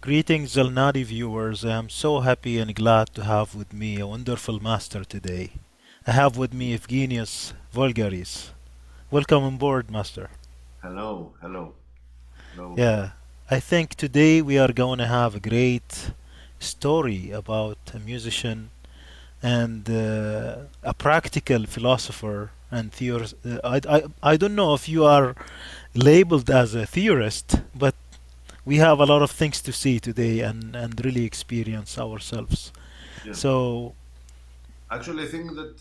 Greetings, Al Nadi viewers. I am so happy and glad to have with me a wonderful master today. I have with me Evgenius Volgaris. Welcome on board, master. Hello, hello, hello. Yeah, I think today we are going to have a great story about a musician and a practical philosopher and theorist. I don't know if you are labeled as a theorist, but we have a lot of things to see today and really experience ourselves. Yeah, So, actually, I think that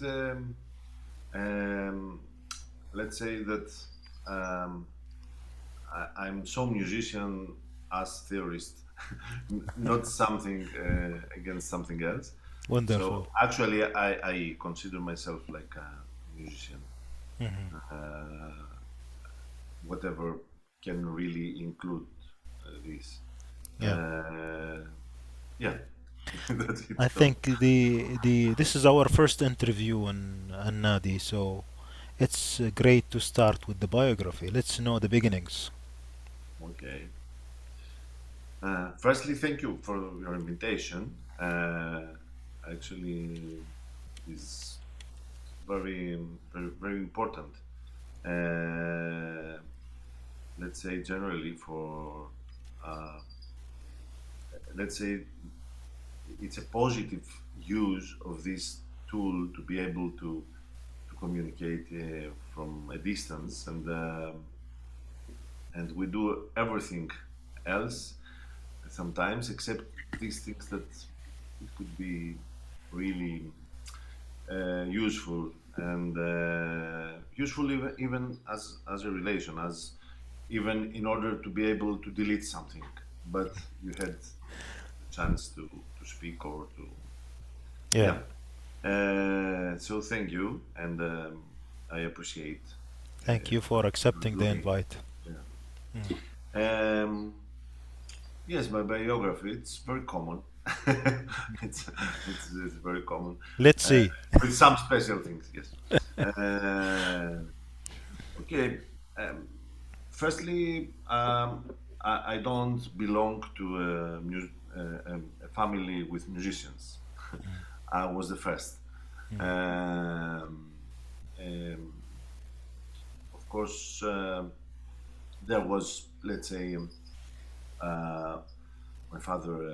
um, let's say that um, I'm so musician as theorist, not something against something else. wonderful. So actually, I consider myself like a musician, Hmm. uh, whatever can really include this. Yeah. Uh, yeah, that's it. I So, think the this is our first interview on Nadi, so it's great to start with the biography. Let's know the beginnings. okay. Firstly, thank you for your invitation. Actually, is very, very, very important. Uh, let's say generally for, uh, let's say it's a positive use of this tool to be able to communicate from a distance, and we do everything else sometimes except these things that it could be really useful and useful even as a relation, as even in order to be able to delete something, but you had the chance to speak or to, Yeah. yeah. So thank you, and I appreciate Thank you what for you're accepting the doing. invite. Yeah. Mm. Yes, my biography, it's very common. it's, it's very common, Let's uh, see. with some special things. Yes. Uh, okay. Um, firstly, I don't belong to a family with musicians. I was the first. Mm. Um, um, of course, there was, let's say, uh, my father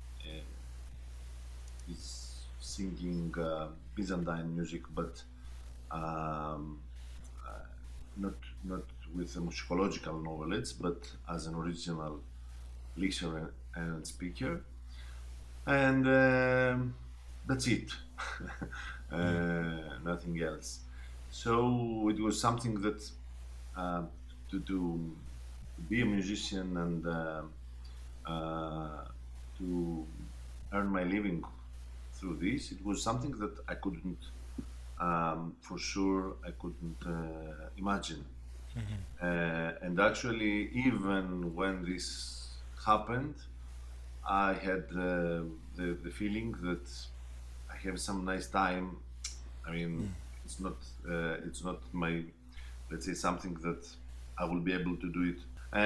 is singing Byzantine music, but um, uh, not not with a musicological knowledge, but as an original listener and speaker, and that's it. Mm. Nothing else. So it was something that uh, to be a musician and uh, to earn my living through this. It was something that I couldn't, for sure, I couldn't imagine. And actually, even when this happened, I had the feeling that I have some nice time. I mean, it's not my, let's say, something that I will be able to do it.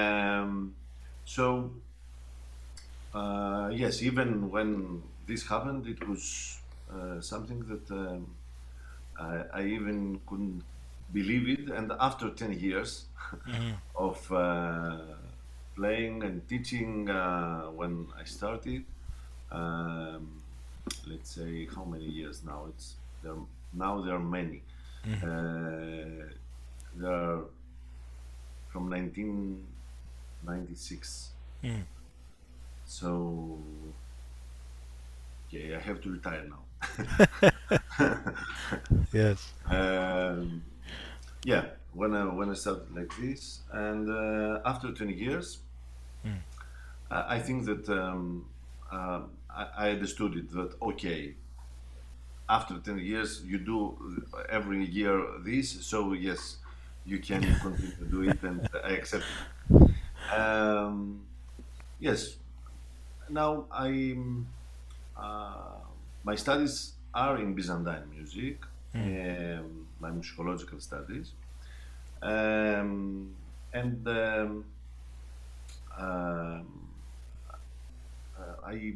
So yes, even when this happened, it was something that I even couldn't believe it. And after 10 years Mhm. of playing and teaching, when I started, um, let's say how many years now? It's there now. There are many. Mhm. Uh, there are from 1996. Mm. So yeah, I have to retire now. Yes. um, yeah, when I started like this, and after 20 years, Mm. I think that I understood it that okay, after 10 years you do every year this, so yes, you can continue to do it, and I accept it. Yes, now uh, my studies are in Byzantine music, Mm. my musicological studies, um, and um, I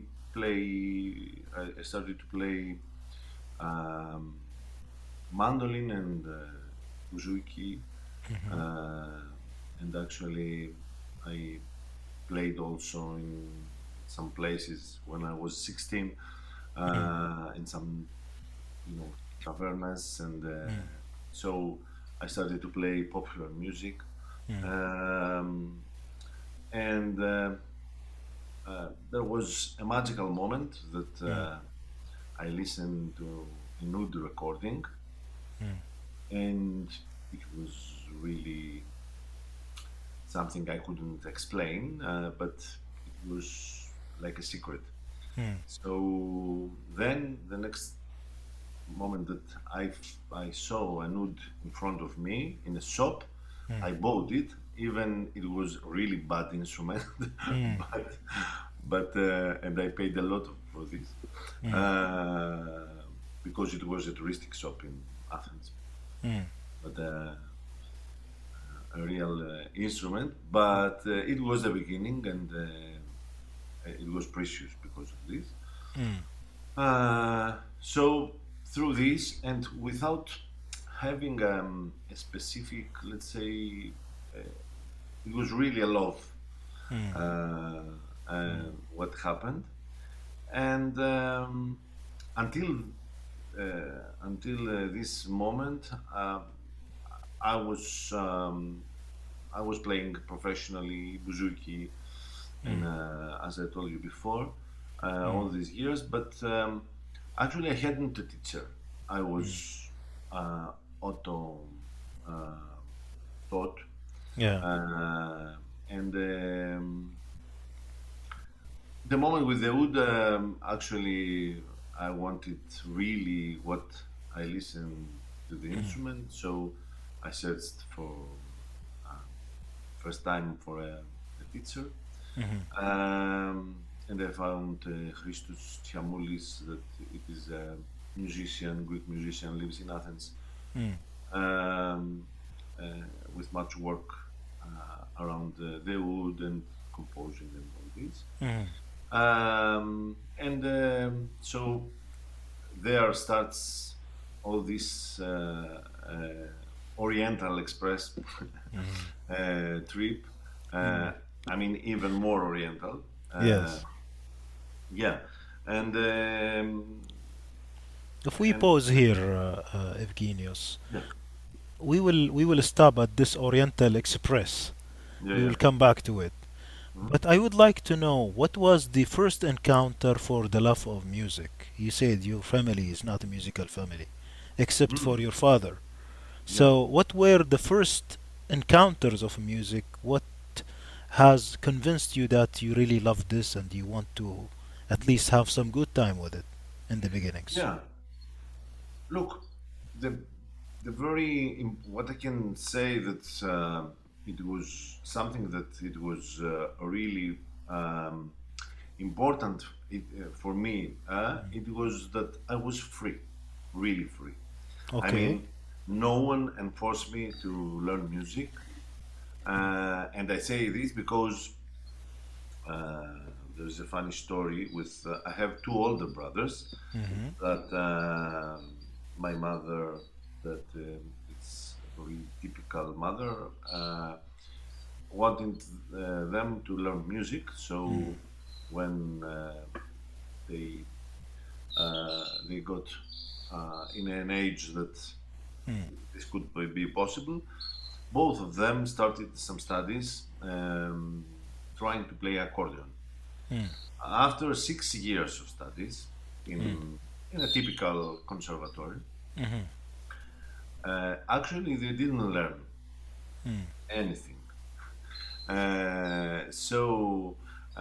I started to play um, mandolin and buzuki, uh, and actually I played also in some places when I was 16, in some, tavernas, and so I started to play popular music, um, and there was a magical moment that I listened to a nude recording, and it was really something I couldn't explain, but it was like a secret. So then the next moment that I saw a nude in front of me in a shop, I bought it. Even it was really bad instrument, but and I paid a lot for this uh, because it was a touristic shop in Athens, but a real instrument. But it was the beginning, and it was precious because of this. So through this, and without having a specific, let's say, it was really a love uh, what happened, and until this moment, I was um, I was playing professionally buzuki, and as I told you before, all these years. But actually, I hadn't a teacher. I was uh, auto uh, taught, Yeah. uh, and the moment with the wood, actually, I wanted really what I listened to the instrument, so I searched for uh, first time for a teacher, and I found Christos Tiamoulis, that it is a musician, Greek musician, lives in Athens, um, uh, with much work around the wood and composing and all this. And so there starts all this Oriental Express trip. I mean, even more Oriental. Uh, Yes. yeah, and If we and pause here, Evgenios, yeah, we will stop at this Oriental Express. yeah, We yeah. will come back to it. Mhm. But I would like to know what was the first encounter for the love of music? You said your family is not a musical family, except Mhm. for your father. Yeah, So, what were the first encounters of music? What has convinced you that you really love this and you want to at least have some good time with it in the beginnings? yeah. Look, the what I can say that it was something that it was really um, important for me. It was that I was free, really free. I Okay. mean, no one enforced me to learn music, and I say this because uh, there's a funny story with. I have two older brothers Mm-hmm. that my mother, that it's a very typical mother, wanted them to learn music. So when they they got in an age that this could be possible, both of them started some studies, trying to play accordion. After 6 years of studies in a typical conservatory, actually they didn't learn anything. So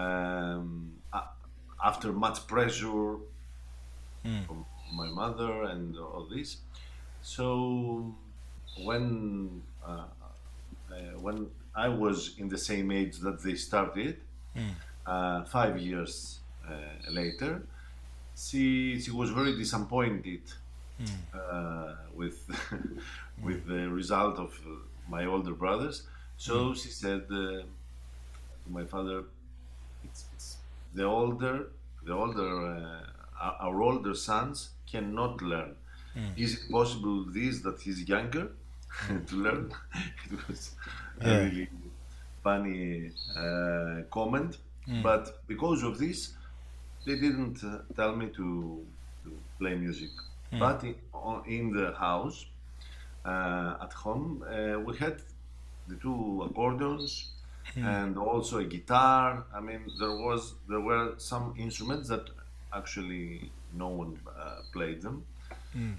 after much pressure from my mother and all this, so when when I was in the same age that they started, 5 years later, she was very disappointed with with the result of my older brothers. So she said to my father, it's the older. our older sons cannot learn. Is it possible this that he's younger to learn? It was a Yeah. really funny comment, Mm. but because of this, they didn't tell me to play music. Mm. But in the house, at home, we had the two accordions Mm. and also a guitar. I mean, there were some instruments that actually no one played them. Mm.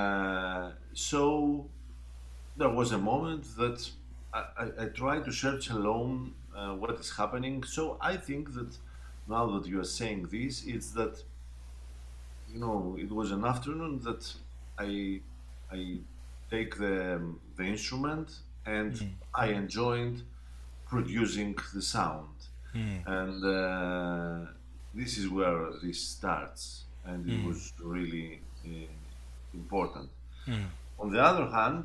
So there was a moment that I tried to search alone what is happening. So I think that now that you are saying this, it's that it was an afternoon that I I take the instrument and Mm. I enjoyed producing the sound, Mm. and this is where this starts, and it Mm. was really important. Mm. On the other hand,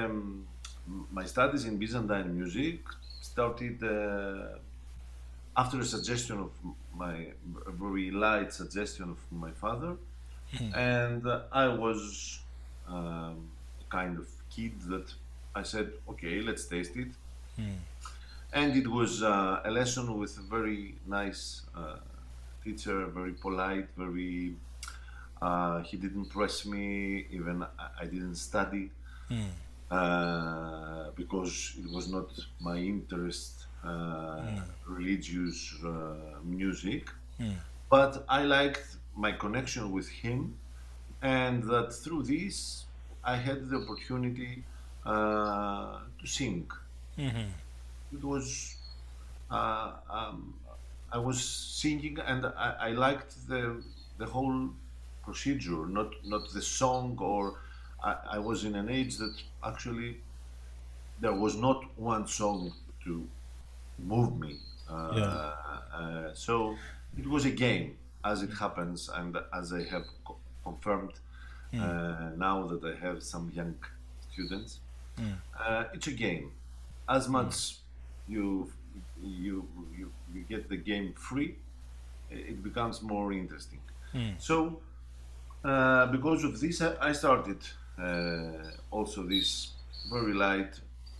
my studies in Byzantine music started after a suggestion of my a very light suggestion of my father, Mm. and I was a kind of kid that I said, okay, let's taste it. Mm. And it was a lesson with a very nice teacher, very polite, very. He didn't press me, even I didn't study Mm. because it was not my interest, religious music. Mm. But I liked my connection with him, and that through this I had the opportunity to sing. Mhm. It was uh, um, I was singing, and I liked the whole procedure, not the song. Or I was in an age that actually there was not one song to move me. Yeah. So it was a game, as it happens, and as I have confirmed Mm. now that I have some young students. Mm. It's a game. As Mm. much you you get the game free, it becomes more interesting. Mm. So because of this, I started also this very light,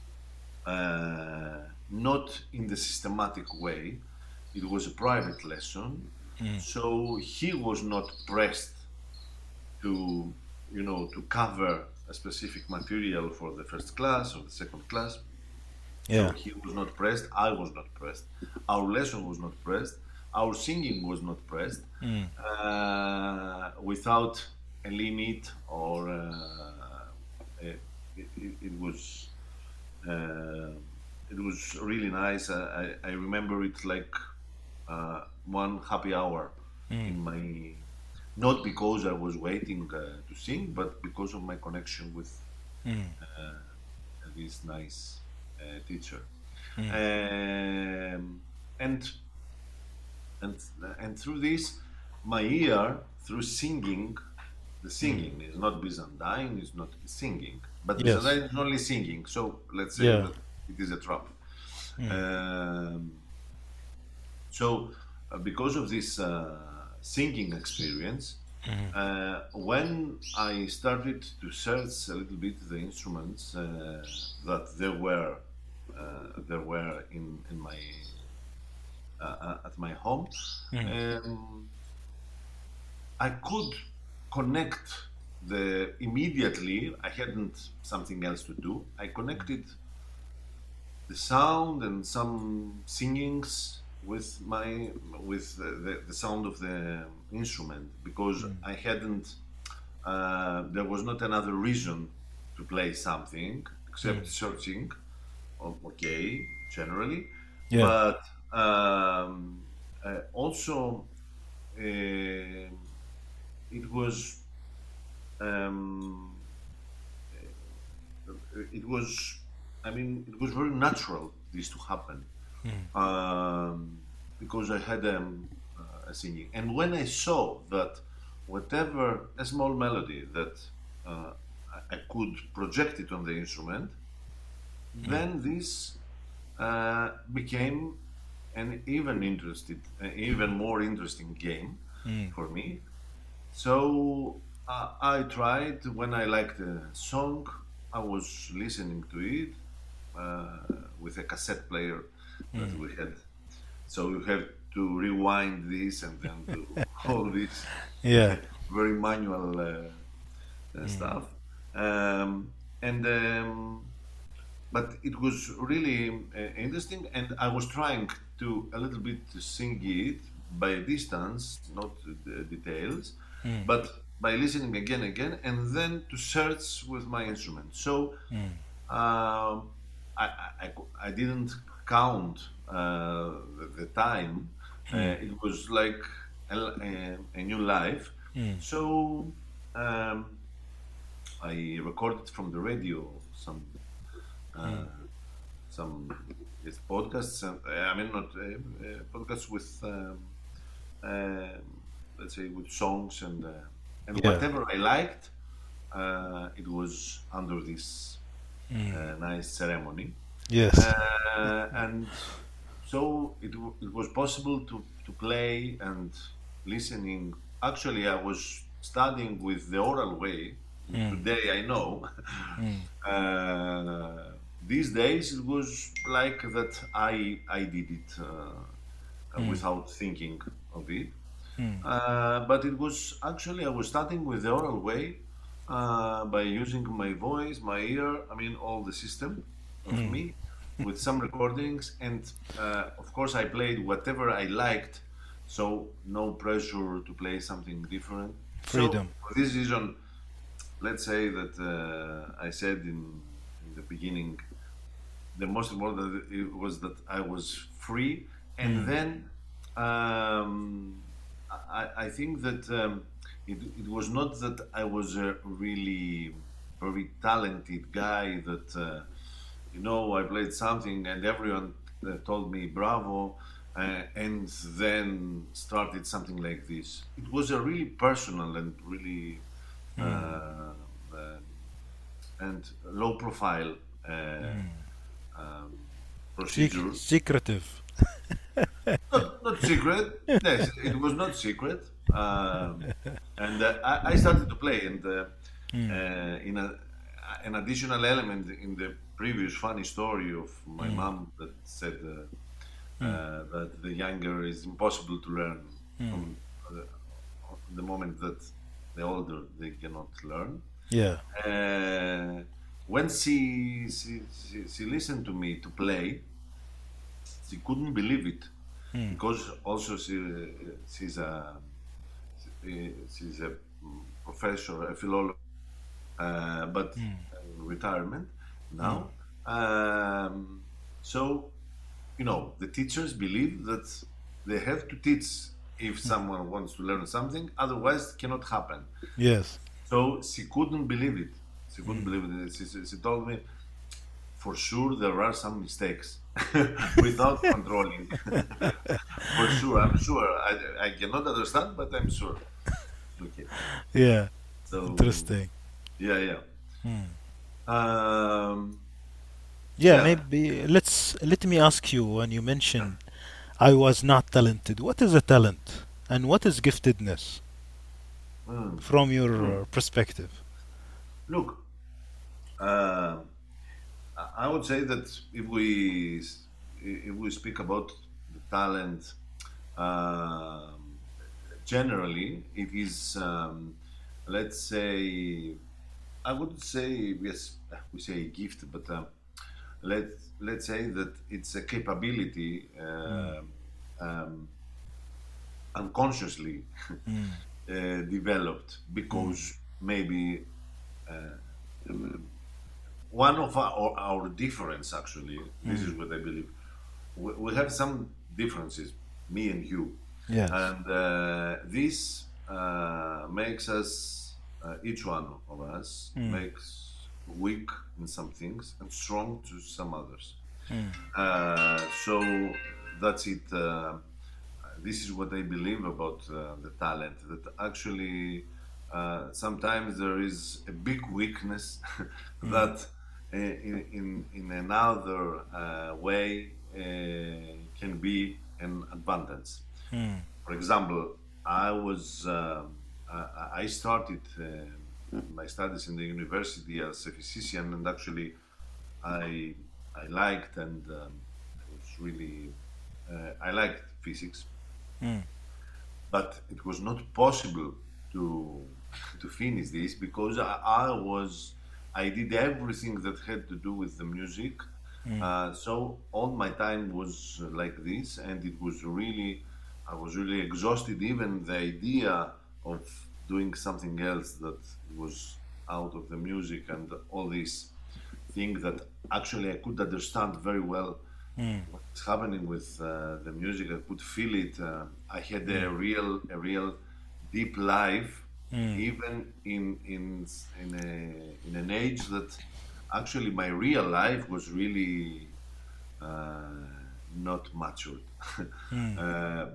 not in the systematic way. It was a private lesson, Mm. so he was not pressed to to cover a specific material for the first class or the second class. So Yeah. he was not pressed, I was not pressed, our lesson was not pressed, our singing was not pressed, Mm. without a limit, or it was uh, it was really nice. I remember it like one happy hour Mm. in my, not because I was waiting to sing, but because of my connection with Mm. uh, this nice teacher. Mm. Um, and and and through this, my ear, through singing, the Mm. singing is not Byzantine, is not singing, but Yes. Byzantine is only singing. So let's say Yeah. that it is a trap. Mm. Um, so because of this singing experience, Mhm. when I started to search a little bit the instruments that there were in my at my home, Mm. um, I could connect the immediately. I hadn't something else to do. I connected the sound and some singings with the sound of the instrument, because Mm. I hadn't there was not another reason to play something Mm. except searching. Okay, generally, Yeah. but also it was um, it was I mean it was very natural this to happen, Mm. um, because I had a singing. And when I saw that whatever a small melody that uh, I could project it on the instrument, Mm. then this became an even more interesting game, Mm. for me. So I tried when I liked a song, I was listening to it with a cassette player that Mm. we had. So you have to rewind this and then do all this Yeah. very manual Mm. stuff. Um, and But it was really interesting, and I was trying to a little bit to sing it by distance, not the details, Mm. but by listening again, and then to search with my instrument. So Mm. um, I didn't count the time. Mm. It was like a new life. Mm. So um, I recorded from the radio uh, Mm. some yes, podcasts. I mean, not podcasts with um, let's say with songs and Yeah. whatever I liked. It was under this Mm. nice ceremony, Yes. and so it was possible to play and listening. Actually, I was studying with the oral way. Mm. Today I know. Mm. These days it was like that I did it Mm. without thinking of it. Mm. But it was actually I was starting with the oral way by using my voice, my ear, I mean all the system of Mm. me with some recordings, and of course I played whatever I liked, so no pressure to play something different. So Freedom. for this reason, let's say that I said in the beginning, the most important it was that I was free, and Mm. then I think that it was not that I was a really very talented guy that I played something and everyone told me bravo, and then started something like this. It was a really personal and really Mm. uh, uh, and low profile Mm. um, procedure. Secretive. Not secret. Yes, it was not secret. And I started to play, and Mm. in an additional element in the previous funny story of my Mm. mom that said Mm. that the younger is impossible to learn Mm. from the moment that the older they cannot learn. Yeah. Uh, when she listened to me to play, she couldn't believe it Mm. because also she's a she's a professor, a philologist, but Mm. retirement Mm. now. Um, so the teachers believe that they have to teach if someone wants to learn something, otherwise it cannot happen. Yes. So she couldn't believe it. She couldn't Mm. believe it. She told me, for sure there are some mistakes without controlling. For sure, I'm sure. I cannot understand, but I'm sure. Okay. Yeah. So Interesting. yeah, yeah. Mm. Um, Yeah, yeah. maybe let me ask you when you mentioned I was not talented. What is a talent and what is giftedness Mm, from mm. your perspective? Look, uh, I would say that if we speak about the talent, um, generally it is let's say I would say yes, we say gift, but let's say that it's a capability Mm. um, unconsciously Mm. developed Mm. because maybe one of our difference actually, this is Mm. what I believe, we have some differences, me and you, Yes. and this makes us each one of us Mm. makes weak in some things and strong to some others. Mm. So that's it. This is what I believe about the talent. That actually sometimes there is a big weakness Mm. that in another way can be an advantage. Mm. For example, I was I started my studies in the university as a physician, and actually I I liked and I was really I liked physics, Mm. but it was not possible to to finish this because I did everything that had to do with the music. Mm. So all my time was like this, and it was really I was really exhausted. Even the idea of doing something else that was out of the music and all these things that actually I could understand very well Mm. what's happening with the music. I could feel it. I had Mm. a real deep life, Mm. even in an age that actually my real life was really uh, not matured. Mm.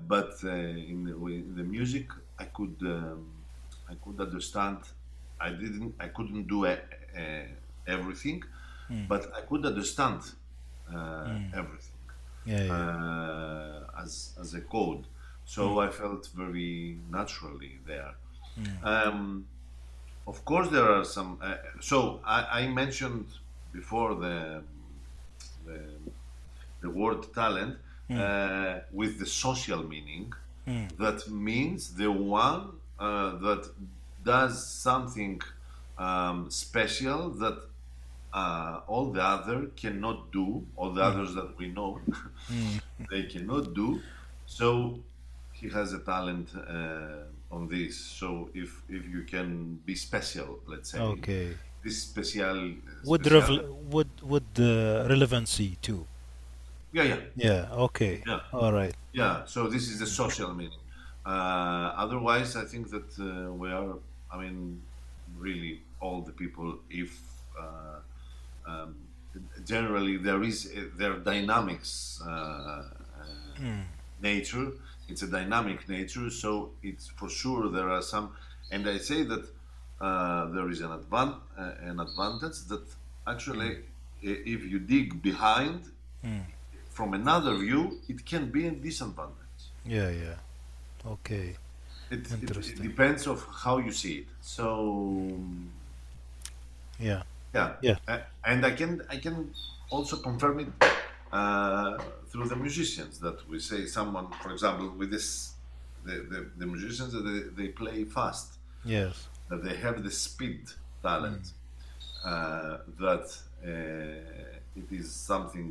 In the music, I could understand. I couldn't do everything, Mm. but I could understand Mm. everything Yeah, yeah. as a code. Mm. So I felt very naturally there. Mm. Um, of course, there are some. I mentioned before the, the word talent Mm. with the social meaning. Mm. That means the one that does something special that all the other cannot do, all the Mm. others that we know, Mm. they cannot do. So he has a talent on this. So if you can be special, let's say, Okay. this special With special, relevancy too. yeah, yeah, Yeah. Okay. yeah, All right. yeah. So this is the social meaning. Otherwise, I think that we are. I mean, really, all the people. If um, generally there are dynamics Mm. nature. It's a dynamic nature, so it's for sure there are some. And I say that there is an advantage that actually, Mm. if you dig behind Mm. from another view, it can be a disadvantage. Yeah, yeah. Okay. It Interesting. depends of how you see it. So Yeah. yeah, Yeah. and I can also confirm it through the musicians that we say someone, for example, with this the musicians that they play fast, Yes. that they have the speed Mm. talent, that it is something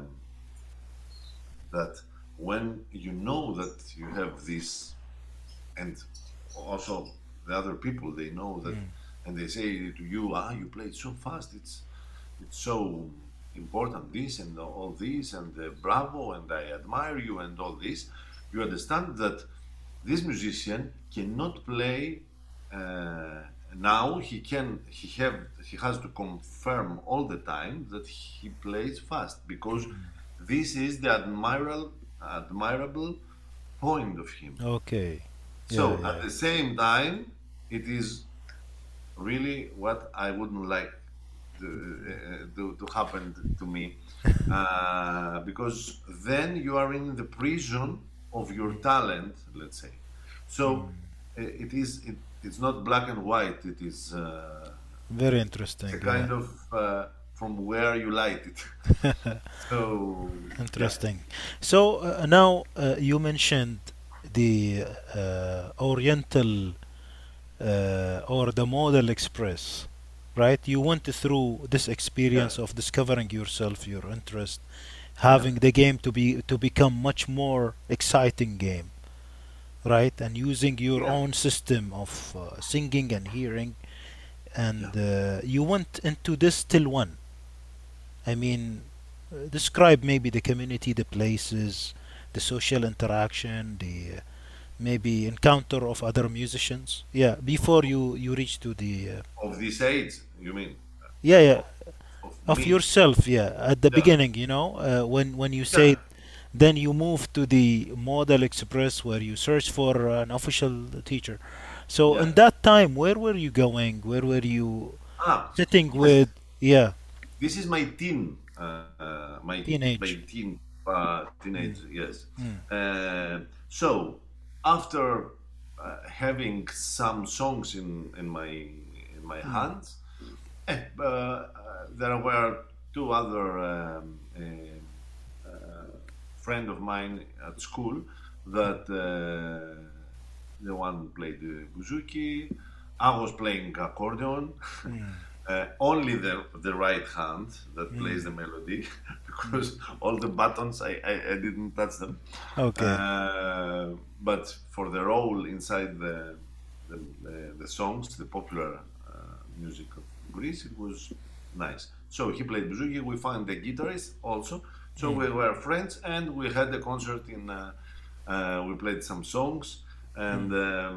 that when you know that you have this, and also the other people they know that, Mm. and they say to you, you play so fast, it's so important, this and all this, and bravo, and I admire you, and all this. You understand that this musician cannot play uh, now. He has to confirm all the time that he plays fast because this is the admirable point of him. Okay. Yeah, So at yeah. the same time, it is really what I wouldn't like to happen to me, because then you are in the prison of your talent, let's say. So Mm. it's not black and white. It is Very it's a interesting. Yeah. kind of from where you light it. So yeah, Interesting. So now you mentioned the Oriental or the Model Express, right? You went through this yeah, experience of discovering yourself, your interest, yeah, having the game to become much more exciting game, right? And using your yeah, own system of singing and hearing, yeah. and you went into this till one. I mean, describe maybe the community, the places, the social interaction, the maybe encounter of other musicians. Yeah, before you reach to the Of this age, you mean? yeah, yeah, Of of me? yourself. Yeah, at the Yeah, beginning, when you yeah, say, then you move to the Model Express where you search for an official teacher. So yeah. in that time, where were you going? Where were you sitting Yes. with? Yeah, This is my teen, my teenage. teen teenage. Mm, Yes. mm, So after. having some songs in my Mm. hands. There were two other friend of mine at school that the one played the bouzouki. I was playing accordion. Mm. Only the right hand that plays Mm. the melody Mm. because all the buttons I didn't touch them. Okay. But for the role inside the songs, the popular music of Greece, it was nice. So he played bouzouki. We found the guitarist also. So Mm. we were friends, and we had a concert in. We played some songs, and Mm.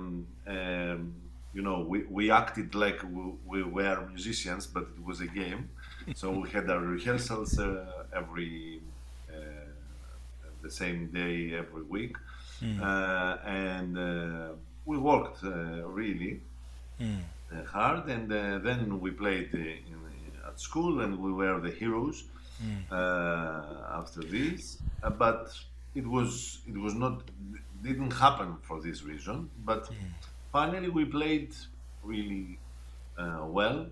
we acted like we were musicians, but it was a game. So we had our rehearsals every the same day every week, Mm. and we worked really Mm. hard, and then we played at school, and we were the heroes Mm. after this. But it was not didn't happen for this reason. But finally, we played really well,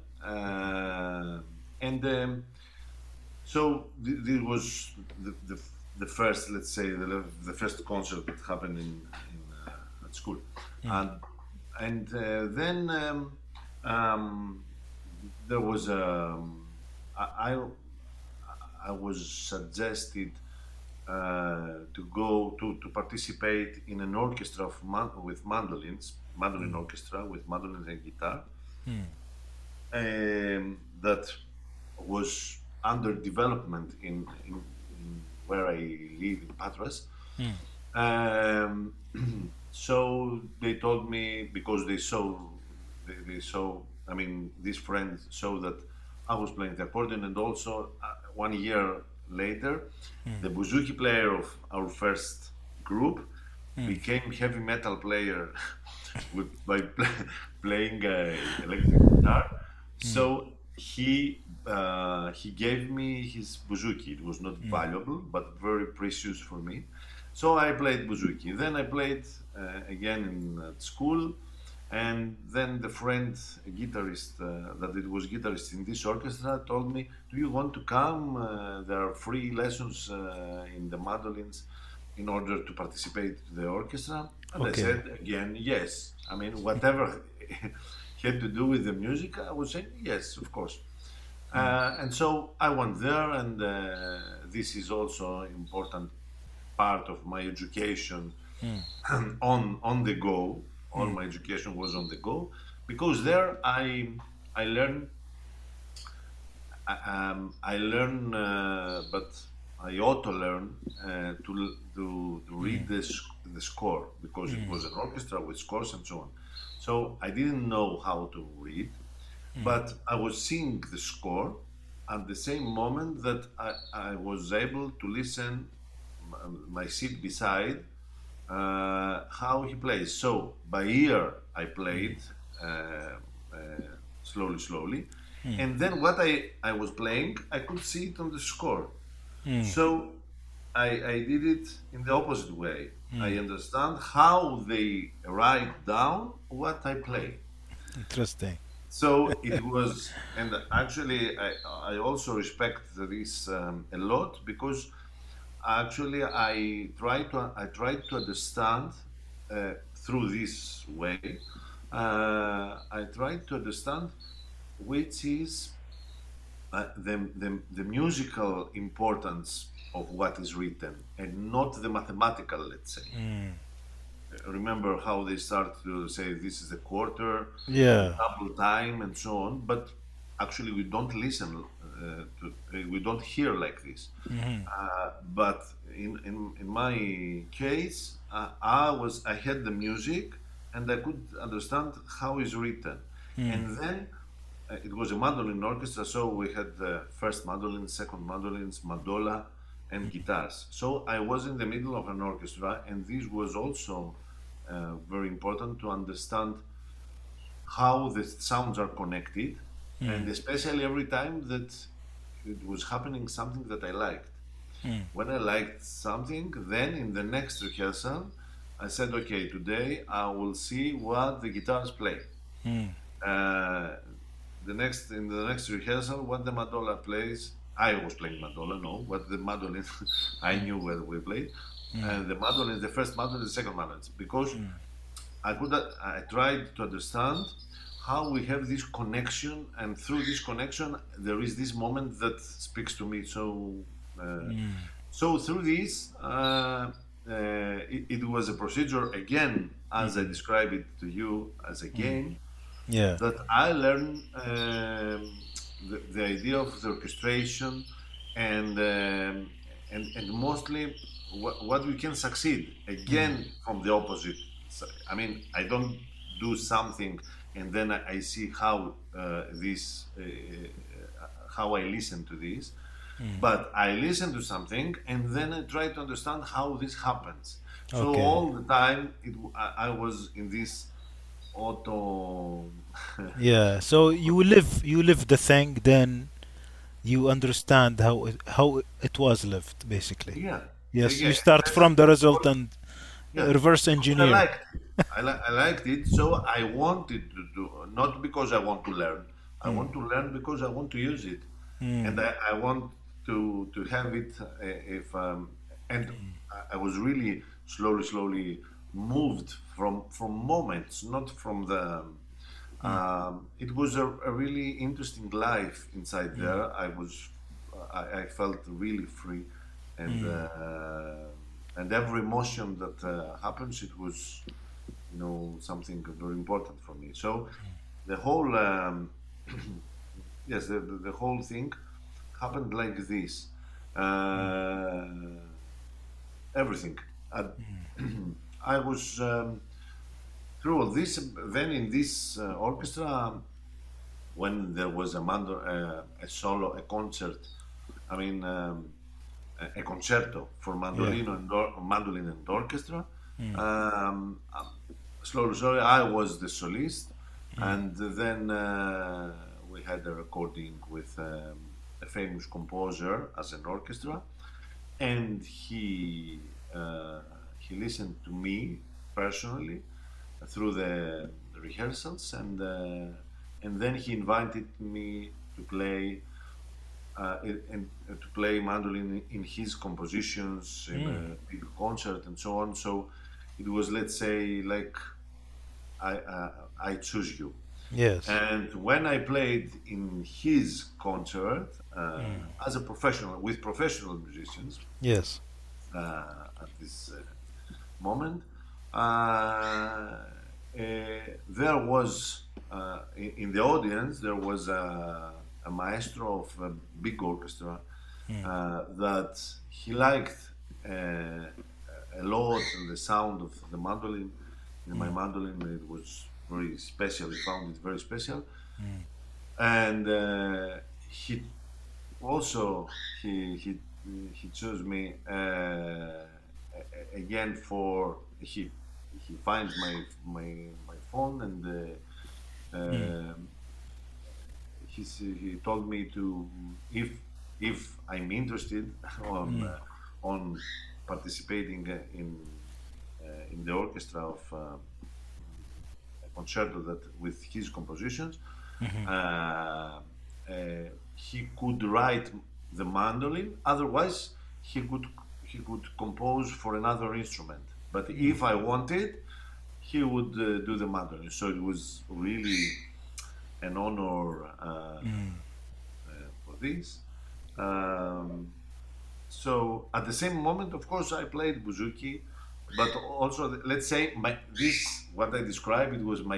and so this was the first, let's say, the first concert that happened at school, Mm. and then um, there was I was suggested to go to participate in an orchestra with mandolins, mandolin orchestra with mandolins and guitar, Mm. that was under development in where I live in Patras. Mm. Um, so they told me because they saw, I mean, these friends saw that I was playing the accordion, and also 1 year later, Mm. the bouzouki player of our first group Mm. became heavy metal player by playing electric guitar. Mm. So he gave me his bouzouki. It was not Mm. valuable, but very precious for me. So I played bouzouki. Then I played again in at school, and then the friend, a guitarist, that it was guitarist in this orchestra, told me, "Do you want to come? There are free lessons in the mandolins in order to participate to the orchestra." And I Okay. said again, yes. I mean, whatever had to do with the music, I was saying yes, of course. Mm. And so I went there, and this is also important part of my education Mm. on the go. All Mm. my education was on the go because there I learned I learn, but I ought to learn to read Mm. the score because it Mm. was an orchestra with scores and so on. So I didn't know how to read, Mm. but I was seeing the score at the same moment that I was able to listen my seat beside how he plays. So by ear, I played uh, uh, slowly, slowly, Mm. and then what I was playing, I could see it on the score. Mm. So I did it in the opposite way. I Mm. understand how they write down what I play. Interesting. So it was, and actually, I also respect this a lot because actually I tried to understand through this way. I tried to understand which is the musical importance of what is written and not the mathematical, let's say. Mm. Remember how they start to say this is a quarter, Yeah. double time, and so on. But actually, we don't listen we don't hear like this. Mm. But in my case, I had the music and I could understand how it's written. Mm. And then it was a mandolin orchestra, so we had the first mandolin, second mandolins, mandola, and guitars. So I was in the middle of an orchestra, and this was also very important to understand how the sounds are connected, Mm. and especially every time that it was happening something that I liked. Mm. When I liked something, then in the next rehearsal, I said, okay, today I will see what the guitars play. Mm. Uh, in the next rehearsal, what the mandola plays. I was playing mandola, no, what the mandolin. I knew where we played, Mm. and the mandolin, the first mandolin, the second mandolin, because Mm. I tried to understand how we have this connection, and through this connection, there is this moment that speaks to me. Uh, Mm. so through this, it was a procedure again, as I Mm. described it to you, as a Mm. game Yeah. that I learned the idea of the orchestration and and mostly what we can succeed Mm. again from the opposite. I mean, I don't do something and then I see how this how I listen to this, Mm. but I listen to something and then I try to understand how this happens. So Okay. all the time I was in this auto. Yeah. So you live the thing, then you understand how it was lived, basically. Yeah, yeah, Yes, yeah. you And start from the result and yeah, reverse because I engineer. liked it. I liked it, so I wanted to do, not because I want to learn. I Mm. want to learn because I want to use it, Mm. and I want to have it. If and I was really slowly moved from moments, not from the. Mm. It was a really interesting life inside Mm. there. I felt really free, and Mm. uh, and every emotion that happens, it was, something very important for me. So the whole, yes, the whole thing happened like this. Uh, Everything. I, I was through all this. Then in this orchestra, when there was a solo, a concert, I mean, a concerto for Yeah. mandolin and orchestra. Mm. Um, slowly, I was the solist, Mm. and then we had a recording with a famous composer as an orchestra, and he listened to me personally through the rehearsals, and then he invited me to play to play mandolin in his compositions in Mm. a big concert and so on. So it was, let's say, like I choose you. Yes. And when I played in his concert Mm. as a professional with professional musicians Yes. at this moment, there was in the audience there was a maestro of a big orchestra Mm. that he liked a lot the sound of the mandolin. In my Mm. mandolin, it was very special. He found it very special, Mm. and he also he he chose me again for he finds my phone and Mm. he told me to if I'm interested on Mm. on participating in the orchestra of a concerto that with his compositions. Mhm. Uh, uh, he could write the mandolin. Otherwise, he could he could compose for another instrument. But Mm. if I wanted, he would do the mandolin. So it was really an honor Mm. for this. Um, so at the same moment, of course, I played bouzouki, but also let's say this what I described it was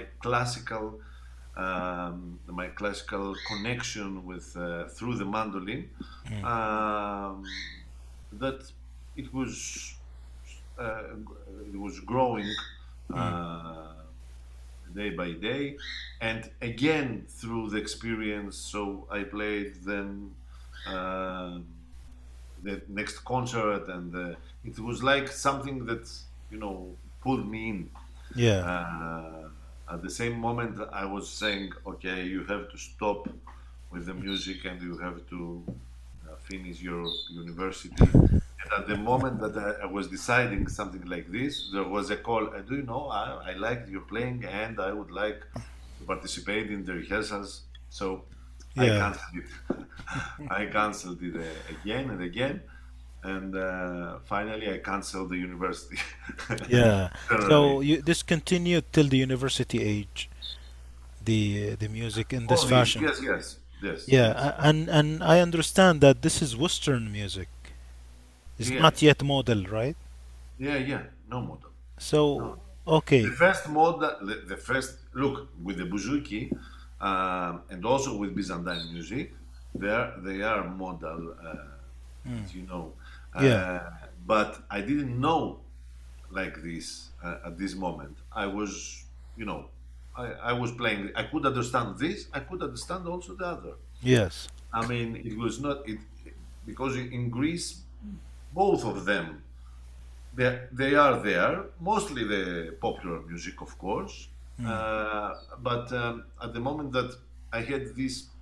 my classical connection with through the mandolin. Mm. Um, that it was uh, it was growing Mm. uh, day by day, and again through the experience. So I played then. Um the next concert, and it was like something that pulled me in. Yeah. Uh, at the same moment, I was saying, "Okay, you have to stop with the music, and you have to finish your university." And at the moment that I was deciding something like this, there was a call. Do you know? I liked your playing, and I would like to participate in the rehearsals. So I Yeah, canceled it. I canceled it again and again, and finally I canceled the university. yeah. Generally. So you discontinued till the university age the music in this All these, fashion. yes, yes, yes, Yeah, yes, and I understand that this is Western music. It's yeah, not yet model, right? yeah, yeah. No model. No. So The okay. first model, the first look with the bouzouki, and also with Byzantine music, they are model, Mm. as you know. Yeah. Uh, but I didn't know like this at this moment. I was, you know, I was playing. I could understand this. I could understand also the other. Yes. I mean, it was not it because in Greece, both of them they are there. Mostly the popular music, of course. Mm. But at the moment that I had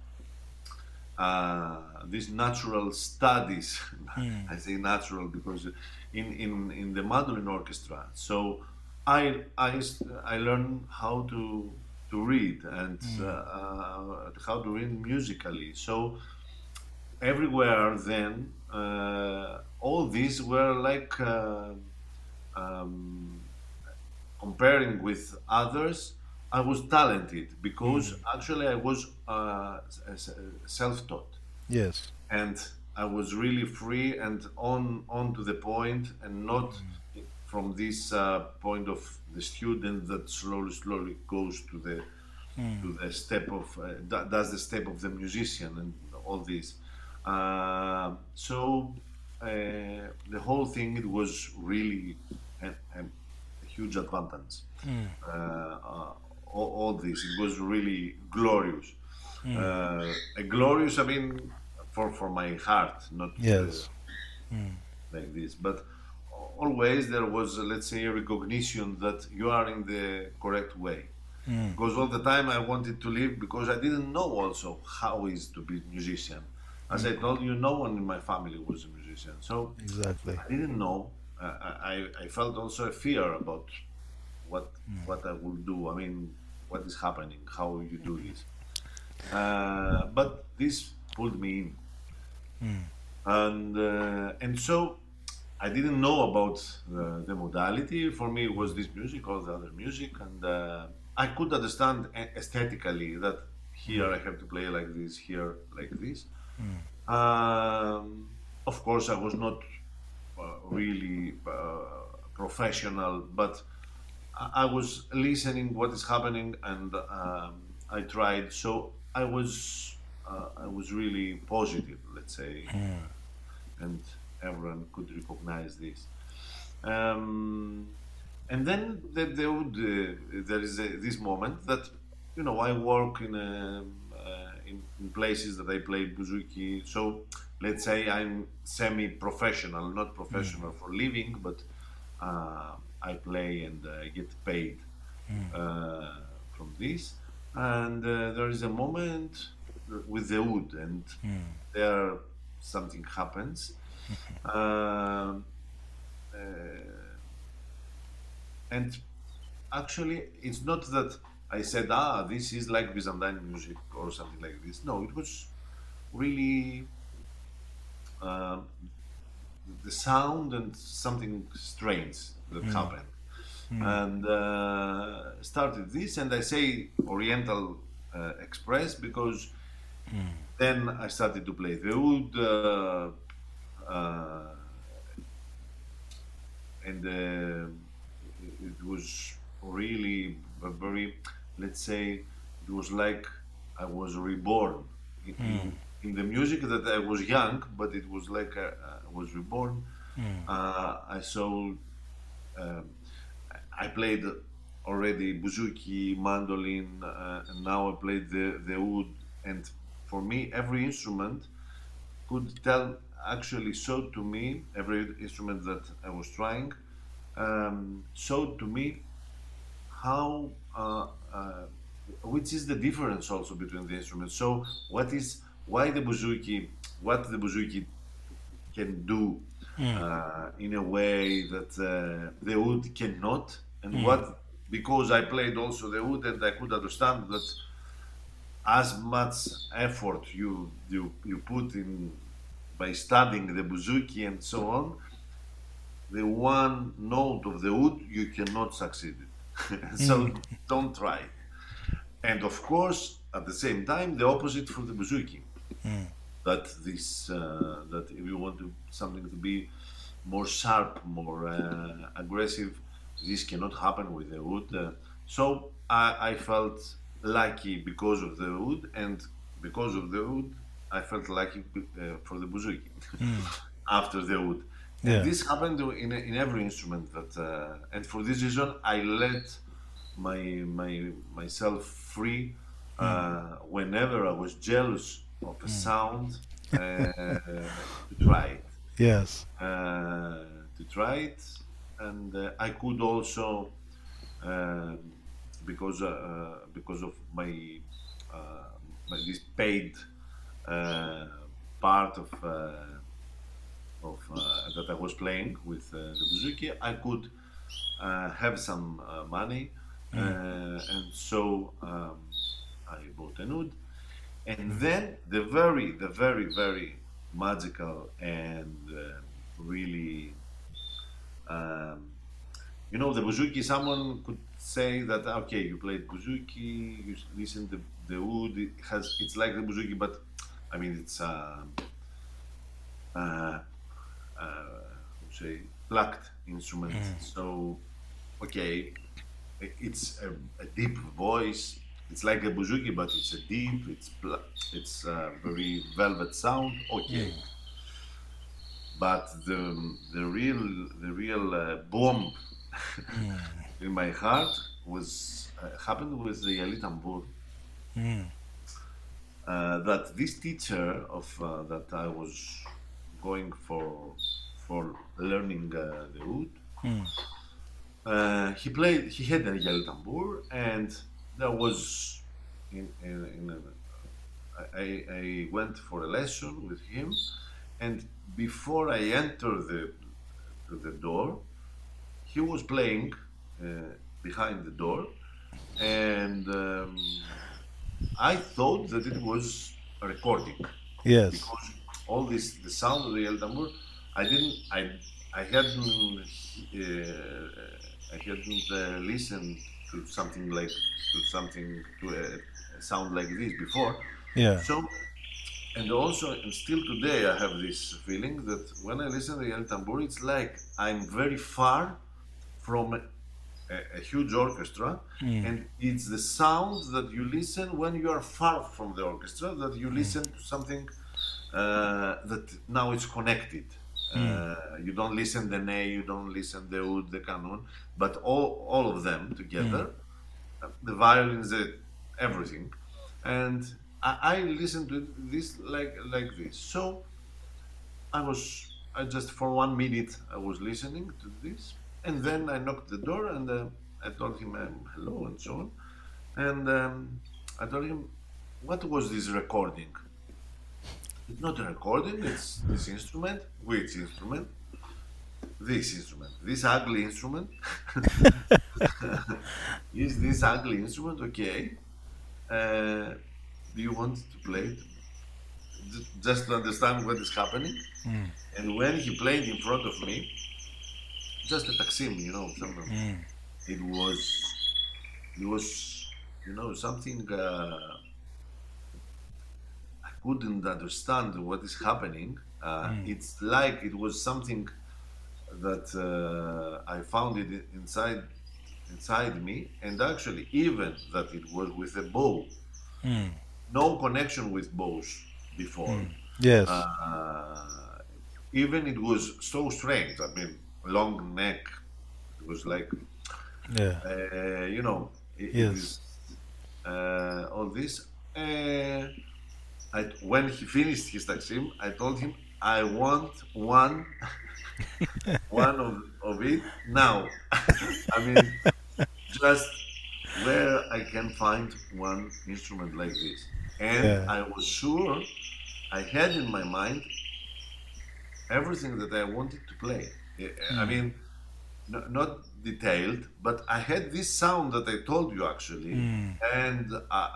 these natural studies. Mm. I say natural because in the mandolin orchestra. So I learned how to read and Mm. how to read musically. So everywhere then, all these were like um, comparing with others. I was talented because Mm. actually I was self-taught, Yes. and I was really free and on to the point, and not from this point of the student that slowly goes Mm. to the step of does the step of the musician and all this. So the whole thing, it was really a huge advantage. Mm. All this, it was really glorious. Mm. A glorious, I mean, for my heart, not Yes. Mm. like this, but always there was, let's say, a recognition that you are in the correct way. Mm. Because all the time I wanted to leave because I didn't know also how is to be a musician. As I told you, no one in my family was a musician, so Exactly. I didn't know. I felt also a fear about what what I will do. I mean, what is happening, how you do this. But this pulled me in, Mm. and so I didn't know about the modality. For me, it was this music, all the other music, and I could understand aesthetically that here I have to play like this, here like this. Of course, I was not really professional, but I was listening what is happening, and I tried. So I was really positive, let's say, and everyone could recognize this. Um, and then there is this moment that, I work in places that I play bouzouki. So let's say I'm semi-professional, not professional for living, but I play and get paid uh, from this. And there is a moment with the wood, and there something happens. Um, uh, and actually, it's not that I said, this is like Byzantine music or something like this. No, it was really um, the sound and something strange that Mm. happened. Mm. And started this, and I say Oriental Express because then I started to play the oud, uh, and it was really a very, let's say, it was like I was reborn in the music that I was young, but it was like I was reborn. I saw, um, I played already bouzouki, mandolin, and now I played the oud. And for me, every instrument could tell, actually showed to me, every instrument that I was trying, showed to me how which is the difference also between the instruments. So what the bouzouki can do, Mm. in a way that the oud cannot. And Mm. what, because I played also the oud and I could understand that as much effort you put in by studying the bouzouki and so on, the one note of the oud you cannot succeed it. Mm. So don't try it. And of course, at the same time, the opposite for the bouzouki. Mm. That if you want to something to be more sharp, more aggressive, this cannot happen with the wood. So I felt lucky because of the wood, and because of the wood, I felt lucky for the bouzouki Mm. after the wood. And Yeah. this happened in every instrument. And for this reason, I let myself free Mm. whenever I was jealous of a Mm. sound to try it, Yes. uh, to try it, and I could also um because of uh, this paid uh, part of that I was playing with the bouzouki, I could have some money, Mm. and so I bought a oud. And Mm. then the very magical and really, um, the bouzouki. Someone could say that okay, you played bouzouki, you listen to the oud. It's like the bouzouki, but I mean it's uh, say plucked instrument. Mm. So okay, it's a deep voice. It's like a bouzouki, but it's a deep. It's a very velvet sound. Okay, Mm. but the real bomb Mm. in my heart was happened with the Yali Tambur. Mm. That this teacher of that I was going for learning the oud. Mm. He had a Yali Tambur, and there was in I went for a lesson with him, and before I entered the door, he was playing behind the door, and I thought that it was a recording Yes. because all this the sound of the El Tambor, I didn't I hadn't listened to something like to a sound like this before. Yeah. So, and also, and still today I have this feeling that when I listen to the El Tambor, it's like I'm very far from a huge orchestra, Mm. and it's the sound that you listen when you are far from the orchestra, that you listen to something that now it's connected. Mm. You don't listen the ney, you don't listen the oud, the canon, but all of them Mm. together, the violins, everything, and I listened to this like this. So I just for 1 minute I was listening to this, and then I knocked the door and I told him hello and so on, and I told him what was this recording. It's not a recording. It's this instrument. Which instrument? This instrument. This ugly instrument. Is this ugly instrument okay? Uh, do you want to play it? Just to understand what is happening. Mm. And when he played in front of me, just a taksim, something. Mm. It was, it was, something I couldn't understand what is happening. Mm. It's like it was something that I found it inside me, and actually, even that it was with a bow, Mm. no connection with bows before. Mm. Yes. Uh, Even it was so strange. I mean, long neck. It was like, Yeah. it Yes. is all this. When he finished his taksim, I told him I want one of it now. I mean, just where I can find one instrument like this. And Yeah. I was sure I had in my mind everything that I wanted to play. I Mm. mean, not detailed, but I had this sound that I told you actually, Mm. and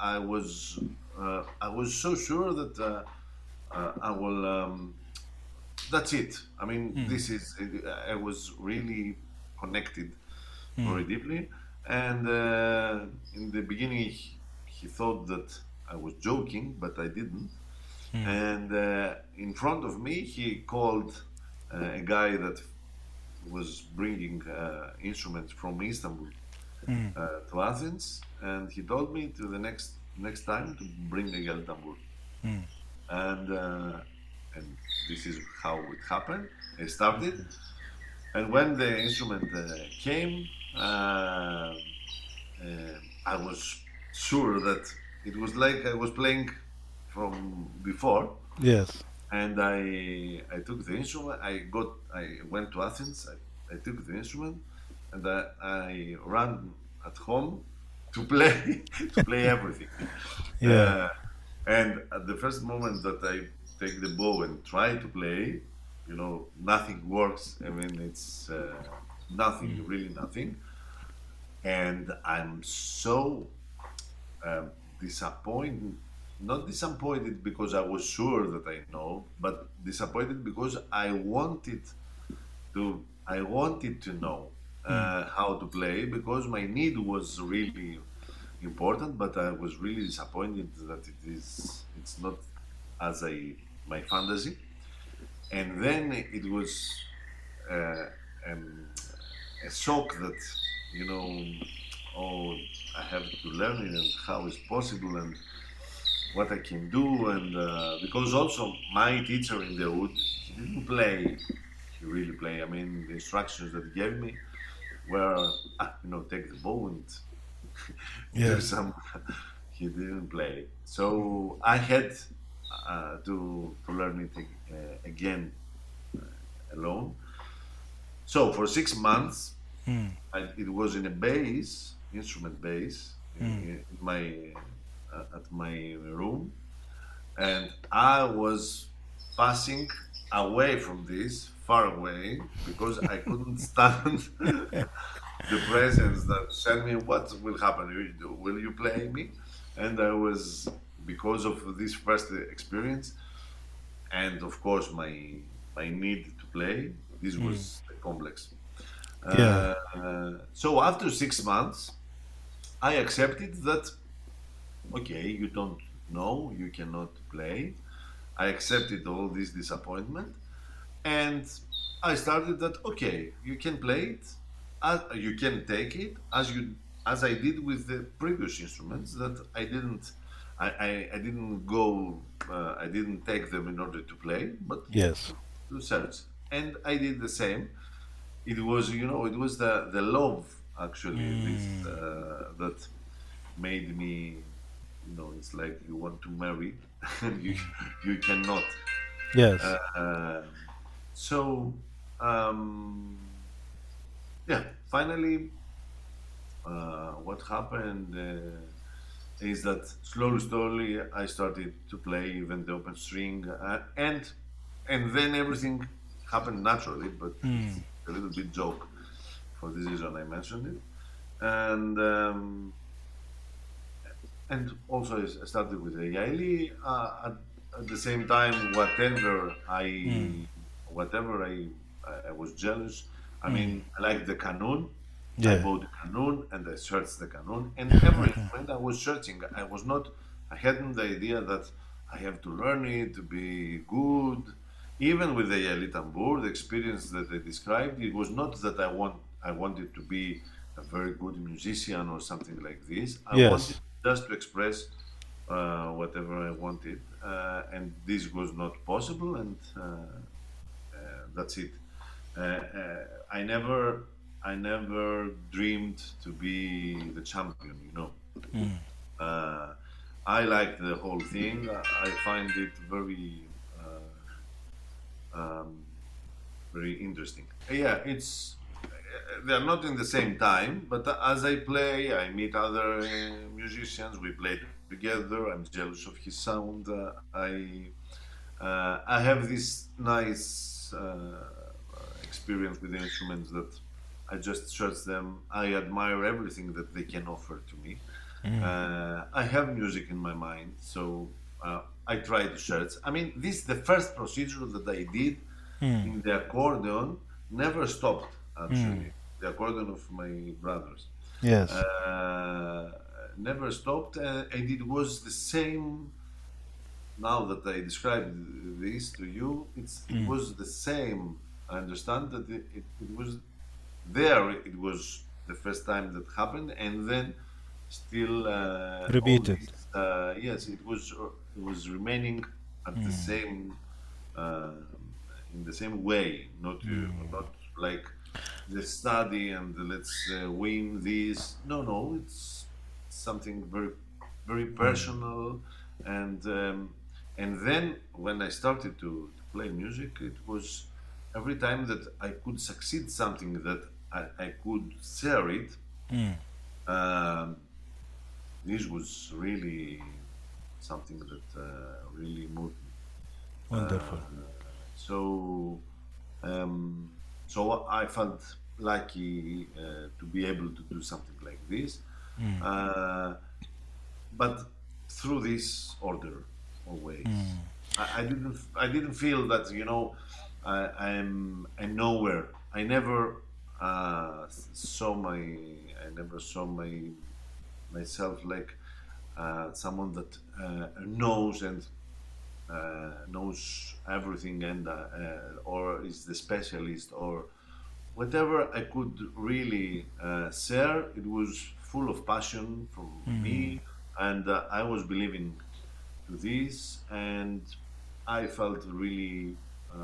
I was so sure that I will. That's it. I mean, Mm. this is. I was really connected Mm. very deeply, and in the beginning he thought that I was joking, but I didn't. Mm. And in front of me, he called a guy that was bringing instruments from Istanbul Mm. to Athens, and he told me to the next time to bring a yel tambur, Mm. and uh, and this is how it happened. I started, and when the instrument came, I was sure that it was like I was playing from before, Yes. and I took the instrument. I went to Athens. I took the instrument, and I ran at home to play to play everything. Yeah. Uh, and at the first moment that I take the bow and try to play, nothing works. I mean, it's nothing, Mm. really nothing. And I'm so um, disappointed, not disappointed because I was sure that I know, but disappointed because I wanted to know Mm. how to play because my need was really important, but I was really disappointed that it's not as my fantasy. And then it was uh, um, a shock that you know oh, I have to learn it and how it's possible and what I can do. And because also my teacher in the wood, he didn't play, he really play. I mean, the instructions that he gave me were, take the bow and do Yes. some. He didn't play, so I had to learn it again alone. So for 6 months, Mm. it was in a bass, instrument bass, Mm. in my at my room, and I was passing away from this, far away, because I couldn't stand the presence that said me, "What will happen? Will you play me?" And I was because of this first experience, and of course my need to play. This Mm. was the complex. Yeah. So after 6 months, I accepted that okay, you don't know, you cannot play. I accepted all this disappointment, and I started that okay, you can play it, you can take it as I did with the previous instruments that I didn't go I didn't take them in order to play, but Yes. to search, and I did the same. It was it was the love actually this Mm. that made me it's like you want to marry and you cannot. Yes. Um, so um, yeah, finally, what happened is that slowly, I started to play even the open string, and then everything happened naturally. But Mm. it's a little bit joke for this reason I mentioned it, and also I started with the Yaeli. At the same time, Mm. I was jealous. I Mm. mean, I like the Canon. I Yeah. bought the Canon and I searched the Canon. And every instrument I was searching, I hadn't the idea that I have to learn it to be good. Even with the Yaeli Tambur, the experience that I described, it was not that I wanted to be a very good musician or something like this. I wanted Yes. just to express whatever I wanted, and this was not possible, and that's it. I never dreamed to be the champion. Mm. Uh, I like the whole thing. I find it um, very interesting. Yeah, it's they're not in the same time, but as I play, I meet other musicians. We play together. I'm jealous of his sound. I have this nice this experience with instruments that I just search them. I admire everything that they can offer to me. Mm. I have music in my mind, so I try to search. I mean, this the first procedure that I did Mm. in the accordion never stopped. Mm. Actually, the accordion of my brothers Yes. uh, never stopped, and it was the same. Now that I described this to you, it Mm. was the same. I understand that it was there. It was the first time that happened, and then still all Repeated. this. Yes, it was remaining at the Mm. same uh, in the same way, not like the study and let's win this. No, no, it's something very, very Mm. personal, and then when I started to play music, it was every time that I could succeed something that I could share it. Mm. Um, this was really something that really moved me. Wonderful. So um, so I felt lucky to be able to do something like this, Mm. uh, but through this order always. Mm. I didn't feel that I'm nowhere. I never saw my I never saw myself like someone that knows and knows everything and or is the specialist or whatever I could really share. It was full of passion from Mm. me, and I was believing to this, and I felt really,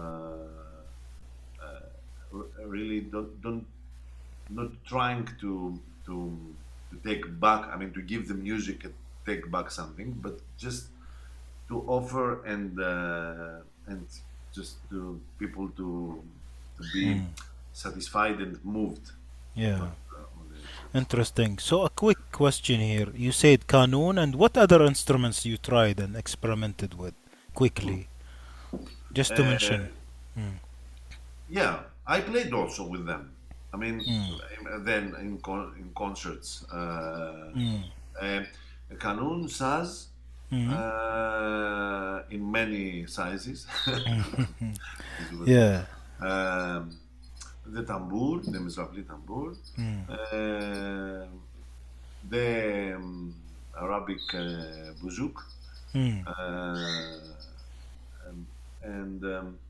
really don't not trying to take back. I mean, to give the music and take back something, but just to offer and just to people to be Mm. satisfied and moved, Yeah. not only satisfied. Interesting. So, a quick question here. You said Qanun, and what other instruments you tried and experimented with? Quickly, just to mention. Uh, Mm. yeah, I played also with them. I mean, Mm. then in concerts, Mm. uh, Canon Saz Mm. in many sizes. This was Yeah. um, the tambour, the Mizrahi tambour, Mm. uh, the Arabic bouzou, Mm. uh, um, and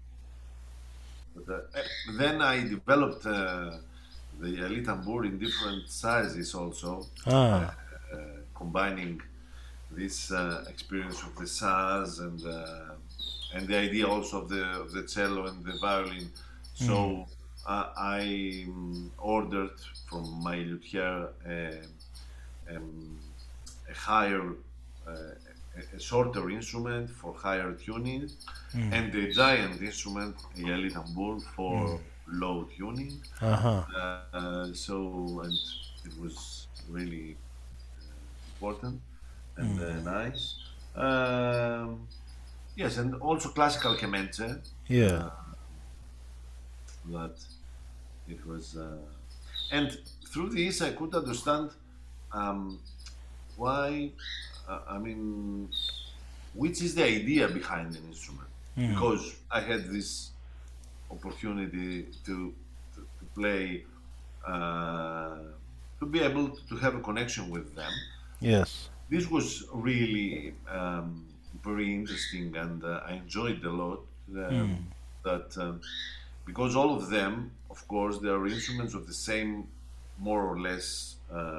then I developed the elite tambour in different sizes also, uh, Ah. combining this experience of the saz and the idea also of the cello and the violin. Mm. So I ordered from my luthier um, a higher, a shorter instrument for higher tuning, Mm. and a giant instrument, a yali tambour, Mm. for low tuning. Uh-huh. And it was really important and Mm. nice. Um, yes, and also classical kemençe. Yeah. Uh, that it was, and through this I could understand um, why. I mean, which is the idea behind an instrument? Mm. Because I had this opportunity to play, uh, to be able to have a connection with them. Yes. This was really very interesting, and I enjoyed a lot. Mm. That Because all of them, of course, they are instruments of the same, more or less,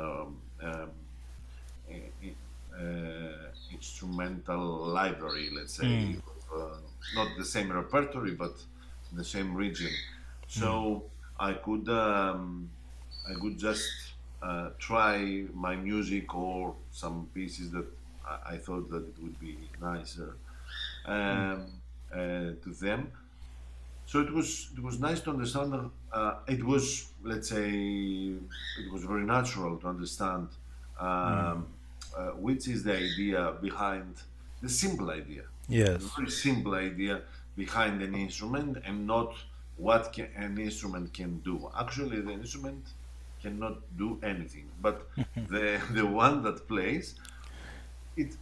instrumental library, let's say, Mm. not the same repertory, but the same region. Mm. So I could I could just try my music or some pieces that I thought that it would be nicer Mm. to them. So it was nice to understand. It was, let's say, it was very natural to understand Mm. which is the idea behind the simple idea, the Yes. very simple idea behind an instrument and not what an instrument can do. Actually, the instrument cannot do anything, but the one that plays it,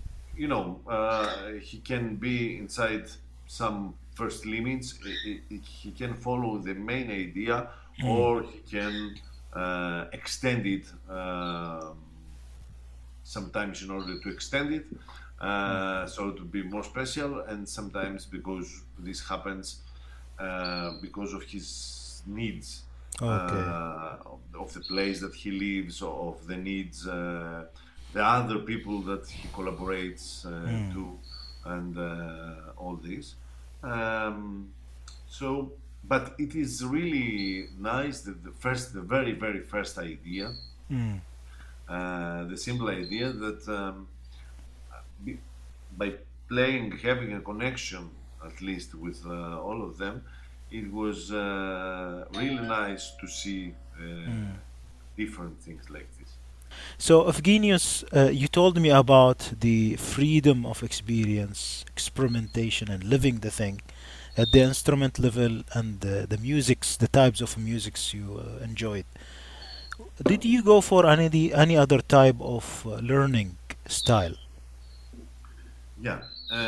he can be inside some first limits. He can follow the main idea, Mm, or he can extend it, sometimes in order to extend it, so to be more special, and sometimes because this happens because of his needs, okay. of the place that he lives, of the needs, the other people that he collaborates Mm, to, and all this. Um, so, but it is really nice that the very, very first idea, mm. the simple idea that be- by playing, having a connection at least with all of them, it was really nice to see different things like this. So, Evgenius, you told me about the freedom of experience, experimentation, and living the thing at the instrument level and the musics, the types of musics you enjoyed. Did you go for any other type of learning style? Yeah.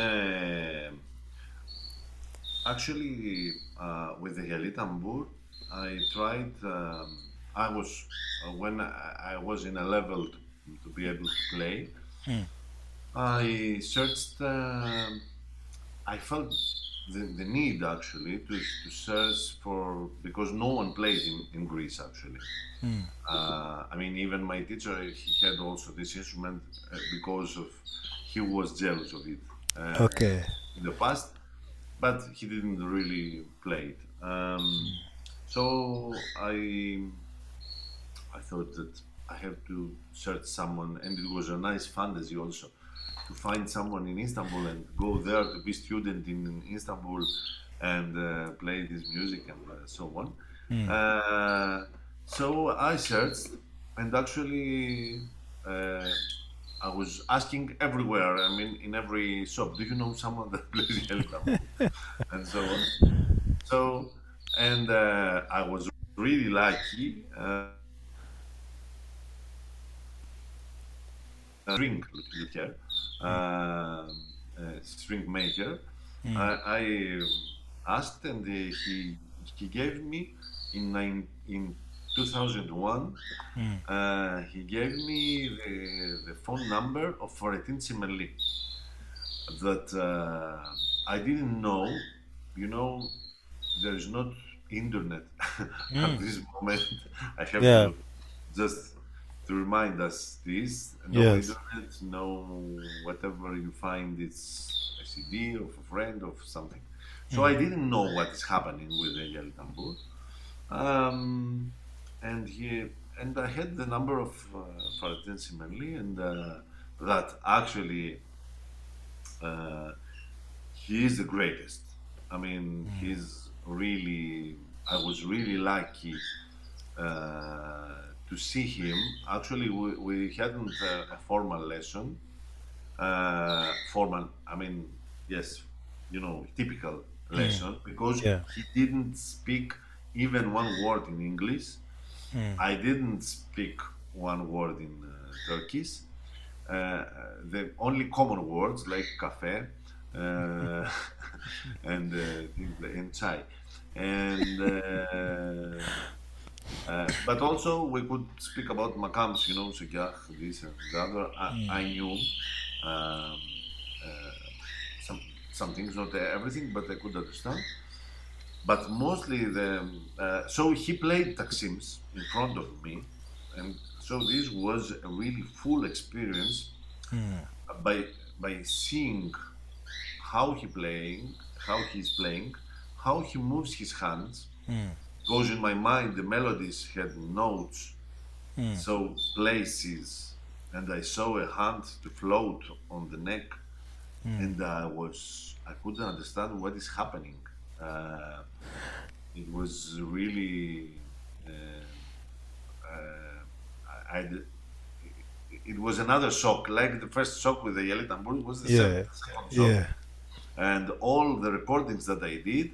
Actually, with the Yali Tambur, I tried. I was when I was in a level to be able to play. Mm, I searched. I felt the need actually to search for, because no one played in Greece actually. mm. I mean, even my teacher, he had also this instrument because of he was jealous of it Okay. in the past, but he didn't really play it. So I thought that I have to search someone, and it was a nice fantasy also to find someone in Istanbul and go there to be student in Istanbul and play this music and so on. Mm. Uh, so I searched, and actually uh, I was asking everywhere. I mean, in every shop, do you know someone that plays El Tambor? And so on. So, and I was really lucky. String luthier, Mm, string maker. mm, I asked, and he gave me in 2001. mm, He gave me the phone number of Florentin Simelli that I didn't know. You know, there is not internet at mm. this moment. I have Yeah. to just to remind us this: no Yes. internet, no whatever you find, it's a CD of a friend of something. So I Mm, didn't know what is happening with the Yali Tambur. Um, and he and I had the number of Florentin Simelli, and that actually uh, he is the greatest. I mean, he's really. I was really lucky to see him. Actually, we hadn't a formal lesson. Formal, I mean, yes, typical mm. lesson, because Yeah. he didn't speak even one word in English. Mm, I didn't speak one word in Turkish. Uh, the only common words like cafe uh, and and chai, and but also we could speak about makams, Sukyah, this and the other. I knew um, uh, some some things, not everything, but I could understand. But mostly so he played Taksims in front of me, and so this was a really full experience mm, by seeing how how he's playing, how he moves his hands. mm, Because in my mind the melodies had notes, mm, so places, and I saw a hand to float on the neck, mm. and I couldn't understand what is happening. Uh, it was really uh, I, it was another shock. Like the first shock with the Yali Tambur, it was the Yeah. second shock. Yeah. and all the recordings that I did,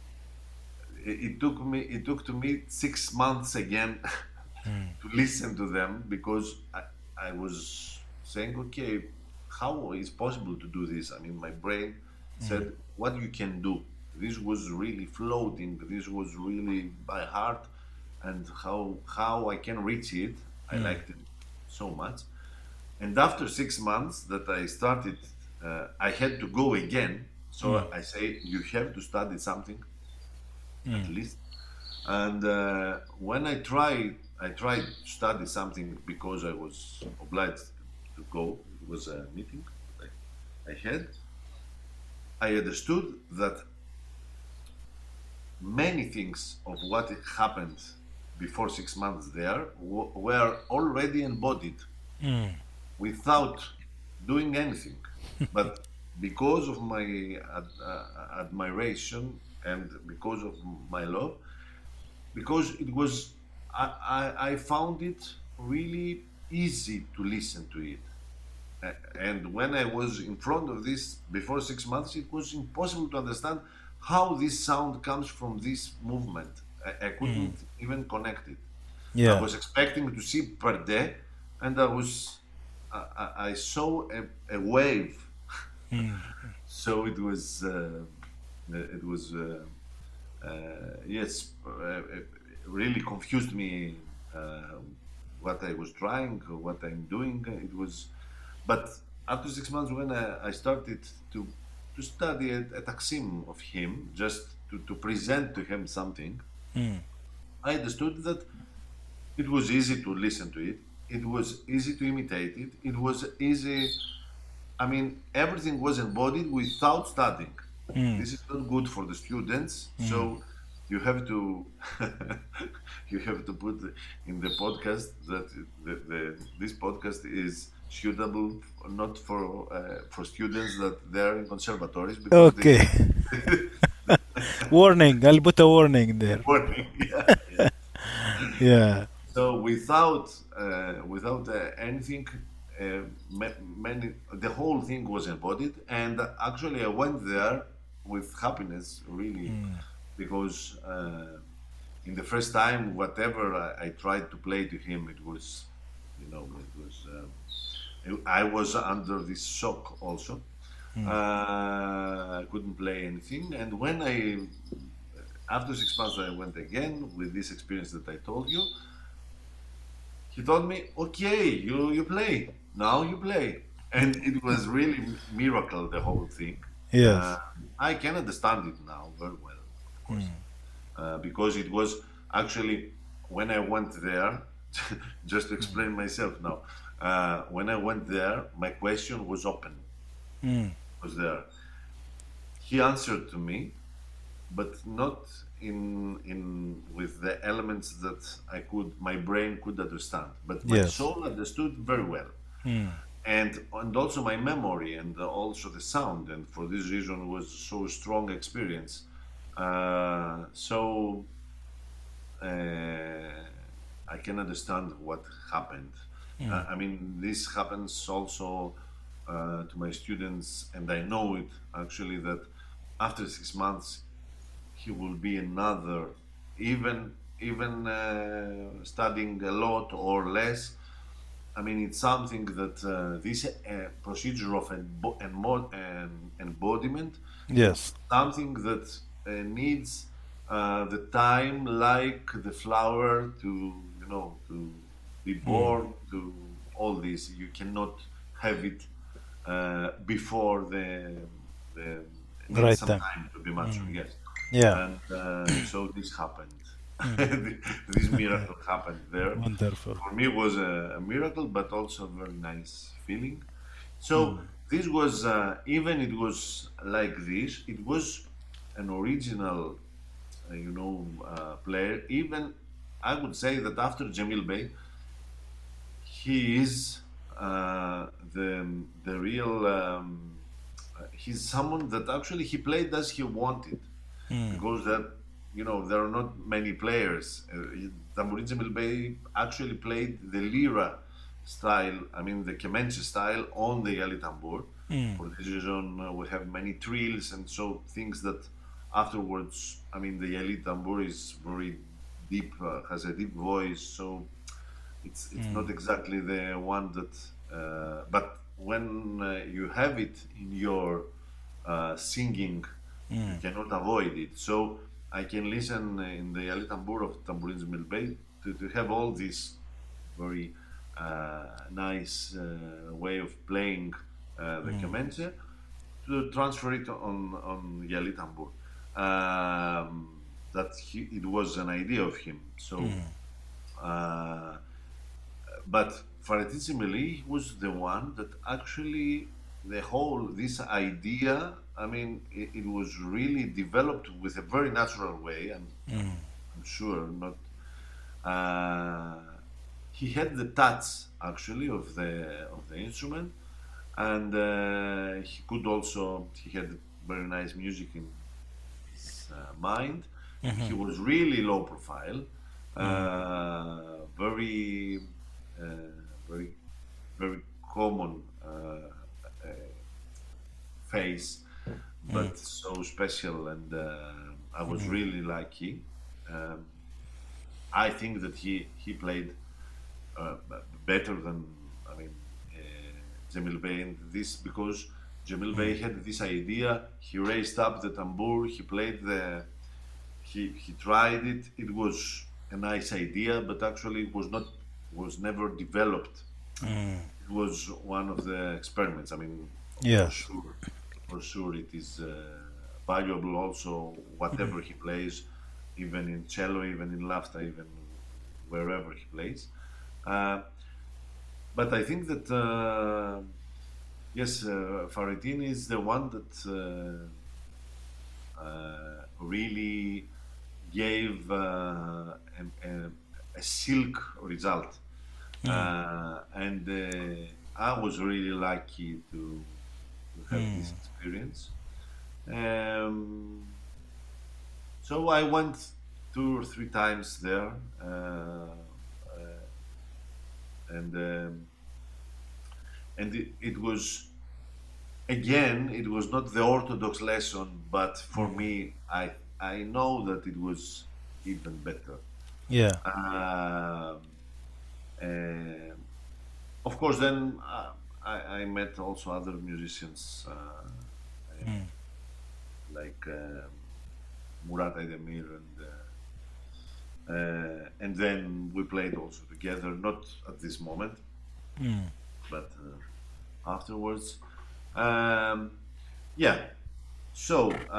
it took to me 6 months again Mm. to listen to them, because I was saying, okay, how is possible to do this? I mean, my brain Mm. said, what you can do. This was really floating. This was really by heart, and how I can reach it. I Mm. liked it so much. And after 6 months that I started, I had to go again. Mm. So I say, you have to study something at Mm. least. And when I tried to study something because I was obliged to go. It was a meeting that I had. I understood that many things of what happened before 6 months there were already embodied Mm. without doing anything. But because of my admiration and because of my love, because it was, I found it really easy to listen to it. And when I was in front of this before 6 months, it was impossible to understand how this sound comes from this movement. I Mm. couldn't even connect it. I Yeah. was expecting to see Perde, and I saw a wave. Mm. So it was yes, it really confused me, uh, what I was trying, what I'm doing. It was, but after 6 months, when I started to study a taksim of him, just to present to him something, Mm. I understood that it was easy to listen to it. It was easy to imitate it. It was easy. I mean, everything was embodied without studying. Mm. This is not good for the students. Mm. So you have to you have to put in the podcast that this podcast is suitable not for students that they're in conservatories, because they Okay. Warning. I'll put a warning there. warning. Yeah, yeah. Yeah. So without anything, many the whole thing was embodied, and actually I went there with happiness, really, Mm. because in the first time, whatever I tried to play to him, it was, it was. I was under this shock also. Mm. I couldn't play anything, and when after 6 months, I went again with this experience that I told you. He told me, "Okay, you play now. You play," and it was really miracle, the whole thing. Uh, Yes. I can understand it now very well, of course, Mm. because it was actually when I went there. Just to Mm. explain myself now, when I went there, my question was open. Mm. Was there? He answered to me, but not in with the elements that my brain could understand, but my Yes. soul understood very well, Mm. and also my memory, and also the sound, and for this reason was so strong experience. So I can understand what happened. Mm. I mean, this happens also to my students, and I know it actually, that after 6 months he will be another, even studying a lot or less. I mean, it's something that this procedure of embodiment, it's Yes. something that needs the time, like the flower, to to be Mm. born, to all this. You cannot have it before the needs Right some time. time to be mature. Mm. Yes, Yeah. and so this happened. Mm. This miracle happened there. Wonderful. For me, it was a miracle, but also a very nice feeling. So Mm. this was, even it was like this. It was an original, player. Even I would say that after Jamil Bey, he is the real. He's someone that actually he played as he wanted, Mm. because that there are not many players. Tambourine Jamil Bey actually played the lira style, I mean the Kemenche style, on the Yali tambur, Mm. For this reason, we have many trills, and so things that afterwards, I mean, the Yali tambur is very deep, has a deep voice, so it's Mm. not exactly the one that, but when you have it in your singing, you Mm. cannot avoid it. So I can listen in the Ali Tambur of Tambourines Milbey to have all this very nice way of playing the Mm. kemençe to transfer it on Yali Tambur. That it was an idea of him. So, Mm. uh, but Farettin was the one that actually the whole this idea. I mean, it was really developed with a very natural way, and Mm. I'm sure not. Uh, he had the touch actually of the instrument, and he could also he had very nice music in his mind. He Mhm. was really low profile, Mm. very very very common face, Mm. but so special, and I was Mm. really lucky. Um, I think that he played better than I mean Jamil Bey in this because Jamil Mm. Bey had this idea. He raised up the tambour. He played the. He tried it. It was a nice idea, but actually it was never developed. Mm. It was one of the experiments. I mean, Yes. for sure, it is valuable. Also, Mm. whatever he plays, even in cello, even in lafta, even wherever he plays. Uh, but I think that yes, Faridin is the one that really gave a silk result, Mm. and I was really lucky to have Mm. this experience. Um, so I went 2 or 3 times there, and it was again it was not the orthodox lesson, but for Mm. me I know that it was even better. Yeah. Um, uh, of course, then I met also other musicians Mm. like Murat Aydemir, and then we played also together, not at this moment, Mm. but afterwards. Um, yeah. So,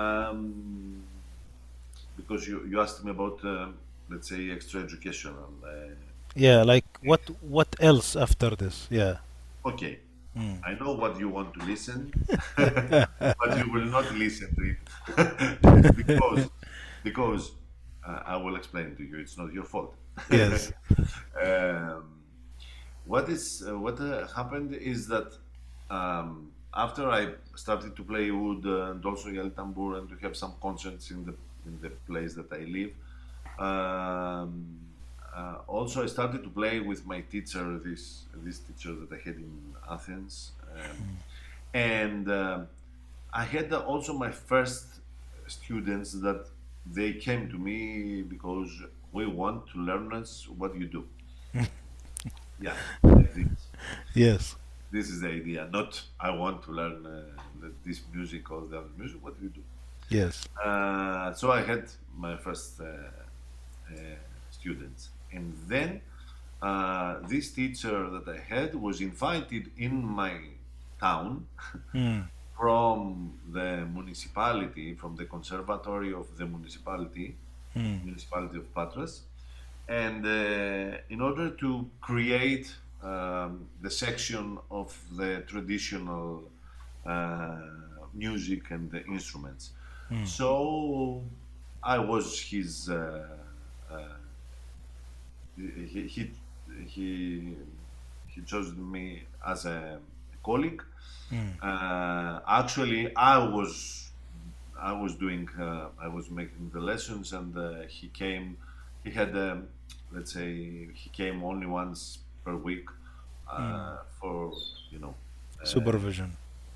because you asked me about, let's say, extra educational. Yeah. Like what else after this? Yeah. Okay, Mm. I know what you want to listen, but you will not listen to it because I will explain to you. It's not your fault. Yes. um, what happened is that after I started to play wood and also yel tambur and to have some concerts in the place that I live, um, also I started to play with my teacher, this teacher that I had in Athens, and I had also my first students that they came to me because we want to learn us what you do. Yeah, like this. Yes. This is the idea. Not I want to learn this music or the other music. What do you do? Yes. So I had my first students, and then this teacher that I had was invited in my town Mm. from the municipality, from the conservatory of the Mm. municipality of Patras, and in order to create the section of the traditional uh, music and the instruments. Mm. So I was his. Uh, he, he he he chose me as a colleague. Mm. Actually, I was doing I was making the lessons, and he came. He had let's say he came only once per week Mm. for you know uh, Supervision.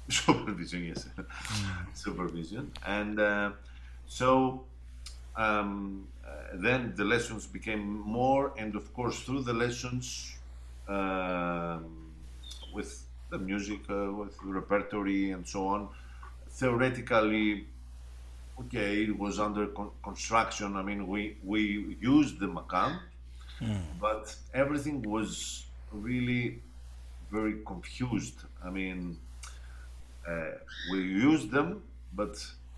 supervision, yes, Mm. supervision, and so then the lessons became more, and of course through the lessons, um, with the music, with repertory and so on, theoretically, okay, it was under construction. I mean, we used the Macam, but everything was really very confused. I mean, we used them, but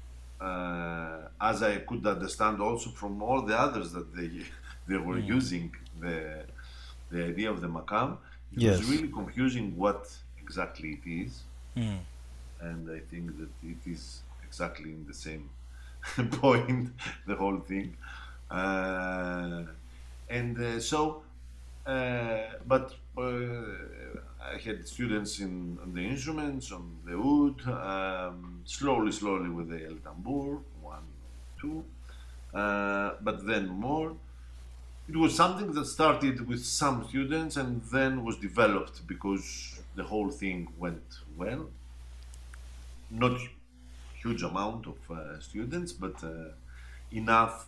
as I could understand also from all the others that they they were Mm. using the idea of the Macam, it was Yes. really confusing what exactly it is, Mm. and I think that it is exactly in the same point, the whole thing. Uh, and so, but I had students on the instruments, on the oud, slowly, slowly with the el tambur, one, two, but then more. It was something that started with some students and then was developed because the whole thing went well. Not huge amount of students, but enough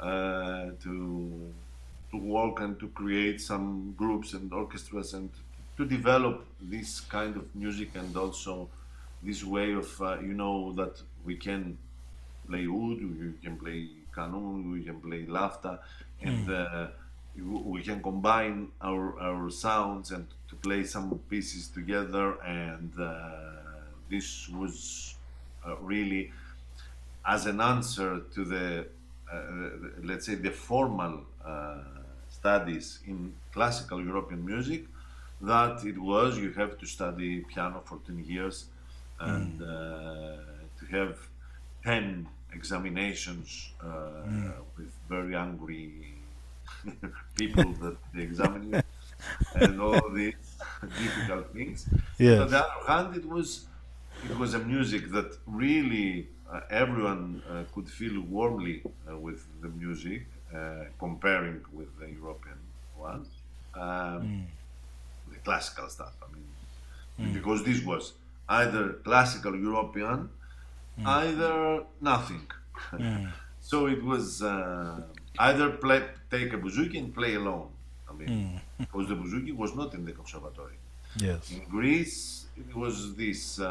to work and to create some groups and orchestras and to develop this kind of music, and also this way of that we can play oud, we can play kanun, we can play lafta, and we can combine our sounds and to play some pieces together. And this was really as an answer to the let's say the formal studies in classical European music, that it was you have to study piano for 10 years and to have 10 examinations with very angry people that they examine you, and all these difficult things. But on the Yes. other hand, it was a music that really everyone could feel warmly with the music, comparing with the European one, um, the classical stuff. I mean, because this was either classical European, either nothing. So it was either take a bouzouki and play alone. I mean, because the bouzouki was not in the conservatory. Yes. In Greece, it was this.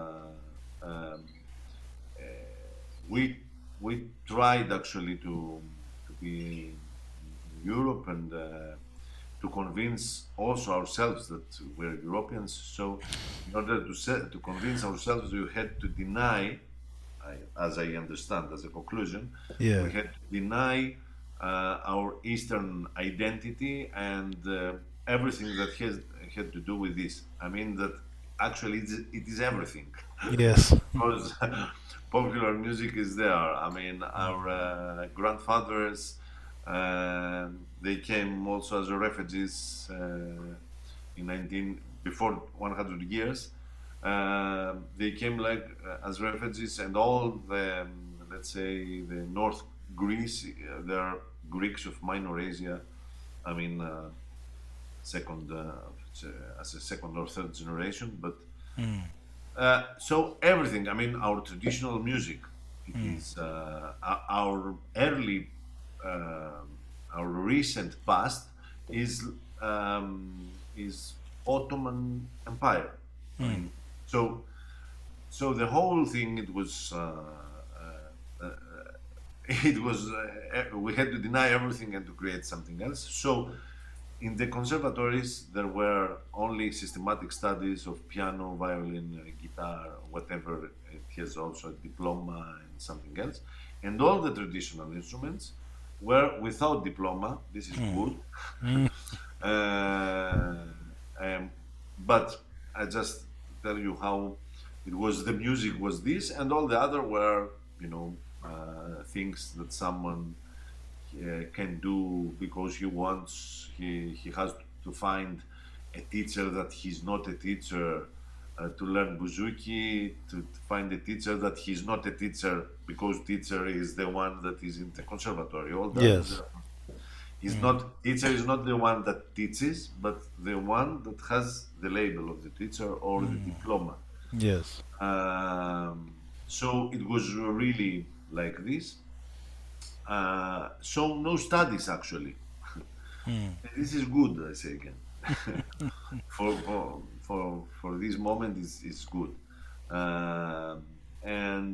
Um, uh, we we tried actually to be in Europe and to convince also ourselves that we're Europeans. So, in order to convince ourselves, we had to deny, as I understand, as a conclusion, Yeah. we had to deny our Eastern identity and everything that had to do with this. I mean that actually it is everything, Yes. because popular music is there. I mean, our grandfathers, they came also as refugees in 19 before 100 years. They came like as refugees, and all the let's say the North Greece, they are Greeks of Minor Asia. I mean, second as a second or third generation, but so everything. I mean, our traditional music. It is our early, our recent past is Ottoman Empire. I mean, so the whole thing, it was it was we had to deny everything and to create something else. So in the conservatories, there were only systematic studies of piano, violin, guitar, whatever. It has also a diploma and something else. And all the traditional instruments were without diploma. This is good. uh, um, but I just tell you how it was. The music was this, and all the other were, things that someone can do because he has to find a teacher that he's not a teacher to learn bouzouki, to find a teacher that he's not a teacher because teacher is the one that is in the conservatory. All that Yes. is not teacher is not the one that teaches, but the one that has the label of the teacher or the diploma. Yes. So it was really like this. So no studies actually. Mm. And this is good, I say again. For this moment is good. Um, and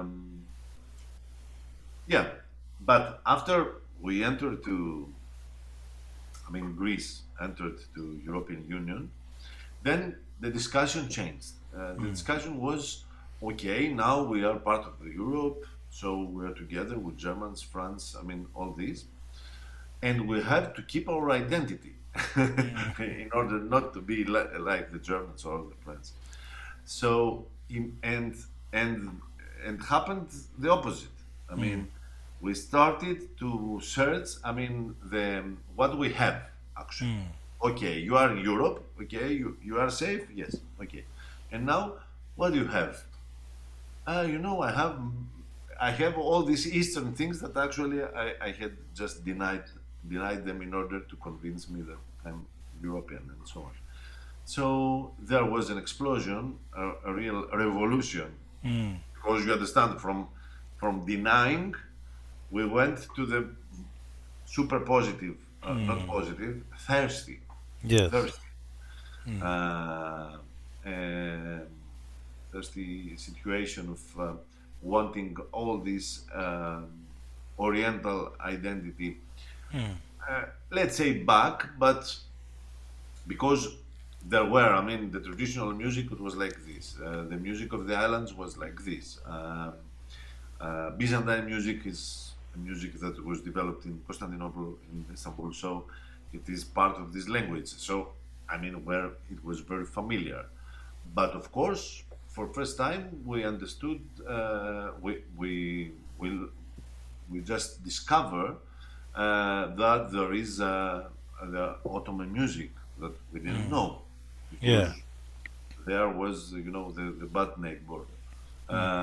yeah, but after we entered to, I mean, Greece entered to European Union, then the discussion changed. The Mm. discussion was, okay, now we are part of the Europe, so we are together with Germans, France, I mean, all these, and we have to keep our identity Mm. in order not to be like the Germans or the French. So, and and happened the opposite. I Mm. mean, we started to search. I mean, the what we have actually. Mm. Okay, you are in Europe. Okay, you are safe. Yes. Okay, and now what do you have? You know, I have all these Eastern things that actually I had just denied them in order to convince me that I'm European and so on. So there was an explosion, a real revolution, Mm. because you understand from denying we went to the super positive, not Mm. positive, thirsty, Yes. thirsty, Mm. uh, um, thirsty situation of wanting all this Oriental identity, Mm. let's say back, but because there were, I mean, the traditional music it was like this. The music of the islands was like this. Byzantine music is a music that was developed in Constantinople, in Istanbul, so it is part of this language. So, I mean, where it was very familiar. But of course, for first time, we understood. We we just discover that there is the Ottoman music that we didn't Mm. know because Yeah. there was, you know, the Batneg border, Mm.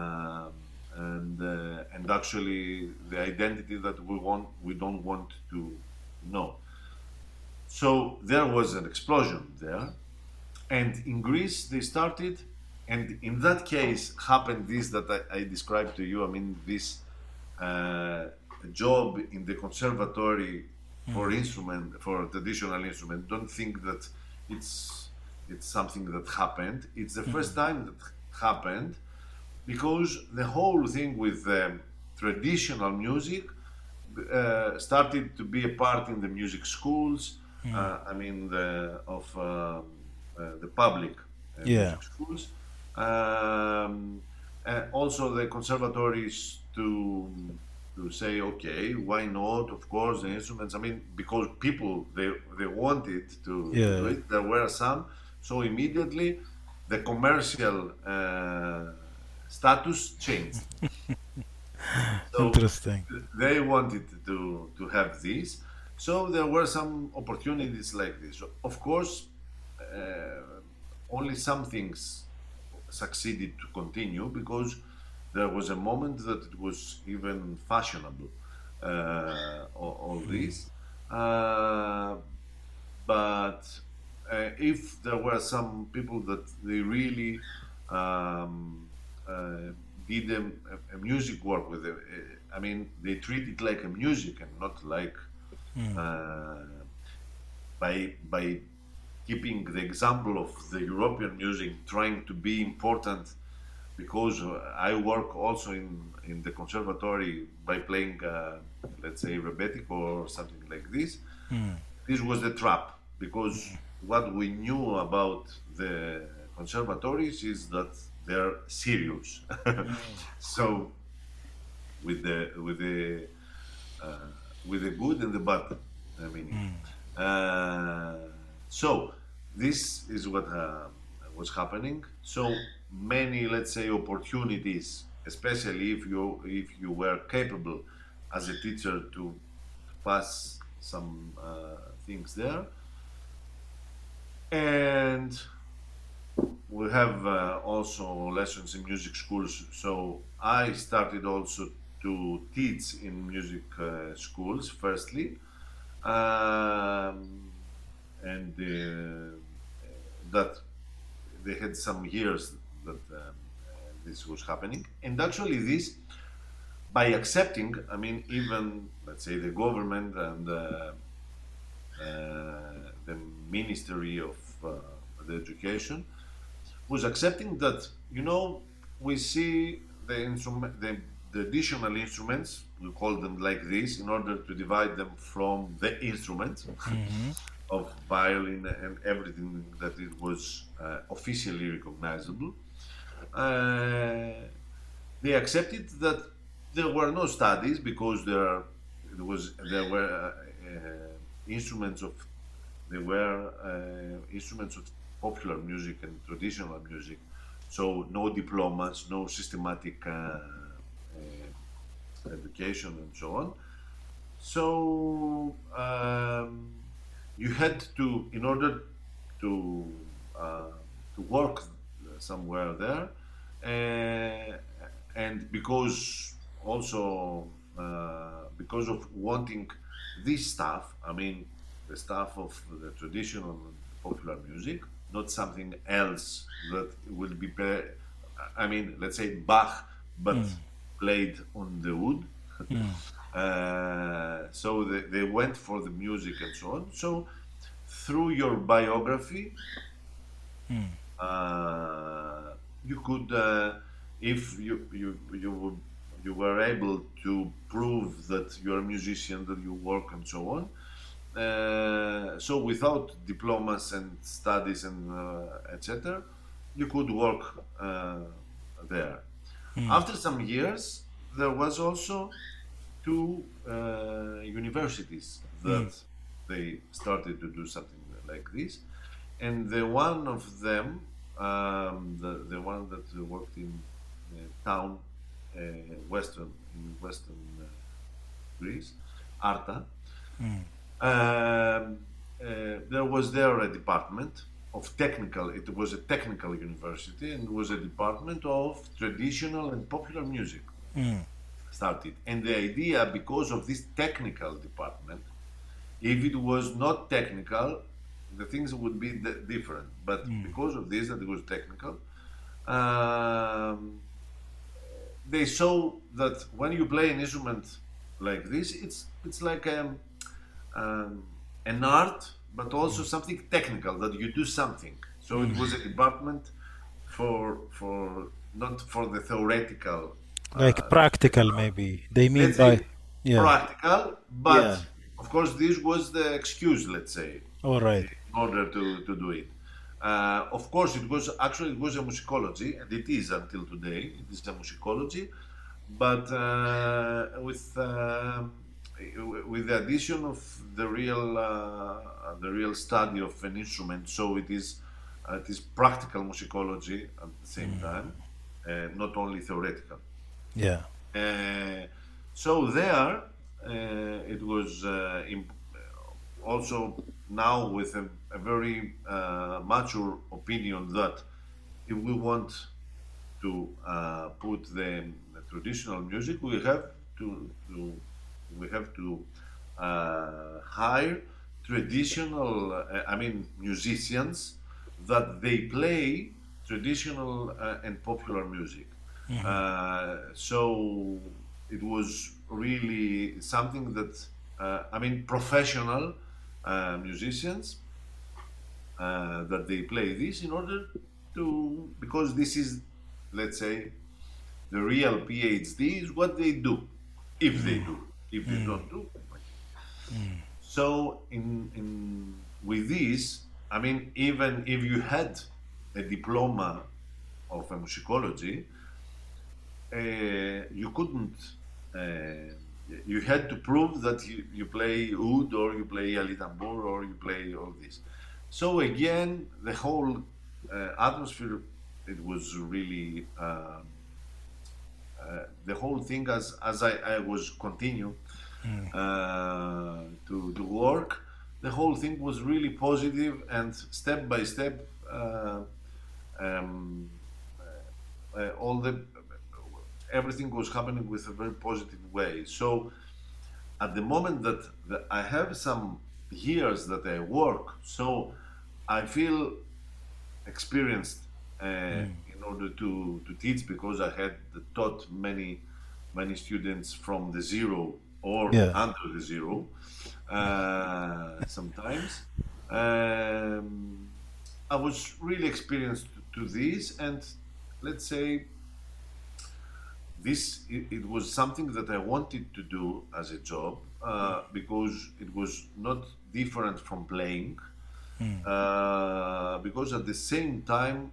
and actually the identity that we don't want to know. So there was an explosion there, and in Greece they started, and in that case happened this that I described to you. I mean, this uh, job in the conservatory for Mm. instrument, for traditional instrument. Don't think that it's it's something that happened. It's the first Mm. time that happened because the whole thing with traditional music started to be a part in the music schools. Mm. I mean, the public Yeah. music schools. Um, Also, the conservatories to say, okay, why not? Of course, the instruments. I mean, because people they wanted to do Yeah. it. There were some, so immediately the commercial status changed. So Interesting. they wanted to have this. So there were some opportunities like this. So, of course, only some things succeeded to continue because there was a moment that it was even fashionable. All Mm. this, uh, but if there were some people that they really um, uh, did a music work with it, I mean, they treat it like a music and not like Mm. uh, by keeping the example of the European music trying to be important because I work also in the conservatory by playing, let's say, rebetic or something like this. Mm. This was the trap because what we knew about the conservatories is that they're serious. Mm. So with the uh, with the good and the bad, I mean. Mm. Uh, so this is what was happening. So many, let's say, opportunities, especially if you were capable as a teacher to pass some things there, and we have also lessons in music schools. So I started also to teach in music schools firstly, and that they had some years that this was happening. And actually, this by accepting, I mean, even let's say the government and the Ministry of the Education was accepting that, we see the instrument, the additional instruments, we call them like this, in order to divide them from the instruments Mm-hmm. of violin and everything that it was officially recognizable. Uh, they accepted that there were no studies because there were instruments of there were instruments of popular music and traditional music, so no diplomas, no systematic education, and so on. So you had to, in order to uh, to work somewhere there, uh, and because also because of wanting this stuff, I mean the stuff of the traditional and popular music, not something else that will be, I mean, let's say Bach, but Mm. played on the wood. Mm. So they went for the music and so on. So through your biography, Mm. you could, if you were able to prove that you're a musician, that you work and so on. So without diplomas and studies and etc., you could work there. Mm. After some years, there was also two universities Mm. that they started to do something like this, and the one of them, the one that worked in town, uh, western Greece, Arta. Mm. There was there a department of technical. It was a technical university, and it was a department of traditional and popular music Mm. started. And the idea, because of this technical department, if it was not technical, the things would be different. But Mm. because of this, that it was technical, um, they saw that when you play an instrument like this, it's like um, an art, but also something technical, that you do something. So it was a department for not for the theoretical, Like let's say, practical, maybe they mean let's by. say Yeah. practical, Yeah. but of course this was the excuse, let's say, All right. in order to do it. Of course, it was a musicology, and it is until today. It is a musicology, but with the addition of the real study of an instrument. So it is practical musicology at the same time, not only theoretical. Yeah. Uh, so there, it was also now with a very mature opinion that if we want to put the traditional music, we have to hire traditional, I mean, musicians that they play traditional and popular music. Mm-hmm. So it was really something that, I mean, professional musicians that they play this in order to, because this is, let's say, the real PhD is what they do, if they do. If they Mm. don't do, so in with this, I mean, even if you had a diploma of a musicology, you couldn't. Uh, you had to prove that you play oud, or you play ali tambur, or you play all this. So again, the whole atmosphere, it was really the whole thing, as I was continue Mm. to work, the whole thing was really positive, and step by step, um, all the everything was happening with a very positive way. So at the moment that I have some years that I work, so I feel experienced, in order to teach, because I had taught many students from the zero or Yeah. under the zero sometimes. Um, I was really experienced to this, and let's say it was something that I wanted to do as a job, because it was not different from playing, Mm. because at the same time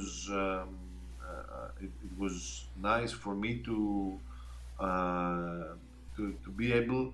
it was nice for me uh, to be able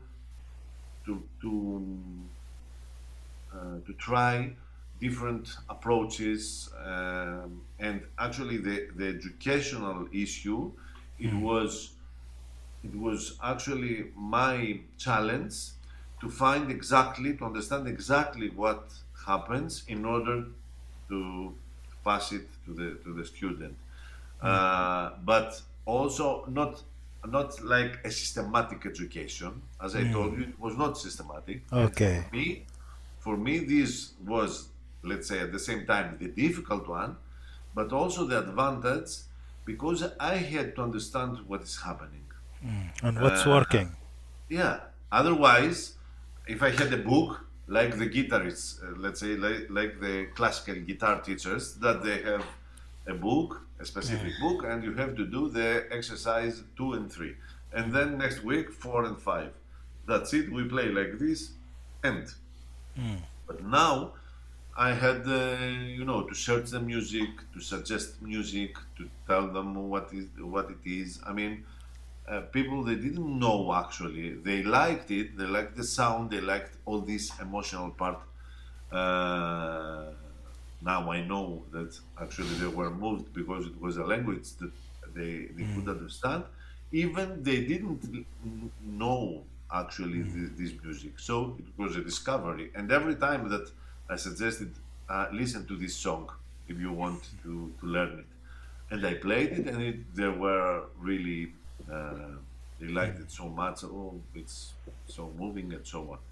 to try different approaches, and actually the educational issue, it Mm. was it was actually my challenge to understand exactly what happens in order to pass it to the student, Mm. but also not like a systematic education. As I told Mm. you, it was not systematic, and Okay. for me, this was, let's say, at the same time the difficult one, but also the advantage, because I had to understand what is happening. And what's Uh, working? yeah. Otherwise, if I had a book like the guitarists, let's say, like the classical guitar teachers, that they have a book, a Mm. specific book, and you have to do the exercise 2 and 3, and then next week 4 and 5. That's it. We play like this, and Mm. but now I had, to search the music, to suggest music, to tell them what it is. I mean, people they didn't know actually. They liked it. They liked the sound. They liked all this emotional part. Uh, Now I know that actually they were moved because it was a language that they could Mm. understand. Even they didn't know actually Mm. this music. So it was a discovery. And every time that I suggested, listen to this song if you want to learn it. And I played it, and they were really, they liked it so much. Oh, it's so moving and so on.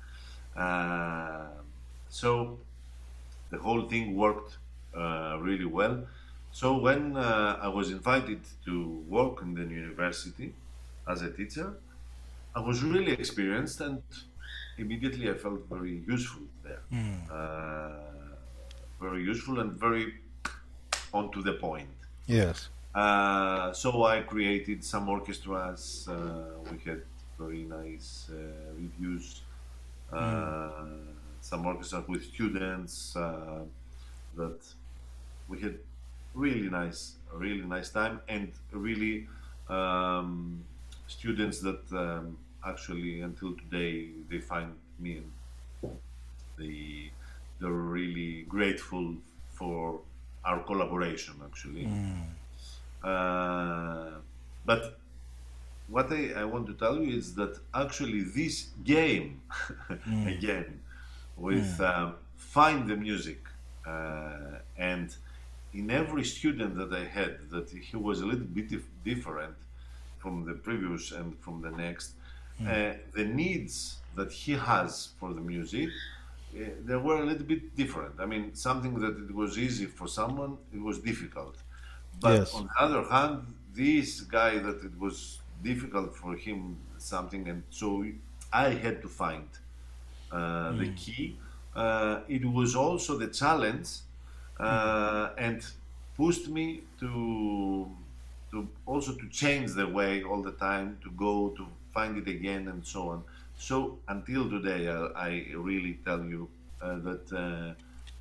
So the whole thing worked really well. So when I was invited to work in the university as a teacher, I was really experienced, and immediately I felt very useful there. Mm. Very useful and very on to the point. Yes. So I created some orchestras. We had very nice reviews. Mm. Uh, some orchestras with students that we had really nice time, and really students that actually until today they find me, and they they're really grateful for our collaboration actually. Mm. Uh, but what I want to tell you is that actually this game Mm. again with Mm. find the music, and in every student that I had, that he was a little bit different from the previous and from the next, Mm. the needs that he has for the music, they were a little bit different. I mean, something that it was easy for someone, it was difficult. But Yes. on the other hand, this guy that it was difficult for him something, and so I had to find the Mm. key. It was also the challenge, Mm. and pushed me to also to change the way all the time, to go to find it again and so on. So until today, I really tell you that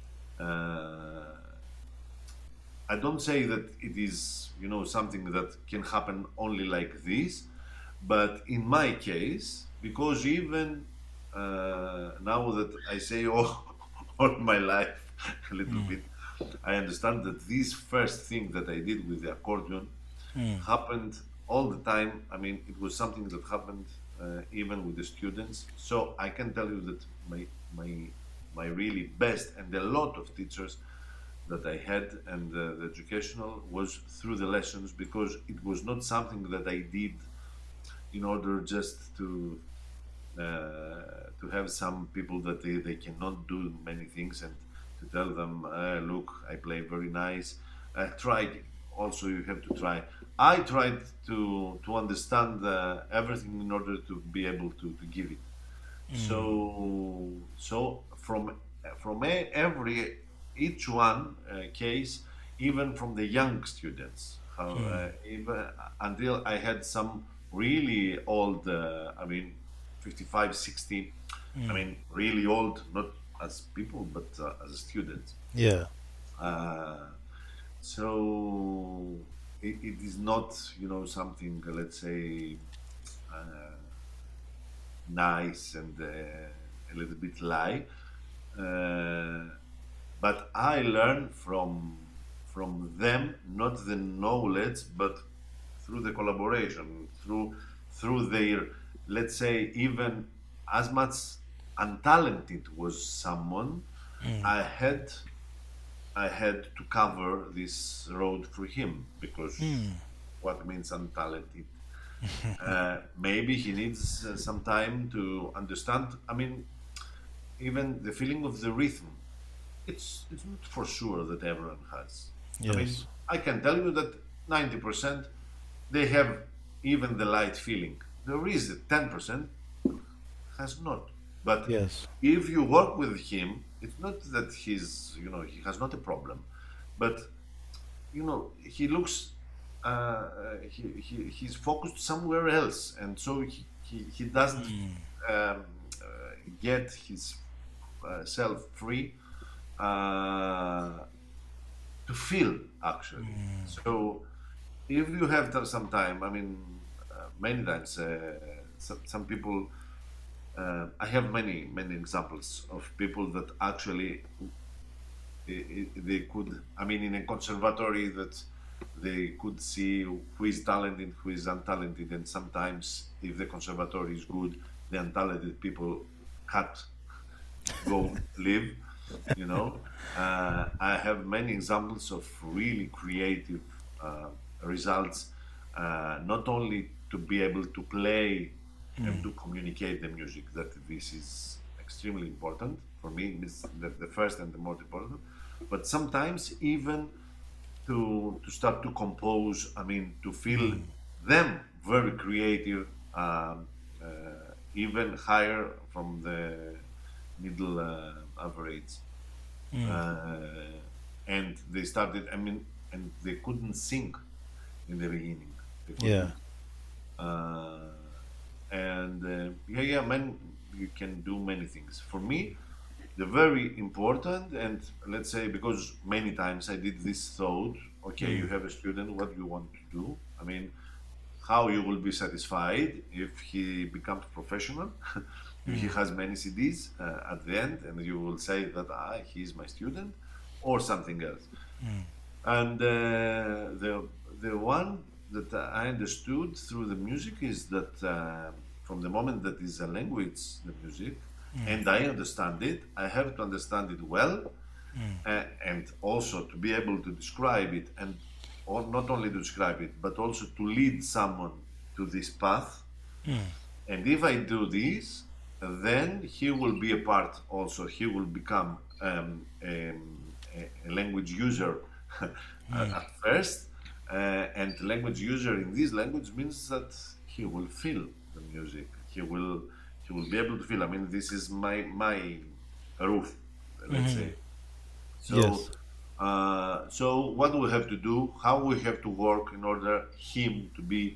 I don't say that it is, something that can happen only like this, but in my case, because even now that I say all my life a little Mm. bit, I understand that this first thing that I did with the accordion Mm. happened all the time. I mean, it was something that happened even with the students. So I can tell you that my my really best, and a lot of teachers that I had, and the educational was through the lessons, because it was not something that I did in order just to have some people that they cannot do many things, and to tell them, look, I play very nice. Try. also you have to try. I tried to understand everything in order to be able to give it. So from every each one case, even from the young students, how even until I had some really old, I mean, 55, 60, I mean, really old, not as people, but as students. Yeah. Uh, so it is not, something, let's say, uh, nice and a little bit lie. Uh, but I learn from them not the knowledge, but through the collaboration, through their, let's say, even as much untalented was someone, I had I had to cover this road for him because what means untalented? Maybe he needs some time to understand. I mean, even the feeling of the rhythm, it's not for sure that everyone has. I mean, Yes. I can tell you that 90% they have even the light feeling. There is a 10% has not. But Yes. if you work with him, it's not that he has not a problem, but he looks he's focused somewhere else, and so he doesn't um, get his self free uh, to feel actually. So if you have some time, I mean, many times some people. I have many examples of people that actually they could, I mean, in a conservatory, that they could see who is talented, who is untalented, and sometimes if the conservatory is good, the untalented people can't go live. I have many examples of really creative uh, results, not only to be able to play and to communicate the music, that this is extremely important for me, is the first and the most important, but sometimes even to start to compose, I mean, to feel them very creative, even higher from the middle average. Uh, and they started, I mean, and they couldn't sing in the beginning. They Yeah. couldn't. Uh, and yeah, man, you can do many things. For me, the very important, and let's say, because many times I did this thought, okay, you have a student, what do you want to do? I mean, how you will be satisfied if he becomes professional, if he has many CDs at the end, and you will say that he's my student, or something else. And the one that I understood through the music is that from the moment that is a language, the music, and I understand it, I have to understand it well, and also to be able to describe it, and or not only to describe it, but also to lead someone to this path. And if I do this, then he will be a part also. He will become a language user at first. And language user in this language means that he will feel the music. He will be able to feel. I mean, this is my roof, let's say. So, Yes. what we have to do, how we have to work in order him to be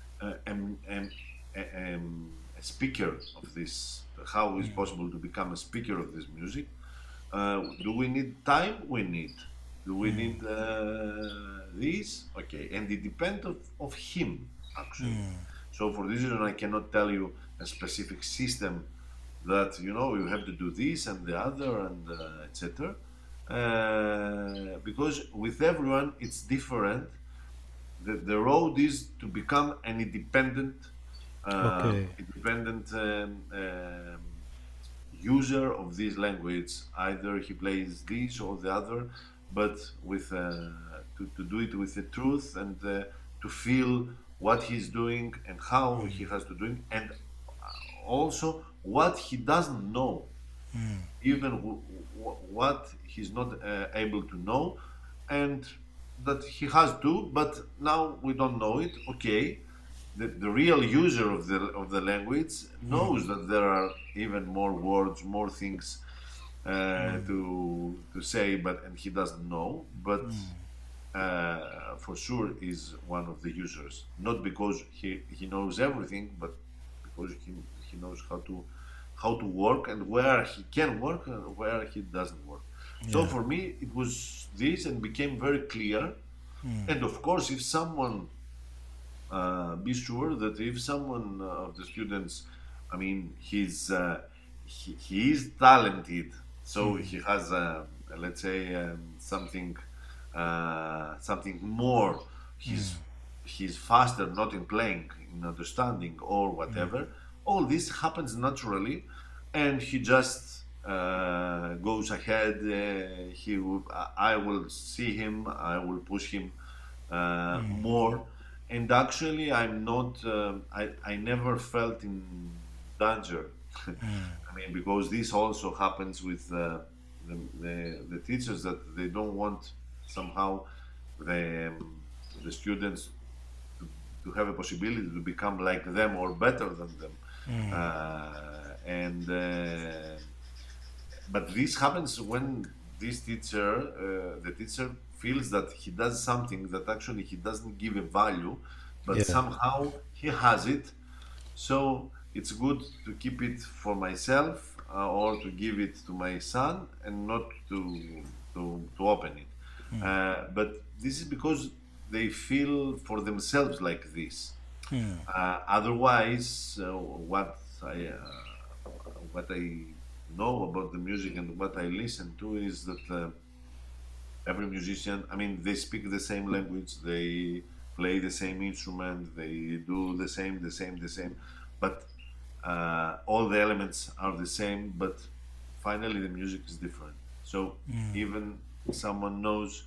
a speaker of this. How is possible to become a speaker of this music? Do we need time? We need. Do we need this? Okay, and it depends of him actually. So for this reason, I cannot tell you a specific system that you have to do this and the other and etc. Because with everyone it's different. The road is to become an Okay. independent user of this language. Either he plays this or the other, but with to do it with the truth, and to feel what he's doing and how he has to do it, and also what he doesn't know, even what he's not able to know, and that he has to, but now we don't know it. Okay, the real user of the language knows that there are even more words, more things to say, but and he doesn't know. But for sure is one of the users, not because he knows everything, but because he knows how to work and where he can work and where he doesn't work. So Yeah. for me, it was this and became very clear. And of course, if someone be sure that if someone of the students, I mean, he is talented, so he has let's say something more. He's he's faster, not in playing, in understanding or whatever. All this happens naturally, and he just goes ahead. I will see him. I will push him more. And actually, I'm not. I never felt in danger. I mean, because this also happens with the teachers that they don't want somehow the the students to have a possibility to become like them or better than them. And But this happens when this teacher, the teacher feels that he does something that actually he doesn't give a value, but Yeah. somehow he has it. So it's good to keep it for myself or to give it to my son and not to open it. But this is because they feel for themselves like this. Otherwise, what I know about the music and what I listen to is that every musician, I mean, they speak the same language, they play the same instrument, they do the same, but all the elements are the same, but finally the music is different. So even someone knows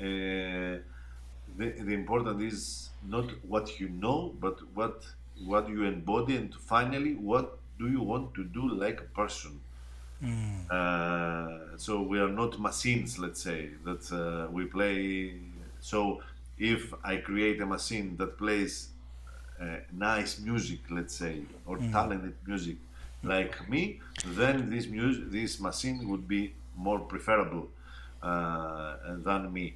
the important is not what you know, but what you embody, and finally what do you want to do like a person. So we are not machines, let's say, that we play. So if I create a machine that plays nice music, let's say, or talented music like me, then this machine would be more preferable than me.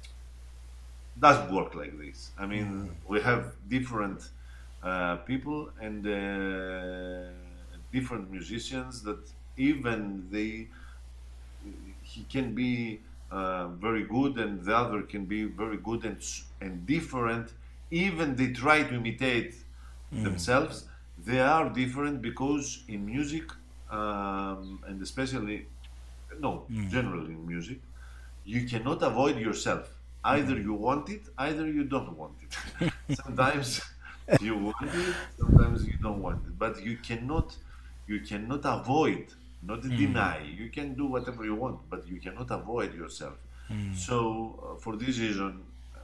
Doesn't work like this. I mean, we have different people and different musicians that even he can be very good and the other can be very good and different. Even they try to imitate themselves, they are different because in music and especially no generally in music you cannot avoid yourself. Either you want it, either you don't want it. Sometimes you want it, sometimes you don't want it. But you cannot avoid, not deny. You can do whatever you want, but you cannot avoid yourself. So for this reason,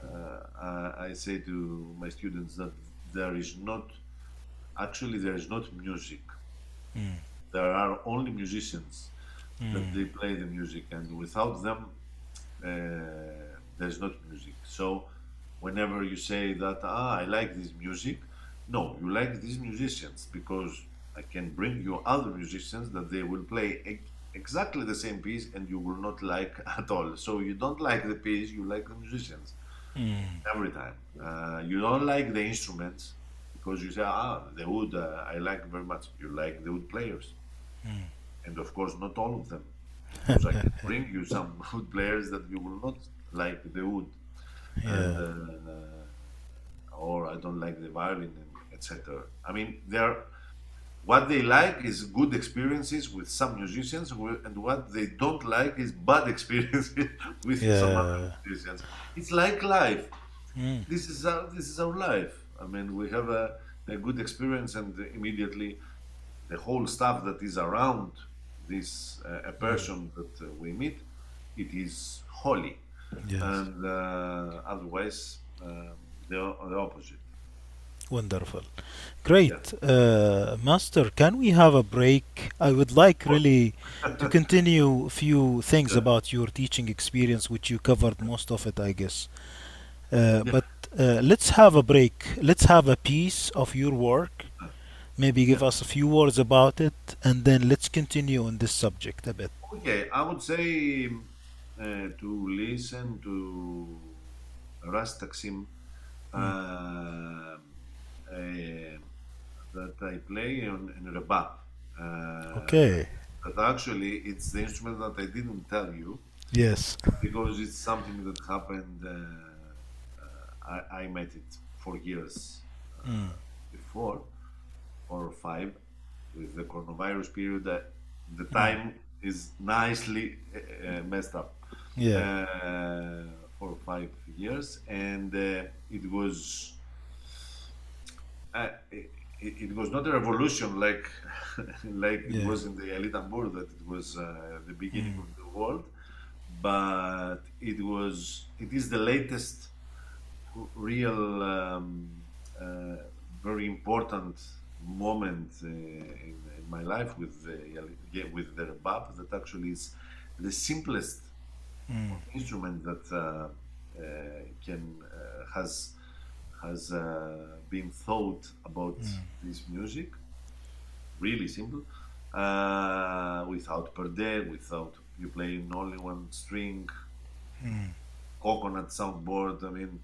I say to my students that there is not actually there is not music. There are only musicians that they play the music, and without them, there's not music. So whenever you say that I like this music, no, you like these musicians because I can bring you other musicians that they will play exactly the same piece and you will not like at all. So you don't like the piece, you like the musicians every time. You don't like the instruments because you say the wood I like very much. You like the wood players, and of course not all of them, because I can bring you some wood players that you will not like the wood, and Yeah. or I don't like the violin, and etc. I mean, what they like is good experiences with some musicians, and what they don't like is bad experiences with some other Yeah. musicians. It's like life. This is our life. I mean, we have a good experience, and immediately the whole stuff that is around this a person that we meet, it is holy, Yes. and otherwise the opposite. Wonderful. Yeah, Great. Master, can we have a break? I would like of really to course. continue a few things Yeah, about your teaching experience, which you covered most of it, I guess. yeah, But let's have a break. Let's have a piece of your work. Maybe give yeah. us a few words about it, and then let's continue on this subject a bit. Okay, I would say to listen to Ras Taksim Mm. uh, that I play in Rebab. Okay. But actually, it's the instrument that I didn't tell you Yes. because it's something that happened. I met it 4 years Mm. before, 4 or 5, with the coronavirus period. The Mm. time is nicely messed up. Yeah. 4 or 5 years, and it was it was not a revolution like like it Yeah. was in the Ali Tambur, that it was the beginning Mm. of the world, but it is the latest real uh, very important moment in my life with yeah, with the rebab, that actually is the simplest Mm. instrument that can has been thought about this music. Really simple, without perde, without you playing only one string, Mm. coconut soundboard. I mean,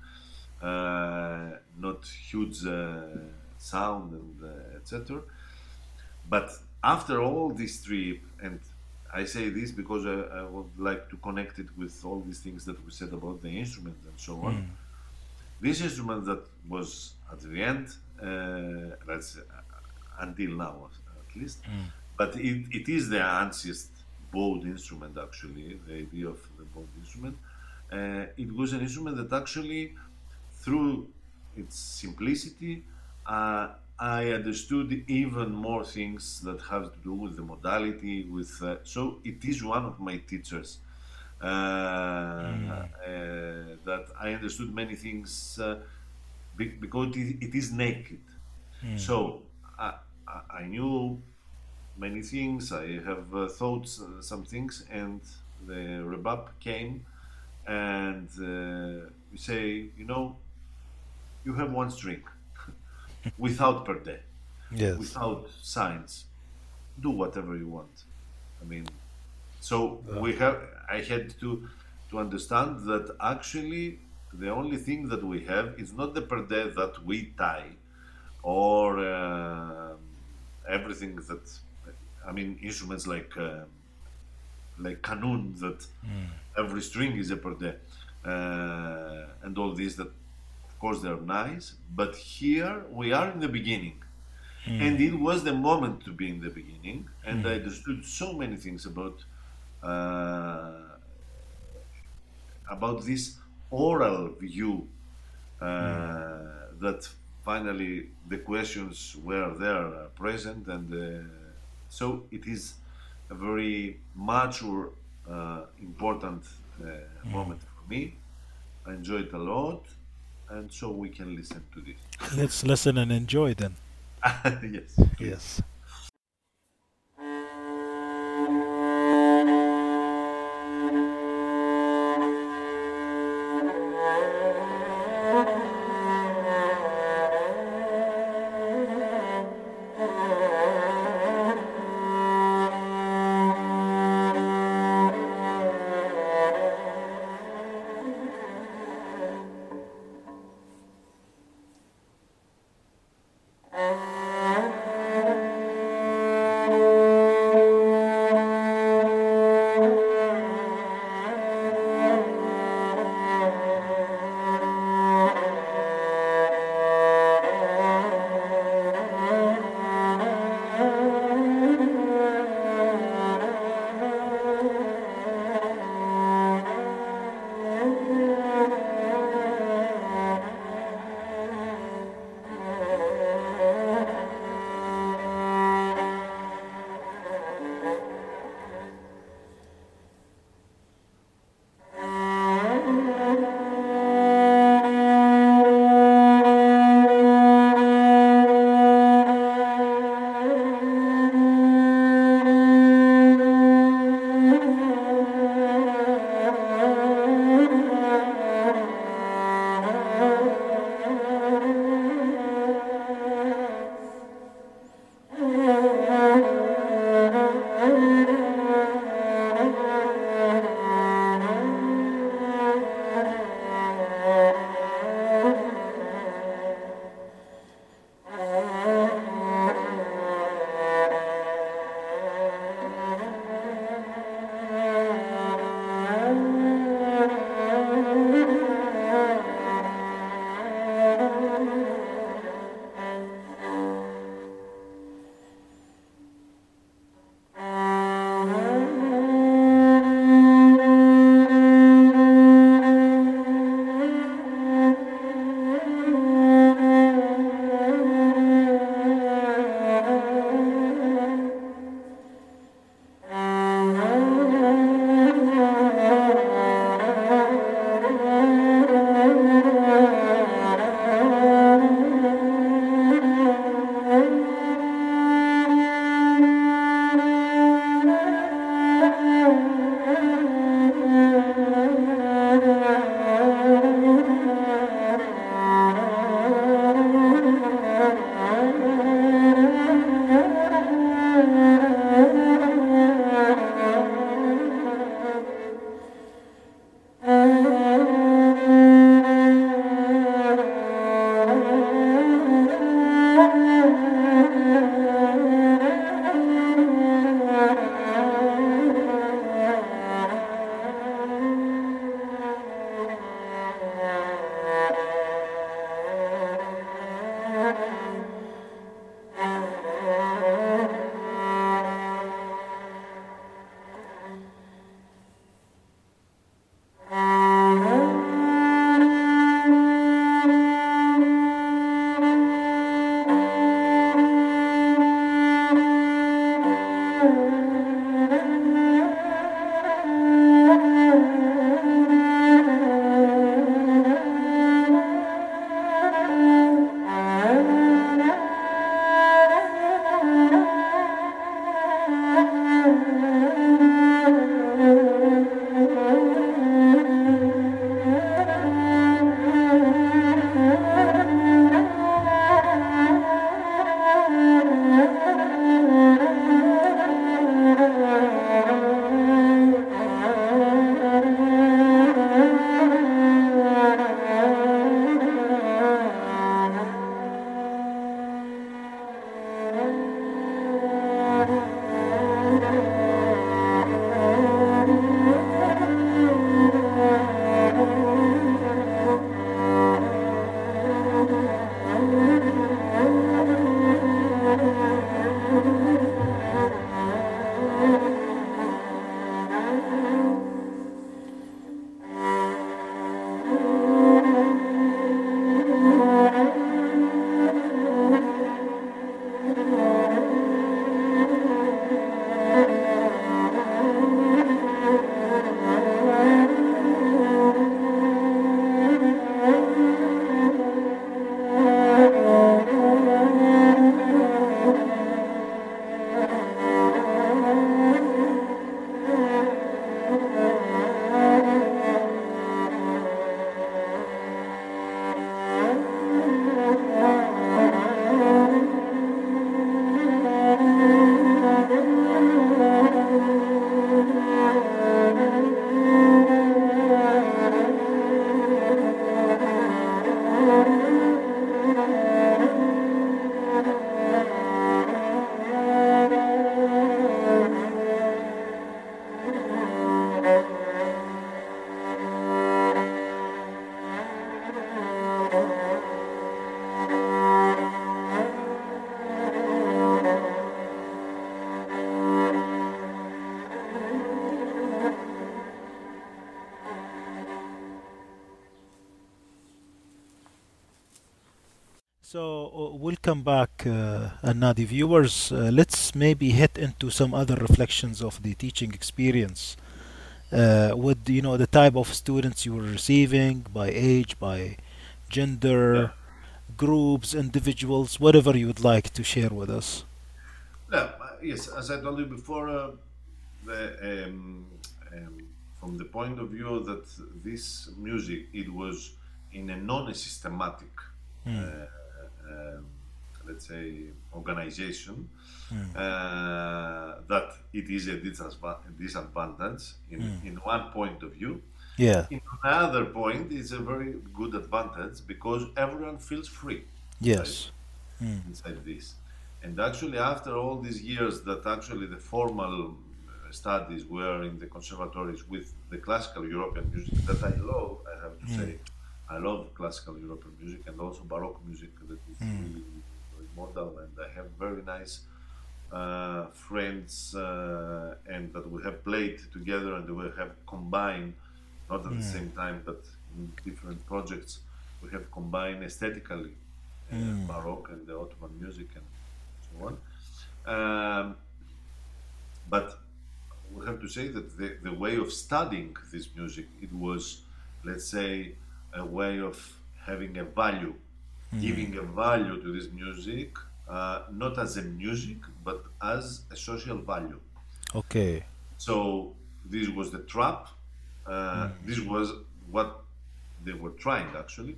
not huge sound and etc. But after all this trip, and I say this because I would like to connect it with all these things that we said about the instrument and so on. Mm. This instrument that was at the end, that's until now at least, Mm. but it is the anciest bowed instrument, actually, the idea of the bowed instrument. It was an instrument that actually, through its simplicity, I understood even more things that have to do with the modality. So it is one of my teachers, Mm. that I understood many things because it is naked. Mm. So I knew many things. I have thought some things, and the rebab came, and we say, you have one string without per day, Yes. without signs. Do whatever you want. I mean, so Wow. I had to understand that actually the only thing that we have is not the per day that we tie, or everything that, I mean, instruments like kanun, that Mm. every string is a per day, and all these, that of course they're nice, but here we are in the beginning, Mm. and it was the moment to be in the beginning, and I Mm. understood so many things uh, about this oral view, Mm. that finally the questions were there, present, and so it is a very mature, important Mm. moment for me. I enjoy it a lot, and so we can listen to this. Let's listen and enjoy then. Yes, please. Yes. So, welcome back, Nadi viewers. Let's maybe hit into some other reflections of the teaching experience. With the type of students you were receiving, by age, by Yeah. gender, groups, individuals, whatever you would like to share with us. Yeah, yes, as I told you before, the, from the point of view that this music, it was in a non-systematic, Mm, um, let's say, organization, mm, that it is a disadvantage mm. in one point of view. Yeah. In another point, it's a very good advantage because everyone feels free inside Yes. Mm, inside this. And actually, after all these years that actually the formal studies were in the conservatories with the classical European music that I love, I have to mm, say, I love classical European music and also Baroque music that is mm, really very modern, and I have very nice friends and that we have played together and we have combined, not at the mm, same time, but in different projects, we have combined aesthetically mm, Baroque and the Ottoman music and so on. Um, but we have to say that the way of studying this music, it was, let's say, a way of having a value, mm. giving a value to this music, not as a music, but as a social value. Okay. So this was the trap. Mm, This was what they were trying actually.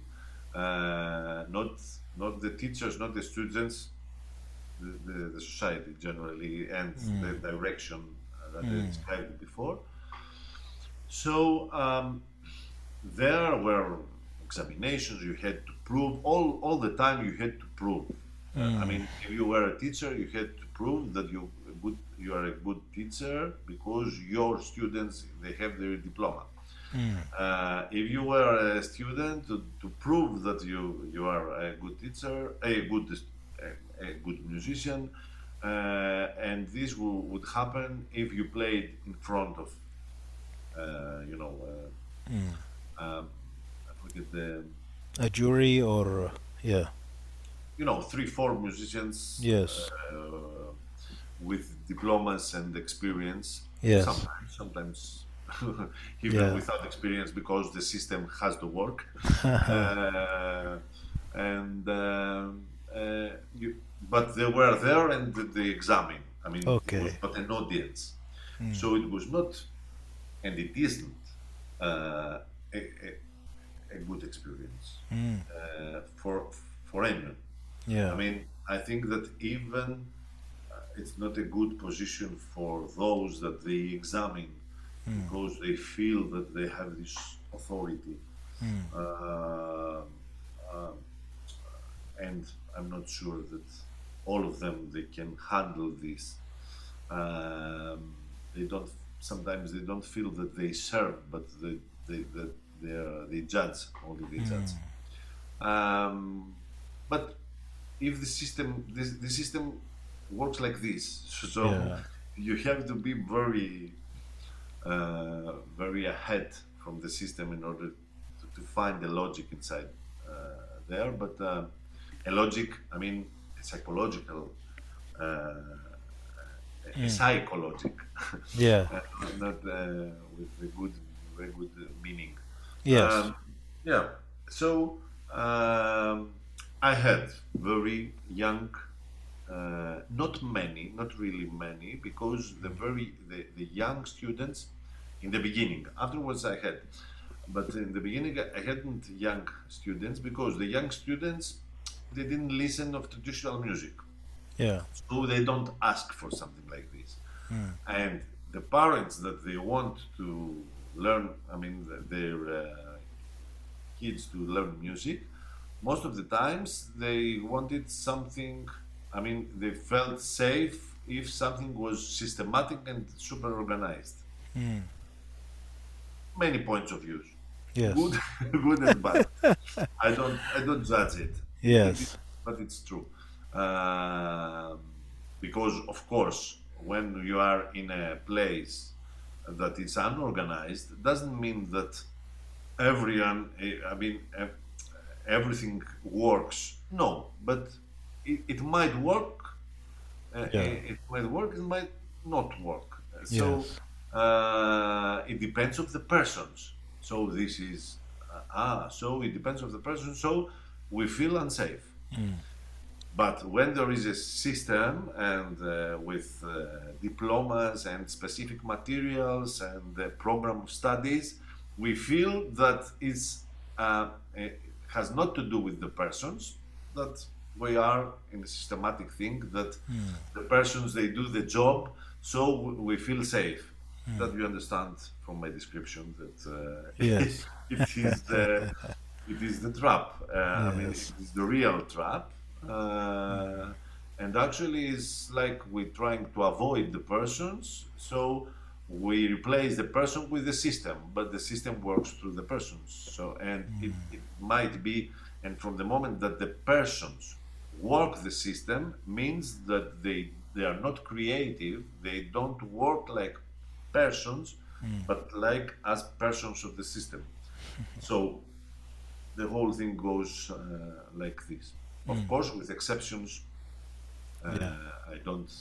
Not the teachers, not the students, the society generally, and the mm, direction that I mm, described before. So there were examinations. You had to prove all the time. You had to prove. I mm, mean, if you were a teacher, you had to prove that you are a good teacher because your students they have their diploma. mm, If you were a student, to prove that you are a good teacher, a good musician, and this would happen if you played in front of, you know, mm. I forget the, A jury or yeah. three, four musicians Yes. with diplomas and experience. Yes. Sometimes even Yeah. without experience because the system has to work. Uh, and you, but they were there and they examined. I mean, it was Okay. not an audience, Mm, so it was not, and it isn't a good experience mm. for anyone. I Yeah. mean, I think that even it's not a good position for those that they examine Mm, because they feel that they have this authority. mm. Uh, um, and I'm not sure that all of them they can handle this. They don't. Sometimes they don't feel that they serve, but they judge only they judge. Um, but if the system works like this, so Yeah. you have to be very ahead from the system in order to find the logic inside there. But a logic, I mean, a psychological, a Mm. psychologic, Yeah. uh, not with a very good meaning. Yes. Um, yeah. So I had very young, not many, not really many, because the young students in the beginning. Afterwards, I had, but in the beginning, I hadn't young students because the young students they didn't listen of traditional music, Yeah. so they don't ask for something like this. Mm. And the parents that they want to learn, I mean, their kids to learn music, most of the times they wanted something, I mean, they felt safe if something was systematic and super organized. Mm. Many points of views, good, Yes. good and bad. I don't judge it, it is, Yes. but it's true. Um, because of course, when you are in a place that is unorganized, doesn't mean that everyone. I mean, everything works. No, but it might work. Yeah. It might work. It might not work. So Yes. it depends of the persons. So this is So it depends of the person. So we feel unsafe. Mm. But when there is a system and with diplomas and specific materials and the program of studies, we feel that it has not to do with the persons, that we are in a systematic thing, that Mm. the persons, they do the job, so we feel safe. Mm. That you understand from my description that Yes. it is the trap. I mean, it Yes. is the real trap. Uh, and actually, it's like we're trying to avoid the persons, so we replace the person with the system, but the system works through the persons. So, and it might be, and from the moment that the persons work the system, means that they are not creative, they don't work like persons, Mm. but like as persons of the system. So the whole thing goes like this. Of Mm. course, with exceptions, Yeah. I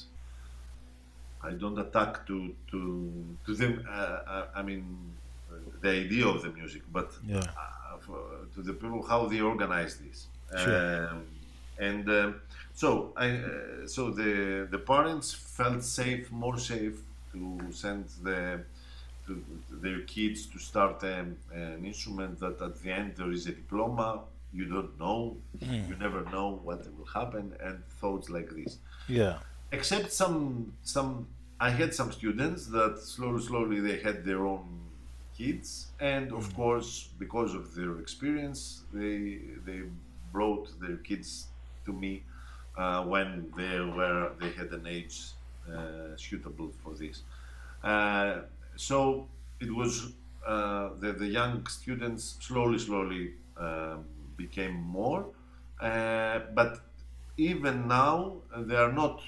don't attack to them. I mean, the idea of the music, but Yeah. to the people how they organize this. Sure. And so so the parents felt safe, more safe to send to their kids to start an instrument that at the end there is a diploma. You don't know, Mm. you never know what will happen, and thoughts like this. Yeah. Except some, I had some students that slowly they had their own kids, and of Mm. course because of their experience, they brought their kids to me when they had an age suitable for this. Uh, so it was the young students slowly became more, but even now they are not,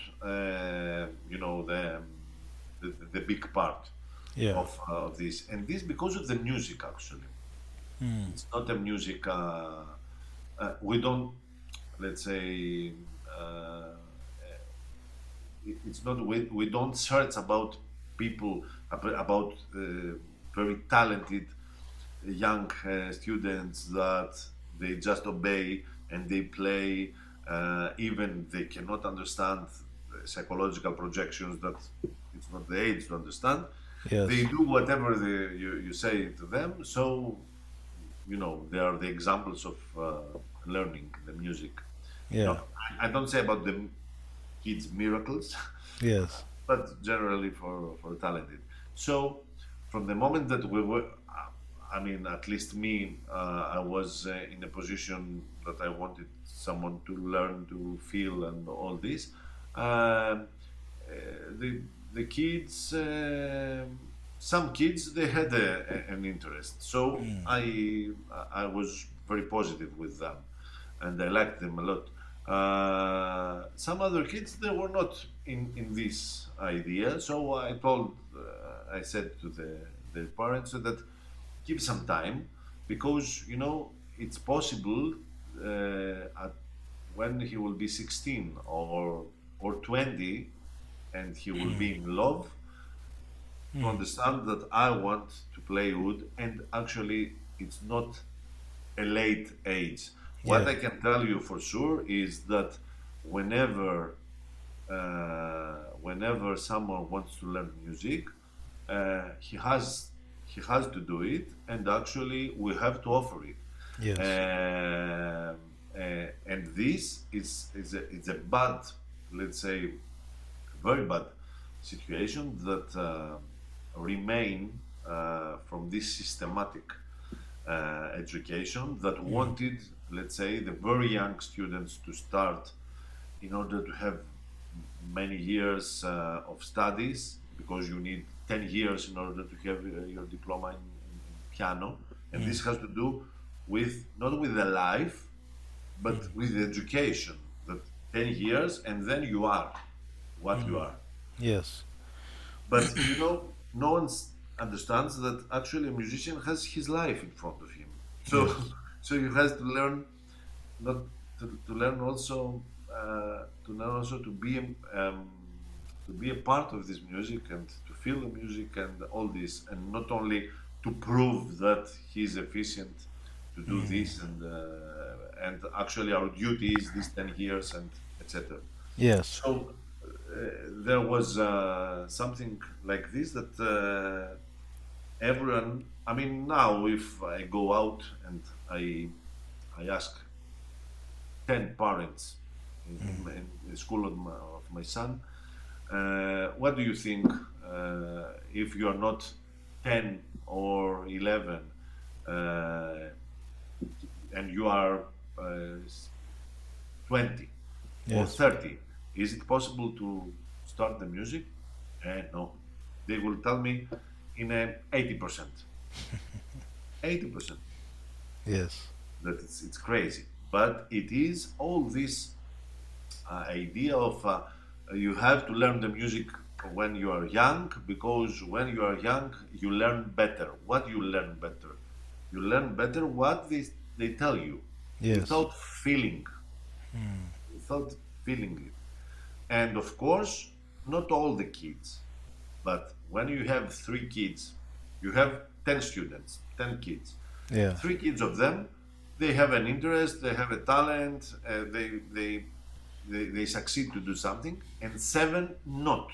the big part Yeah. of this, and this because of the music. Actually, Mm. it's not a music. We don't, let's say, uh, it's not, we don't search about people, about very talented young students that they just obey and they play, even they cannot understand psychological projections, that it's not the age to understand. They Yes. do whatever you say to them. So they are the examples of learning the music. Yeah. I don't say about the kids miracles, Yes. but generally for talented. So from the moment that we were, I mean, at least me, I was in a position that I wanted someone to learn to feel and all this. Um the kids, some kids, they had an interest, so Mm. I was very positive with them, and I liked them a lot. Some other kids, they were not in this idea, so I said to the parents that give some time, because it's possible, at when he will be 16 or 20, and he will Mm. be in love, to Mm. understand that I want to play wood, and actually it's not a late age. What Yeah. I can tell you for sure is that whenever whenever someone wants to learn music, he has to do it, and actually we have to offer it. Yes. And this is it's a bad, let's say, very bad situation that remain from this systematic education that Mm. wanted, let's say, the very young students to start in order to have many years of studies, because you need 10 years in order to have your diploma in piano, and Mm. this has to do with, not with the life, but Mm. with the education, that 10 years and then you are what you Mm. are. Yes. But no one understands that actually a musician has his life in front of him. So Yes. so he has to learn. not to learn also to be a part of this music and to feel the music and all this, and not only to prove that he's efficient to do this, and actually our duty is this 10 years and etc. Yes. So there was something like this that everyone. I mean, now if I go out and I ask 10 parents in the school of my son, what do you think if you are not 10 or 11 uh, and you are uh, 20 or Yes. 30? Is it possible to start the music? No. They will tell me in 80%. 80%. Yes. That it's crazy. But it is all this idea of you have to learn the music when you are young, because when you are young you learn better. What you learn better? You learn better what they tell you, Yes. without feeling, without feeling it. And of course, not all the kids, but when you have 3 kids, you have 10 students, 10 kids. Yeah. 3 kids of them, they have an interest, they have a talent, they succeed to do something, and 7 not.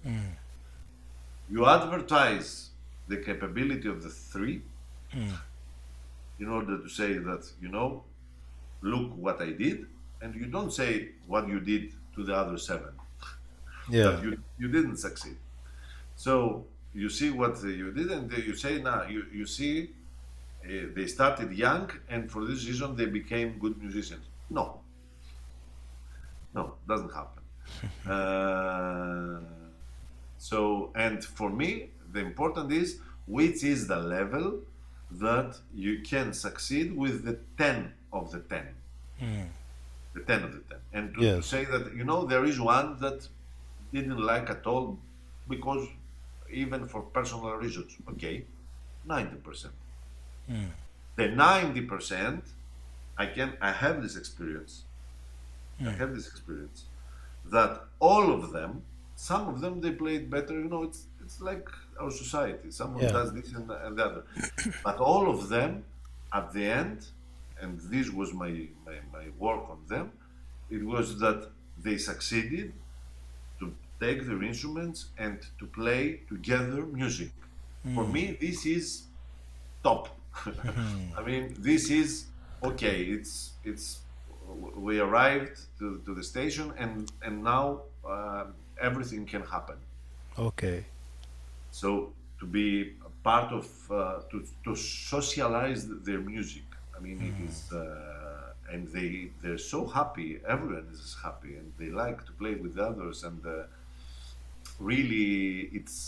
You advertise the capability of the 3 in order to say that, look what I did, and you don't say what you did to the other 7, Yeah. that you didn't succeed. So you see what you did, and you say, now you see, they started young, and for this reason they became good musicians. No, no, doesn't happen. Uh, and for me, the important is which is the level that you can succeed with the 10 of the 10. The 10 of the 10. And to Yes. say that, there is one that didn't like at all, because even for personal reasons. Okay, 90%. The 90%, I have this experience. I have this experience that all of them, some of them they played better. It's like our society. Someone Yeah. does this and the other, but all of them, at the end, and this was my work on them. It was that they succeeded to take their instruments and to play together music. For me, this is top. I mean, this is okay. It's we arrived to the station, and now everything can happen. Okay. So to be a part of to socialize their music. I mean, it is, and they're so happy. Everyone is happy, and they like to play with others. And really,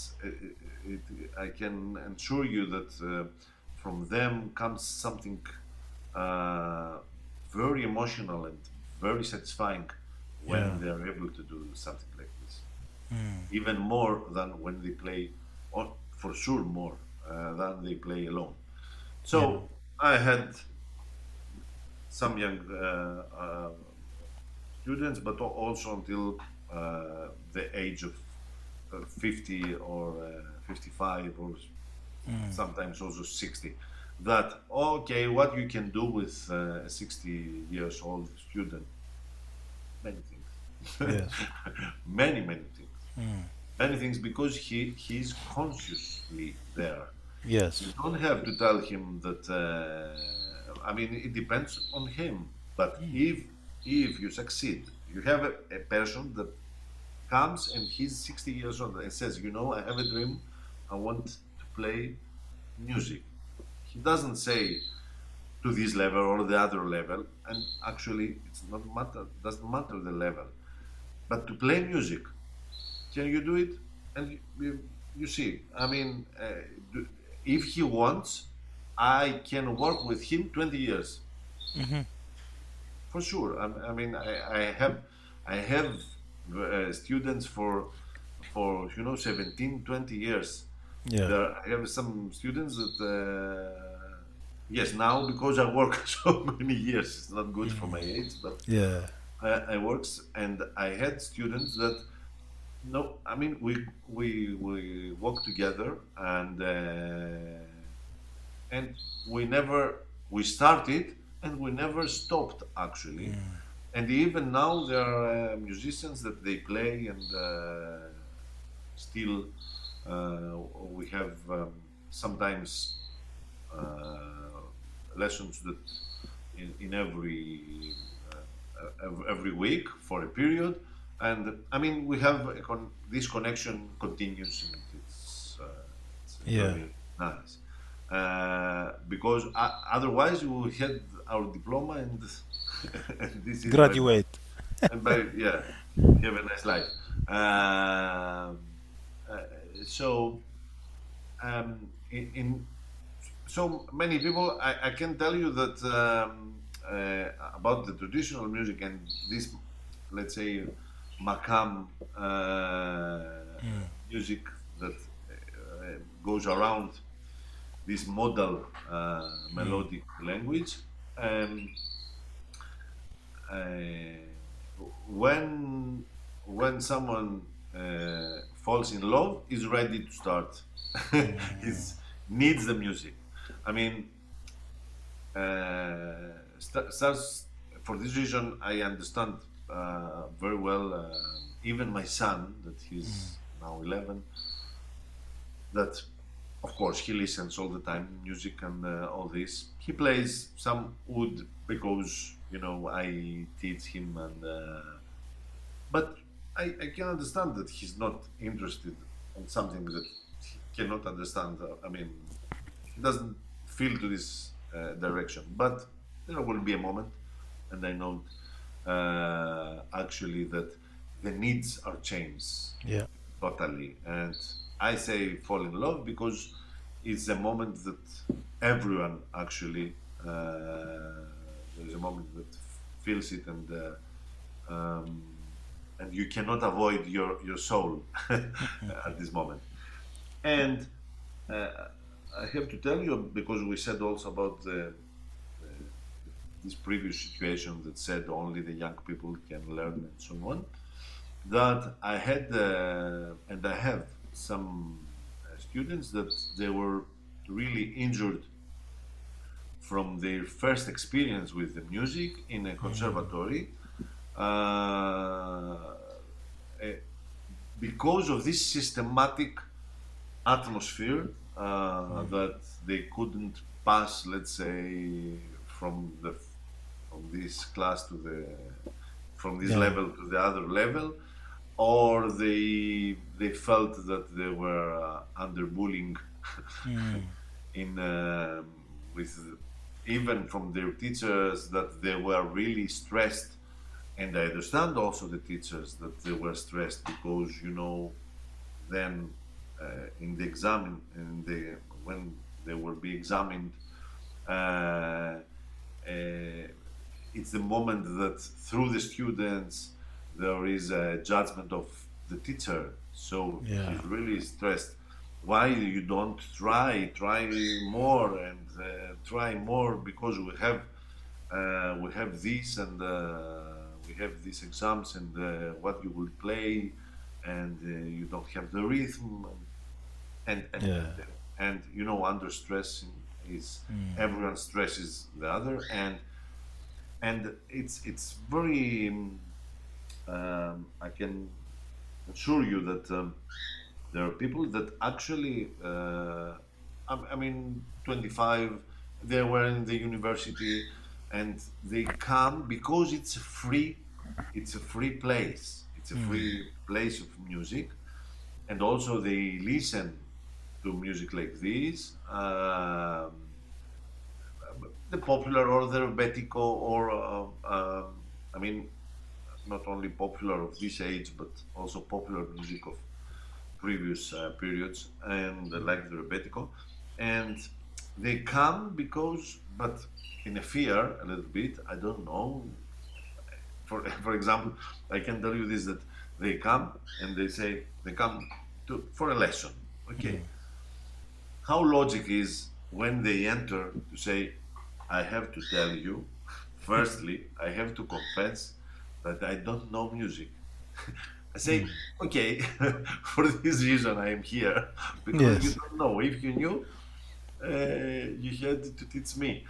I can assure you that from them comes something uh, very emotional and very satisfying Yeah. when they're able to do something like this. Even more than when they play, or for sure more than they play alone. Yeah. So I had some young students, but also until the age of 50 or 55, or sometimes also 60. That okay, what you can do with a 60 years old student? Many things, Yes. many things, many things, because he's consciously there. You Yes. don't have to tell him that. I mean, it depends on him. But if you succeed, you have a person that comes and he's 60 years old and says, I have a dream. I want to play music. He doesn't say to this level or the other level, and actually, it's not matter. Doesn't matter the level, but to play music. Can you do it? And you see, I mean, if he wants, I can work with him 20 years for sure. I mean, I have students for 17, 20 years. Yeah. I have some students that yes, now because I work so many years, it's not good for my Mm. age, but Yeah. I works and I had students that no, I mean we work together and we never we started and we never stopped actually. Mm. And even now there are musicians that they play and still we have sometimes uh, lessons that in every week for a period. And I mean, we have this connection continues, and it's Yeah. very nice. Because otherwise, we had our diploma, and and this is bye bye. Graduate. And by yeah, have a nice life. Um, uh, so in so many people, I can tell you that about the traditional music and this, let's say, makam Mm. music that goes around this modal Mm. melodic language. Um, uh, when someone falls in love, is ready to start. Mm. Is needs the music. I mean, starts for this reason. I understand very well. Even my son, that Mm. he's now 11, that of course he listens all the time music and all this. He plays some wood because I teach him, and but I can understand that he's not interested in something that he cannot understand. I mean, he doesn't feel to this direction. But there will be a moment, and I know actually that the needs are changed Yeah. totally. And I say fall in love because it's a moment that everyone actually there's a moment that feels it, um, and you cannot avoid your soul at this moment. And uh, I have to tell you, because we said also about this previous situation that said only the young people can learn and so on, that I had and I have some students that they were really injured from their first experience with the music in a Mm. conservatory, uh, eh, because of this systematic atmosphere Mm. that they couldn't pass, let's say, from the from this class to the from this Yeah. level to the other level, or they felt that they were under bullying Mm. in with even from their teachers, that they were really stressed. And I understand also the teachers that they were stressed because then in the exam in the when they will be examined, uh, uh, it's the moment that through the students there is a judgment of the teacher. So Yeah. he's really stressed. Why you don't try more and try more, because we have this, and we have these exams, and what you will play, and you don't have the rhythm, and and Yeah. and, and under stress is Mm. everyone stresses the other, and it's very I can assure you that there are people that actually I mean 25, they were in the university, and they come because it's a free place, it's a Mm. free place of music, and also they listen to music like this, the popular or the rebetiko, or I mean, not only popular of this age, but also popular music of previous periods, and like the rebetiko, and they come because, but in a fear a little bit, I don't know. For example, I can tell you this, that they come and they say they come for a lesson. Mm. Okay, how logic is when they enter to say, I have to tell you, firstly, I have to confess that I don't know music. I say, okay, for this reason I am here, because you Yes. don't know. If you knew, you had to teach me.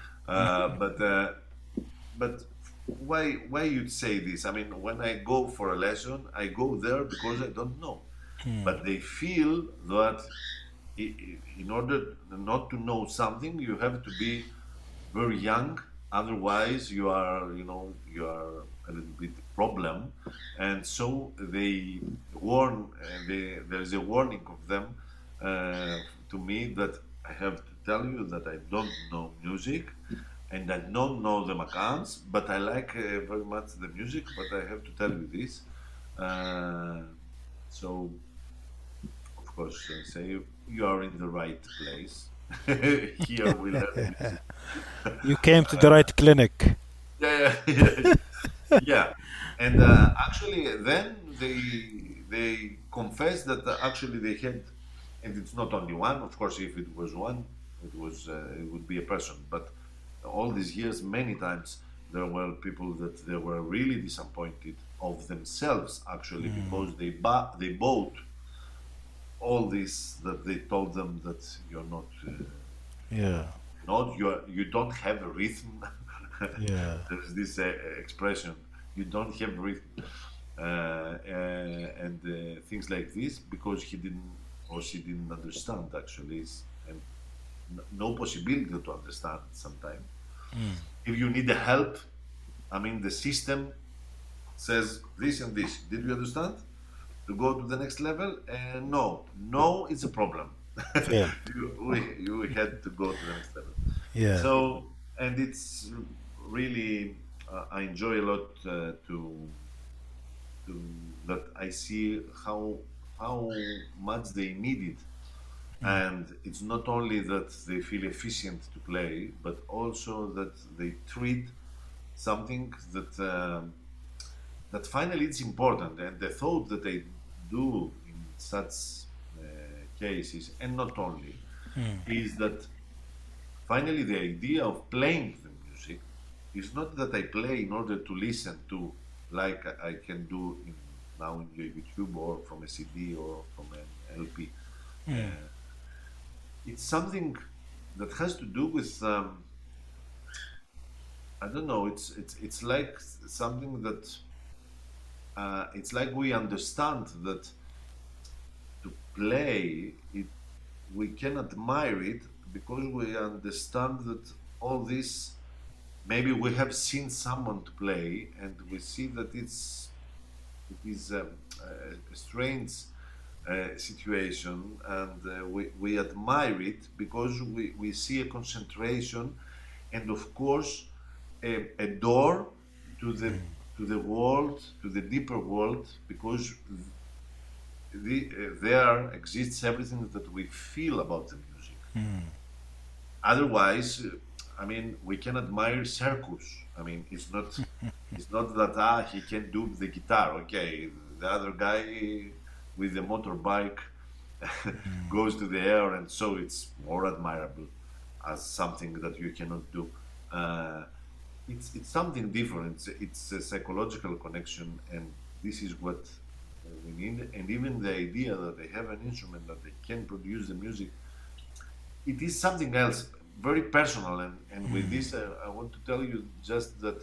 But why you'd say this? I mean, when I go for a lesson, I go there because I don't know. But they feel that in order not to know something, you have to be very young. Otherwise, you are a little bit problem. And so they warn, there is a warning of them uh, to me that I have to tell you that I don't know music and I don't know the accounts, but I like very much the music. But I have to tell you this. Uh, so, of course, say you are in the right place. Here we learn music. You came to the right clinic. Yeah, yeah, yeah. And actually, then they confess that actually they had, and it's not only one. Of course, if it was one, it would be a person. But all these years, many times there were people that they were really disappointed of themselves actually because they bought all this that they told them that you're not. Yeah. Not you don't have a rhythm. Yeah. There's this expression, you don't have rhythm, and things like this because he didn't or she didn't understand actually, and no possibility to understand sometimes. If you need the help, I mean the system says this and this. Did you understand? To go to the next level? No, no, it's a problem. Failed. You had to go to the next level. Yeah. So, and it's really, I enjoy a lot to that I see how much they need it, and it's not only that they feel efficient to play, but also that they treat something that finally it's important, and the thought that they do in such cases, and not only, is that finally the idea of playing the music is not that I play in order to listen to, like I can do now in YouTube or from a CD or from an LP. It's something that has to do with I don't know. It's like something that it's like we understand that to play it, we can admire it because we understand that all this. Maybe we have seen someone to play, and we see that it is a strange situation, and we admire it because we see a concentration, and of course a door to the world, to the deeper world, because there exists everything that we feel about the music. Otherwise, I mean, we can admire Circus. I mean, it's not that he can do the guitar. Okay, the other guy with the motorbike goes to the air, and so it's more admirable as something that you cannot do. Uh, it's something different. It's a psychological connection, and this is what we need. And even the idea that they have an instrument that they can produce the music, it is something else, very personal. And with this, I want to tell you just that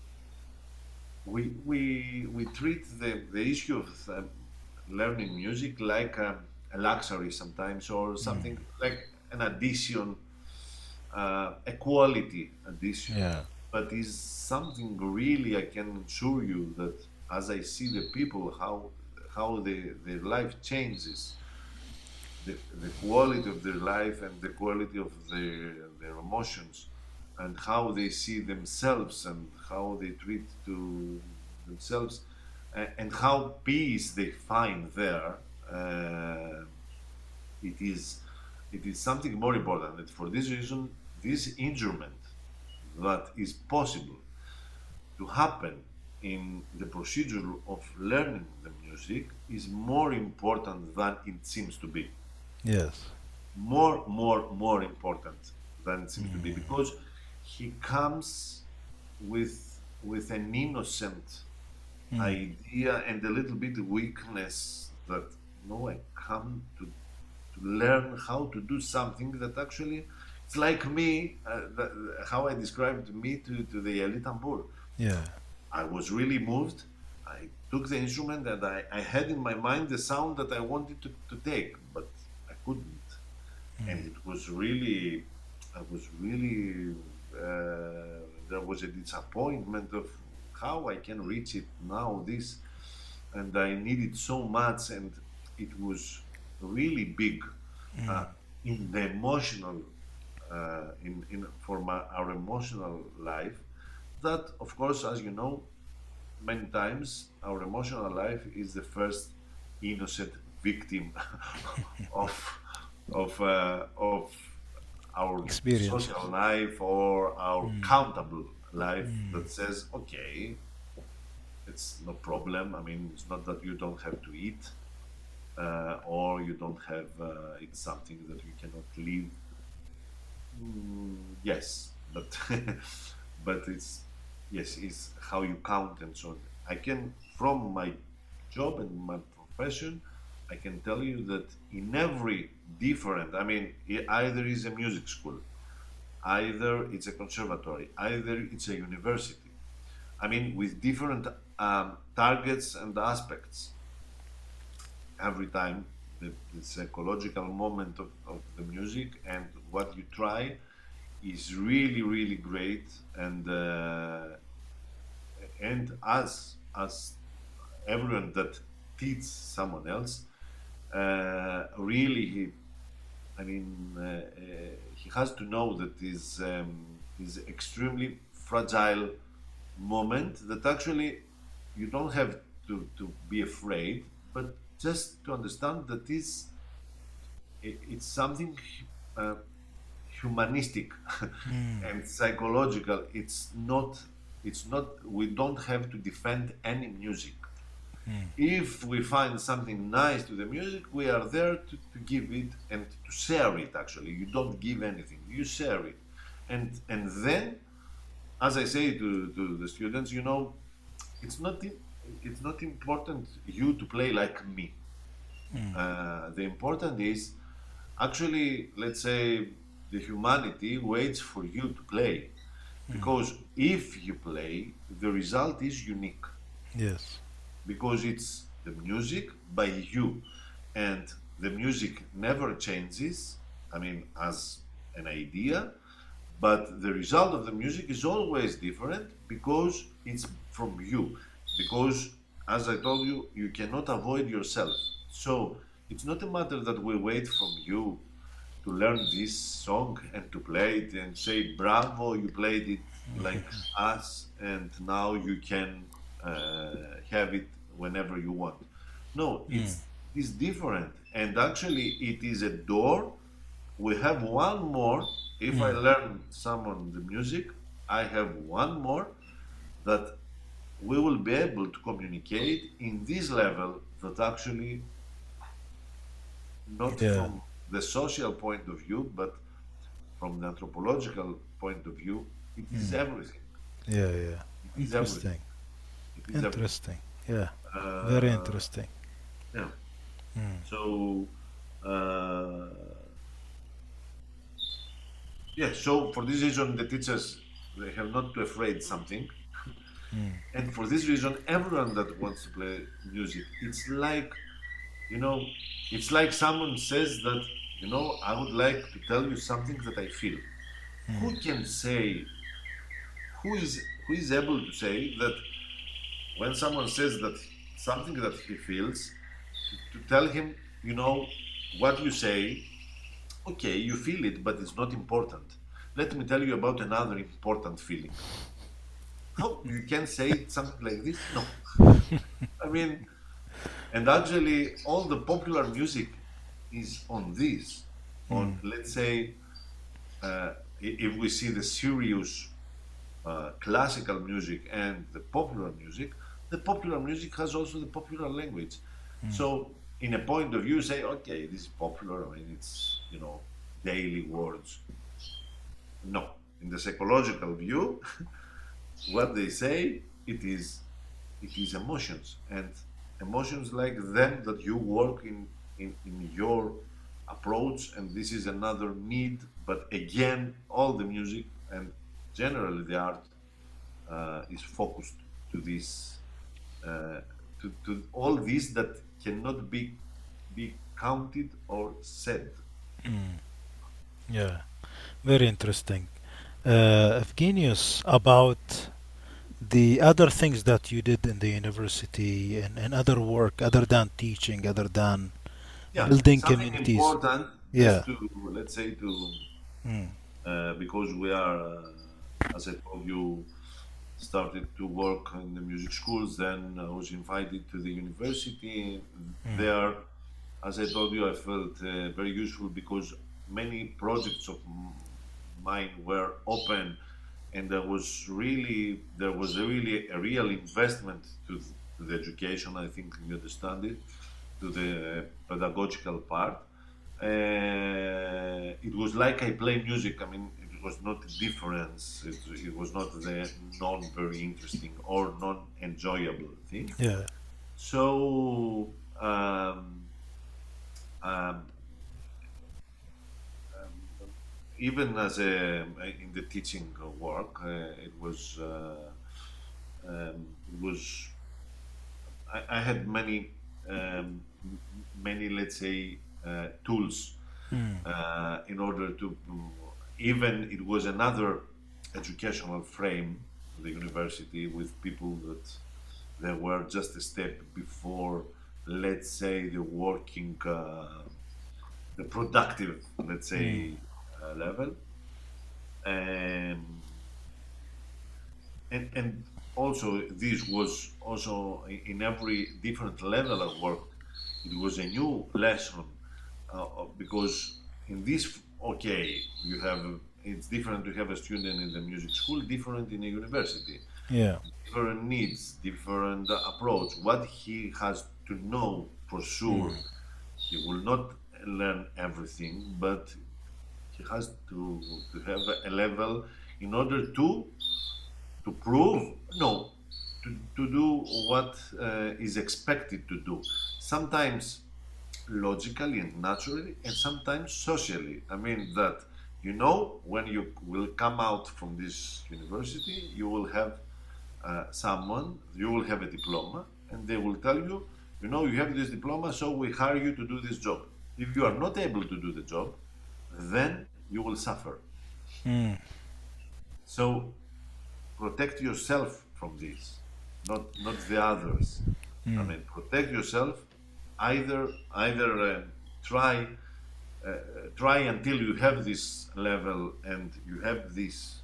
we treat the issue of learning music like a luxury sometimes, or something like an addition, a quality addition, Yeah. but is something really. I can assure you that as I see the people, how their life changes, the quality of their life and the quality of their emotions, and how they see themselves and how they treat to themselves, and how peace they find there. Uh, it is it is something more important. And for this reason, this instrument that is possible to happen in the procedure of learning the music is more important than it seems to be. Yes. More important than it seems to be, because he comes with an innocent Mm. idea and a little bit weakness that no, I come to learn how to do something that actually it's like me, how I described me to the Eli Tambur. Yeah. I was really moved. I took the instrument and I had in my mind the sound that I wanted to take, but I couldn't. And it was really, I was really, there was a disappointment of how I can reach it now, this, and I need it so much, and it was really big uh, in the emotional, in for our emotional life. That, of course, as you know, many times our emotional life is the first innocent victim of of our Experience. social life or our countable life that says, okay, it's no problem. I mean, it's not that you don't have to eat or you don't have it's something that you cannot live. Yes, but but it's yes, it's how you count and so on. I can, from my job and my profession, I can tell you that in every different, I mean, either is a music school, either it's a conservatory, either it's a university. I mean, with different targets and aspects every time. The psychological moment of the music and what you try is really, really great. And as everyone that teaches someone else, really, I mean, he has to know that is extremely fragile moment that actually you don't have to be afraid, but just to understand that it's something uh, humanistic and psychological. It's not we don't have to defend any music. If we find something nice to the music, we are there to give it and to share it. Actually, you don't give anything, you share it. And then, as I say to the students, it's not it's not important you to play like me. The important is actually, let's say, the humanity waits for you to play, because if you play, the result is unique, Yes. because it's the music by you, and the music never changes. I mean, as an idea, but the result of the music is always different because it's from you. Because, as I told you, you cannot avoid yourself. So it's not a matter that we wait from you to learn this song and to play it and say, bravo, you played it like us, and now you can have it whenever you want. No, it's different. And actually, it is a door. We have one more. If I learn someone the music, I have one more that we will be able to communicate in this level that actually not Yeah. from the social point of view, but from the anthropological point of view, it is everything. Yeah. Yeah. It is everything. Interesting. It is everything. Interesting. Yeah. Very Uh, interesting. yeah. So, uh, yeah. So for this reason, the teachers, they have not to afraid something, and for this reason, everyone that wants to play music, you know, it's like someone says that, I would like to tell you something that I feel. Who can say, who is able to say that when someone says that something that he feels, to tell him, what you say, okay, you feel it, but it's not important. Let me tell you about another important feeling. How you can say something like this? No. I mean, and actually, all the popular music is on this. On, let's say, if we see the serious classical music and the popular music has also the popular language. So, in a point of view, you say, okay, this is popular. I mean, it's daily words. No, in the psychological view, what they say, it is emotions, and emotions like them that you work in your approach, and this is another need. But again, all the music and generally the art is focused to this, to all this that cannot be counted or said. Yeah, very interesting. Evgenius, about the other things that you did in the university and other work other than teaching, other than Yeah, building something communities. important, Yeah. just to, let's say, to Mm. because we are, as I told you, started to work in the music schools. Then I was invited to the university. Mm. There, as I told you, I felt very useful because many projects of mine were open, and there was really a real investment to the education. I think you understand it, to the pedagogical part. It was like I play music. I mean, it was not a difference. It was not the non very interesting or non enjoyable thing. Yeah. So um, even as in the teaching work, it was I had many, let's say, tools Mm. in order to, even it was another educational frame, the university, with people that they were just a step before, let's say, the productive, let's Mm. say, level. And and also this was also in every different level of work. It was a new lesson, because in this, okay, you have, it's different to have a student in the music school, different in a university, Yeah. different needs, different approach. What he has to know for sure, Mm. he will not learn everything, but he has to have a level in order to prove, no, to do what is expected to do. Sometimes logically and naturally, and sometimes socially. I mean that, when you will come out from this university, you will have you will have a diploma, and they will tell you, you have this diploma, so we hire you to do this job. If you are not able to do the job, then you will suffer. Mm. So protect yourself from this, not the others. I Mm. mean, protect yourself. Either try try until you have this level and you have this,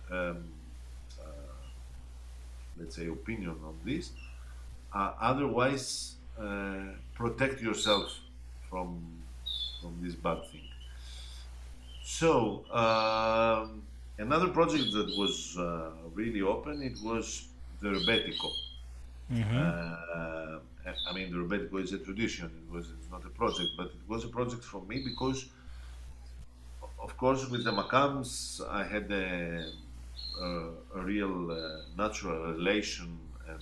let's say, opinion on this. Otherwise, protect yourself from this bad thing. So another project that was really open, it was the Rebetico. Mm-hmm. Uh, I mean, the Rebetico is a tradition. It's not a project, but it was a project for me because, of course, with the Macams, I had a real natural relation, and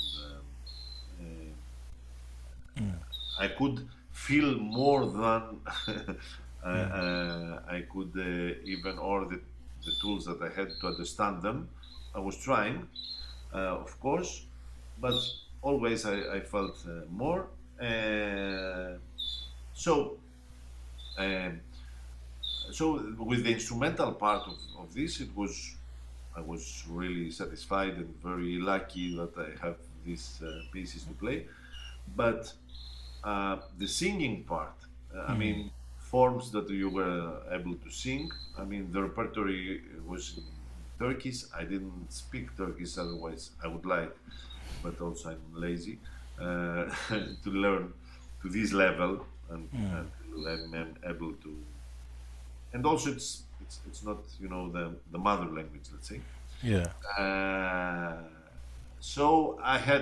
Mm. I could feel more than Mm. I could even, or the tools that I had to understand them. I was trying, of course, but always I felt more. Uh, so, um, so with the instrumental part of this, I was really satisfied and very lucky that I have these pieces to play. But the singing part, I Mm. mean, forms that you were able to sing. I mean, the repertory was in Turkish. I didn't speak Turkish, otherwise I would like, but also I'm lazy to learn to this level, and Mm. until I'm able to. And also, it's not, the mother language, let's say. Yeah. Uh, so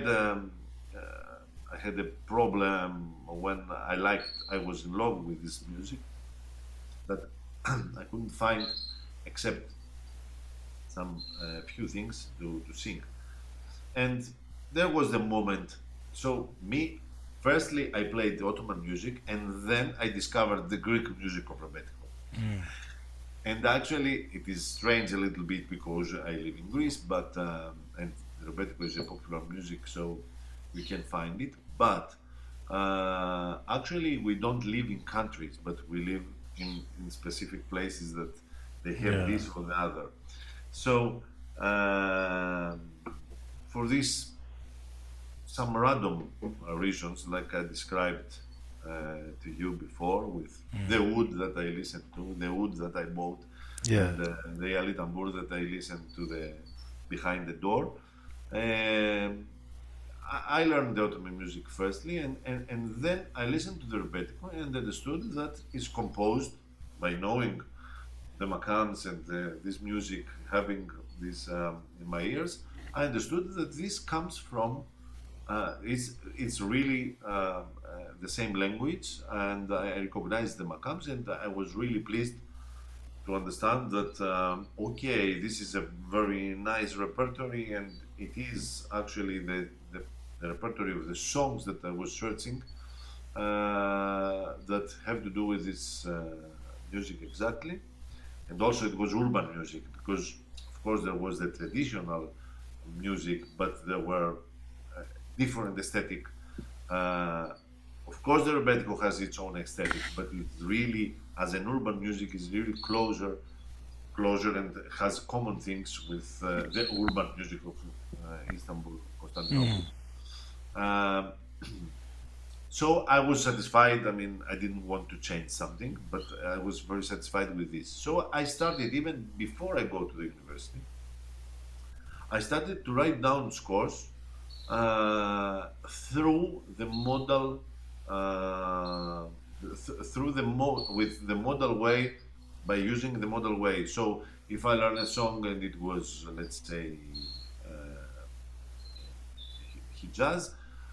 I had a problem when I was in love with this music, that I couldn't find, except some few things to sing. And there was the moment. So me, firstly, I played the Ottoman music, and then I discovered the Greek music of Rebetiko. And actually, it is strange a little bit because I live in Greece, but and Rebetiko is a popular music, so we can find it. But actually, we don't live in countries, but we live in specific places that they have Yeah. this or the other. So for this, some random reasons, like I described to you before, with the wood that I listened to, the wood that I bought, Yeah. and the Ali Tambur that I listened to the behind the door. Um, I learned the Ottoman music firstly, and then I listened to the Rebetiko and understood that it's composed by knowing the makams and this music, having this in my ears. I understood that this comes from it's really the same language, and I recognized the makams, and I was really pleased to understand that okay, this is a very nice repertory, and it is actually the repertory of the songs that I was searching that have to do with this music exactly. And also it was urban music because of course there was the traditional music, but there were different aesthetic. uh, of course the rebetiko has its own aesthetic, but it's really, as an urban music, is really closer and has common things with the urban music of Istanbul, Constantinople. um, so I was satisfied. I mean, I didn't want to change something, but I was very satisfied with this. So I started, even before I go to the university, I started to write down scores through the modal, through with the modal way, by using the modal way. So if I learn a song and it was, let's say, Hijaz,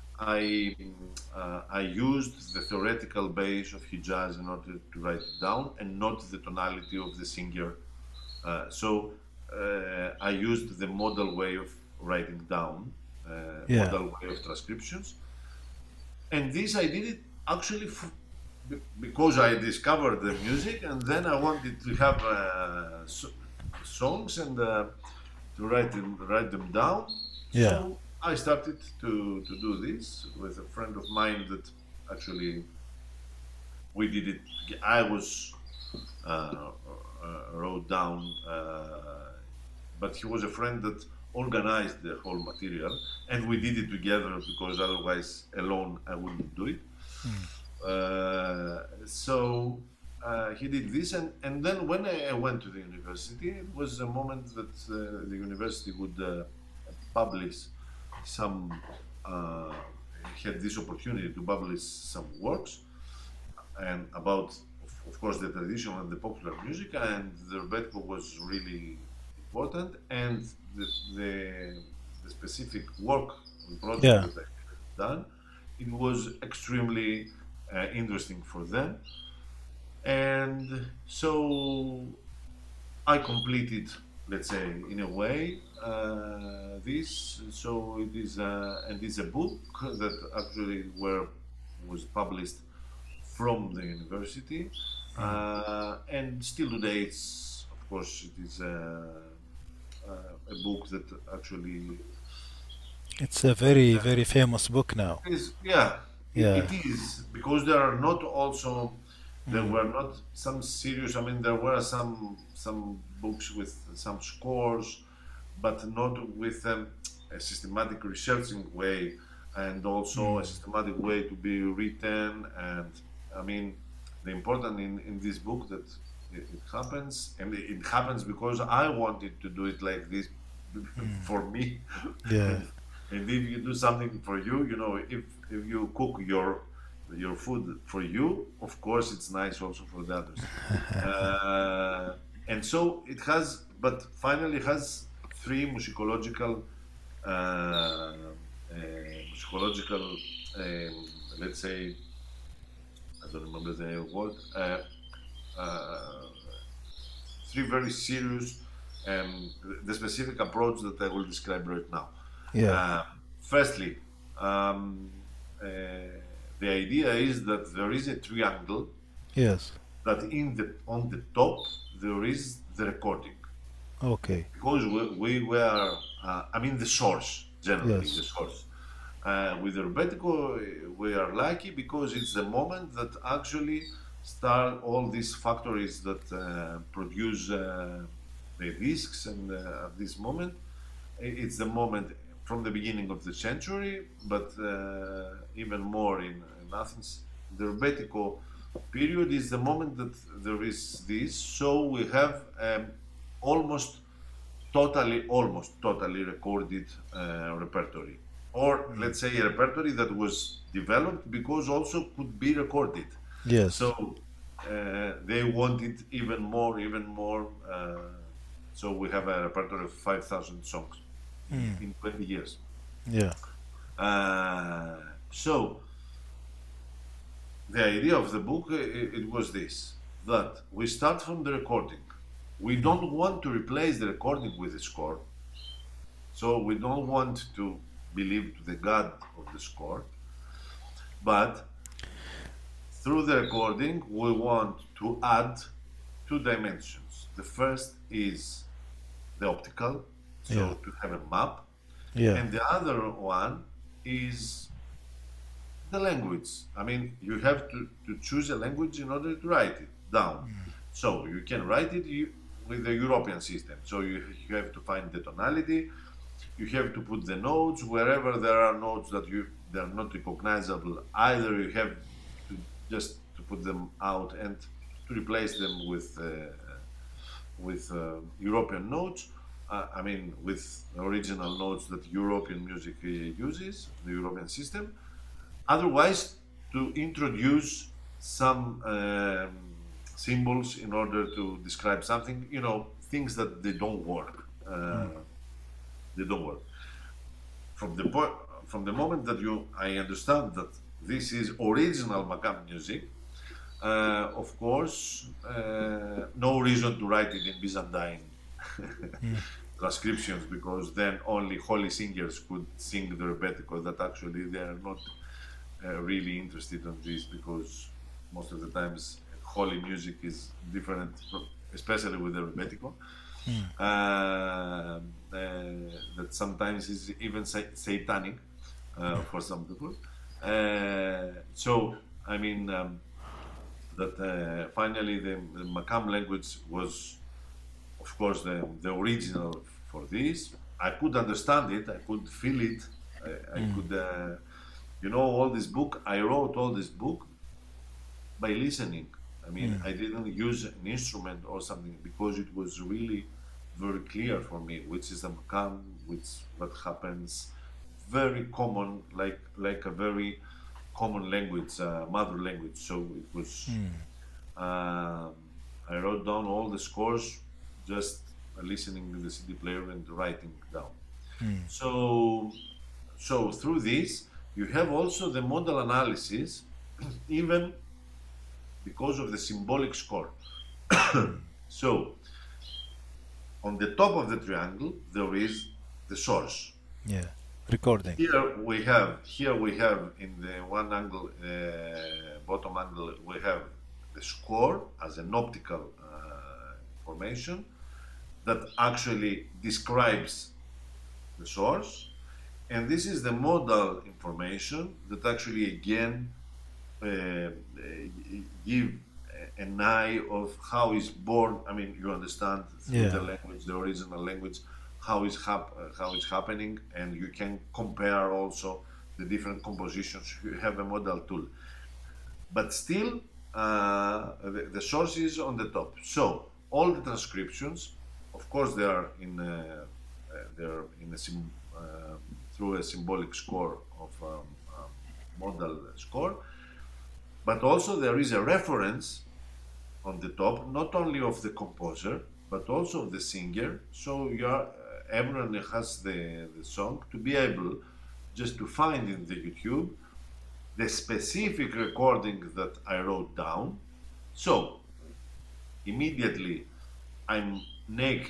I used the theoretical base of Hijaz in order to write it down, and not the tonality of the singer. I used the modal way of writing down, Yeah. modal way of transcriptions, and this I did it actually because I discovered the music, and then I wanted to have songs and to write them down. Yeah. So I started to do this with a friend of mine that actually we did it. I was wrote down, but he was a friend that organized the whole material, and we did it together because otherwise alone I wouldn't do it. So he did this, and then when I went to the university, it was a moment that the university would publish some, uh, had this opportunity to publish some works and about, of course, the traditional and the popular music, and the Rebetiko was really important, and the, the, the specific work and project Yeah. that I had done, it was extremely interesting for them, and so I completed, let's say, in a way, this. So it is, and it's a book that actually was published from the university, and still today, it's, of course, it is a book that actually It's a very, very famous book now. is, yeah, Yeah. it is, because there are not also, there Mm. were not some serious, I mean, there were some books with some scores, but not with a systematic researching way, and also a systematic way to be written. And I mean, the important in this book that it happens, and it happens because I wanted to do it like this for me. Yeah. and and if you do something for you, you know, if you cook your food for you, of course it's nice also for the others. And so it has, but finally it has three musicological, musicological, let's say, I don't remember the word, uh, three very serious the specific approach that I will describe right now. Yeah. Uh, Firstly, um, uh, the idea is that there is a triangle Yes. that in the on the top there is the recording Okay. because we were I mean the source generally the Yes. source with the Rebetiko we are lucky because it's the moment that actually start all these factories that produce the discs and at this moment it's the moment from the beginning of the century but even more in Athens the Rebetiko period is the moment that there is this so we have almost totally recorded repertory or Mm. let's say a repertory that was developed because also could be recorded Yes. so they wanted even more so we have a repertory of 5,000 songs Mm. in 20 years Yeah. uh, so the idea of the book it was this that we start from the recording we Mm. don't want to replace the recording with the score so we don't want to believe to the god of the score but through the recording we want to add two dimensions the first is the optical Yeah. so to have a map Yeah. and the other one is the language. I mean, you have to choose a language in order to write it down. So you can write it with the European system. So you have to find the tonality. You have to put the notes wherever there are notes that they are not recognizable. Either you have to just to put them out and to replace them with European notes. I mean, with original notes that European music uses, the European system otherwise to introduce some symbols in order to describe something things that they don't work Mm. they don't work from the point from the moment that you I understand that this is original Makam music of course no reason to write it in Byzantine Mm. transcriptions because then only holy singers could sing the rebetiko that actually they are not really interested in this because most of the times holy music is different, especially with the rebetiko. Mm. That sometimes is even satanic for some people. So I mean that finally the Makam language was, of course, the original for this. I could understand it. I could feel it. I Mm. could. All this book, I wrote all this book by listening. I mean, Mm. I didn't use an instrument or something because it was really very clear for me, which is the makam, which what happens, very common, like a very common language, mother language. So it was. Mm. Um, I wrote down all the scores, just listening to the CD player and writing down. Mm. So, so through this, you have also the modal analysis, even because of the symbolic score. So, on the top of the triangle, there is the source. Yeah. Recording. Here we have in the one angle, bottom angle, we have the score as an optical information that actually describes the source. And this is the modal information that actually again give an eye of how is born. I mean, you understand through the Yeah. language, the original language, how it's happening, and you can compare also the different compositions. You have a modal tool, but still the source is on the top. So all the transcriptions, of course, they are in through a symbolic score of modal score, but also there is a reference on the top, not only of the composer but also of the singer. So everyone has the song to be able just to find in the YouTube the specific recording that I wrote down. So immediately I'm naked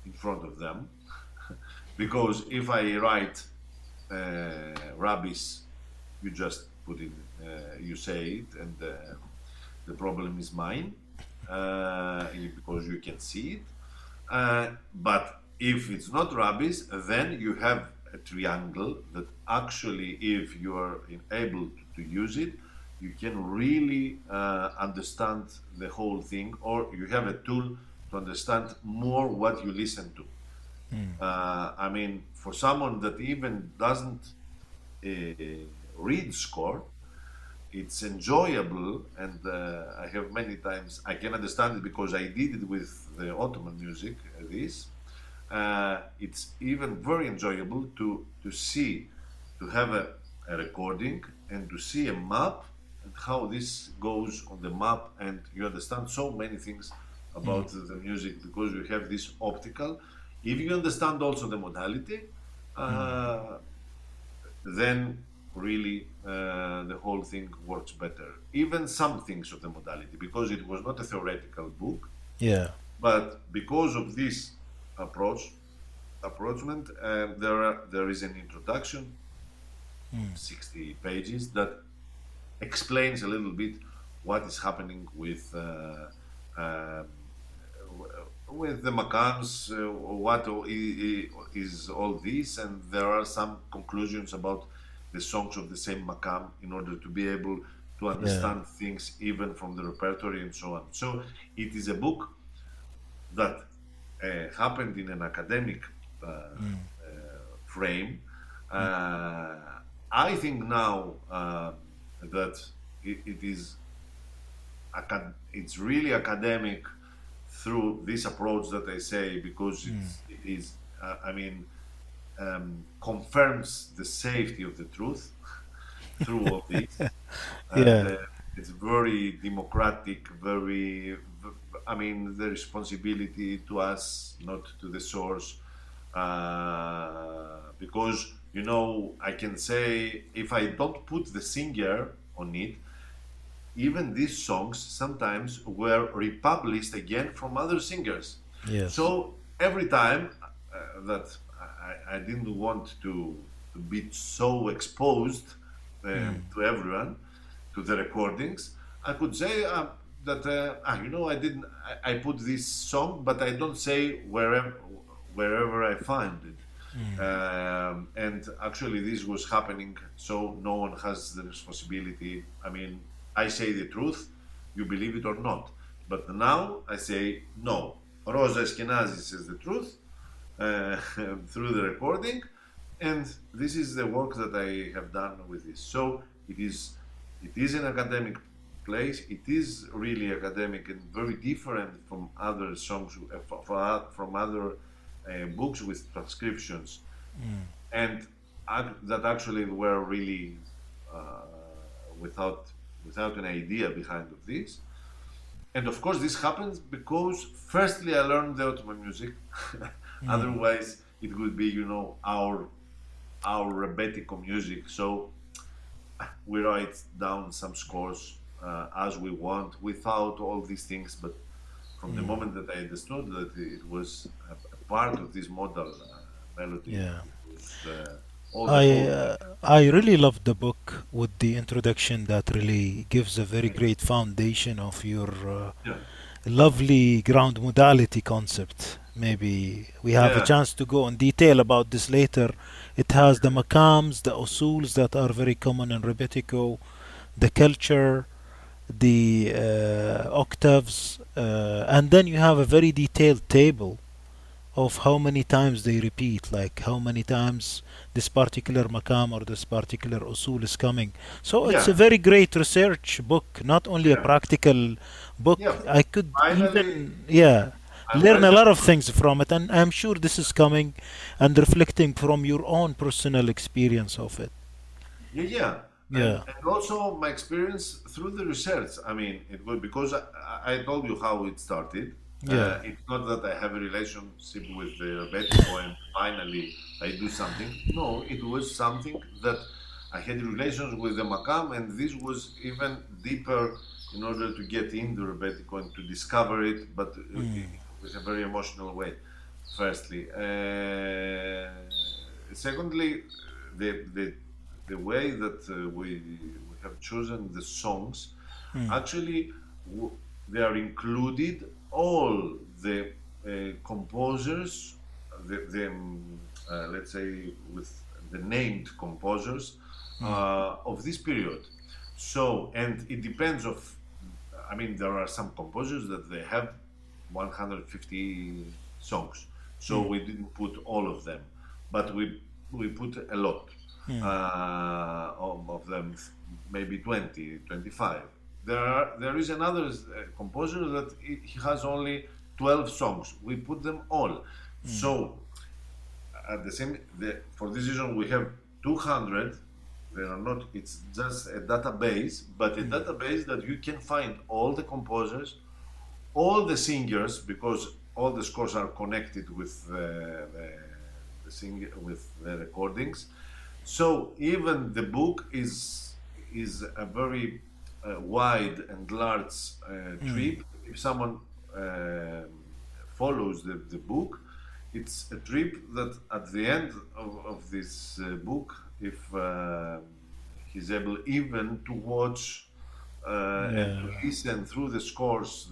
in front of them. Because if I write rubbish, you just put in, you say it, and the problem is mine, because you can see it. But if it's not rubbish, then you have a triangle that actually, if you are able to use it, you can really understand the whole thing, or you have a tool to understand more what you listen to. I mean, for someone that even doesn't uh, read score, it's enjoyable, and I have many times I can understand it because I did it with the Ottoman music. This it's even very enjoyable to see, to have a recording and to see a map and how this goes on the map, and you understand so many things about the music because you have this optical. If you understand also the modality, uh, then really the whole thing works better. Even some things of the modality, because it was not a theoretical book, Yeah. but because of this approach, approachment, there is an introduction, 60 pages, that explains a little bit what is happening uh, with the Makams, what is all this, and there are some conclusions about the songs of the same Makam in order to be able to Yeah. understand things even from the repertory and so on. So it is a book that happened in an academic frame. Uh, I think now that it is it's really academic through this approach that I say, because it is I mean, confirms the safety of the truth through all this, and Yeah. it's very democratic, very. I mean, the responsibility to us, not to the source, because I can say if I don't put the singer on it, even these songs sometimes were republished again from other singers. Yes. So every time that I didn't want to be so exposed to everyone, to the recordings, I could say that I didn't. I put this song, but I don't say wherever I find it. And actually, this was happening, so no one has the responsibility. I mean, I say the truth, you believe it or not. But now I say no. Rosa Eskenazi says the truth uh, through the recording, and this is the work that I have done with this. So it is an academic place. It is really academic and very different from other songs, from other books with transcriptions, and that actually were really uh, without without an idea behind of this. And of course, this happens because firstly I learned the Ottoman music. Otherwise, it would be our rebetiko music. So we write down some scores as we want without all these things. But from the moment that I understood that it was a part of this model melody Yeah. with all the I whole. uh, I really love the book with the introduction that really gives a very great foundation of your Yeah, lovely ground modality concept. Maybe we have a yeah, chance to go in detail about this later. It has the makams, the usuls that are very common in Rebetiko, the culture, the octaves, and then you have a very detailed table of how many times they repeat, like how many times this particular makam or this particular usul is coming. So it's a yeah, very great research book, not only a yeah, practical book. yeah. I could Finally, even, yeah, I learn a went. lot of things from it, and I'm sure this is coming and reflecting from your own personal experience of it. Yeah, yeah, and Yeah, and also my experience through the research. I mean, it was because I told you how it started. yeah, It's not that I have a relationship with the Betico and finally I do something. No, it was something that I had relations with the Makam, and this was even deeper in order to get in the Rebetiko and to discover it, but with a very emotional way. firstly. Secondly, the, the, the way that we have chosen the songs, Mm. actually, they are included all the composers, let's say, with the named composers Mm. of this period. So, and it depends of, I mean, there are some composers that they have 150 songs. So Mm. we didn't put all of them, but we put a lot Mm. of them, maybe 20, 25. There is another composer that he has only 12 songs. We put them all. Mm. So at the same for this reason we have 200. They are not, it's just a database, but a Mm. database that you can find all the composers, all the singers, because all the scores are connected with with the recordings. So even the book is a very wide and large Mm. trip. If someone follows the book, it's a trip that at the end of this book, if he's able even to watch and to Yeah. listen through the scores,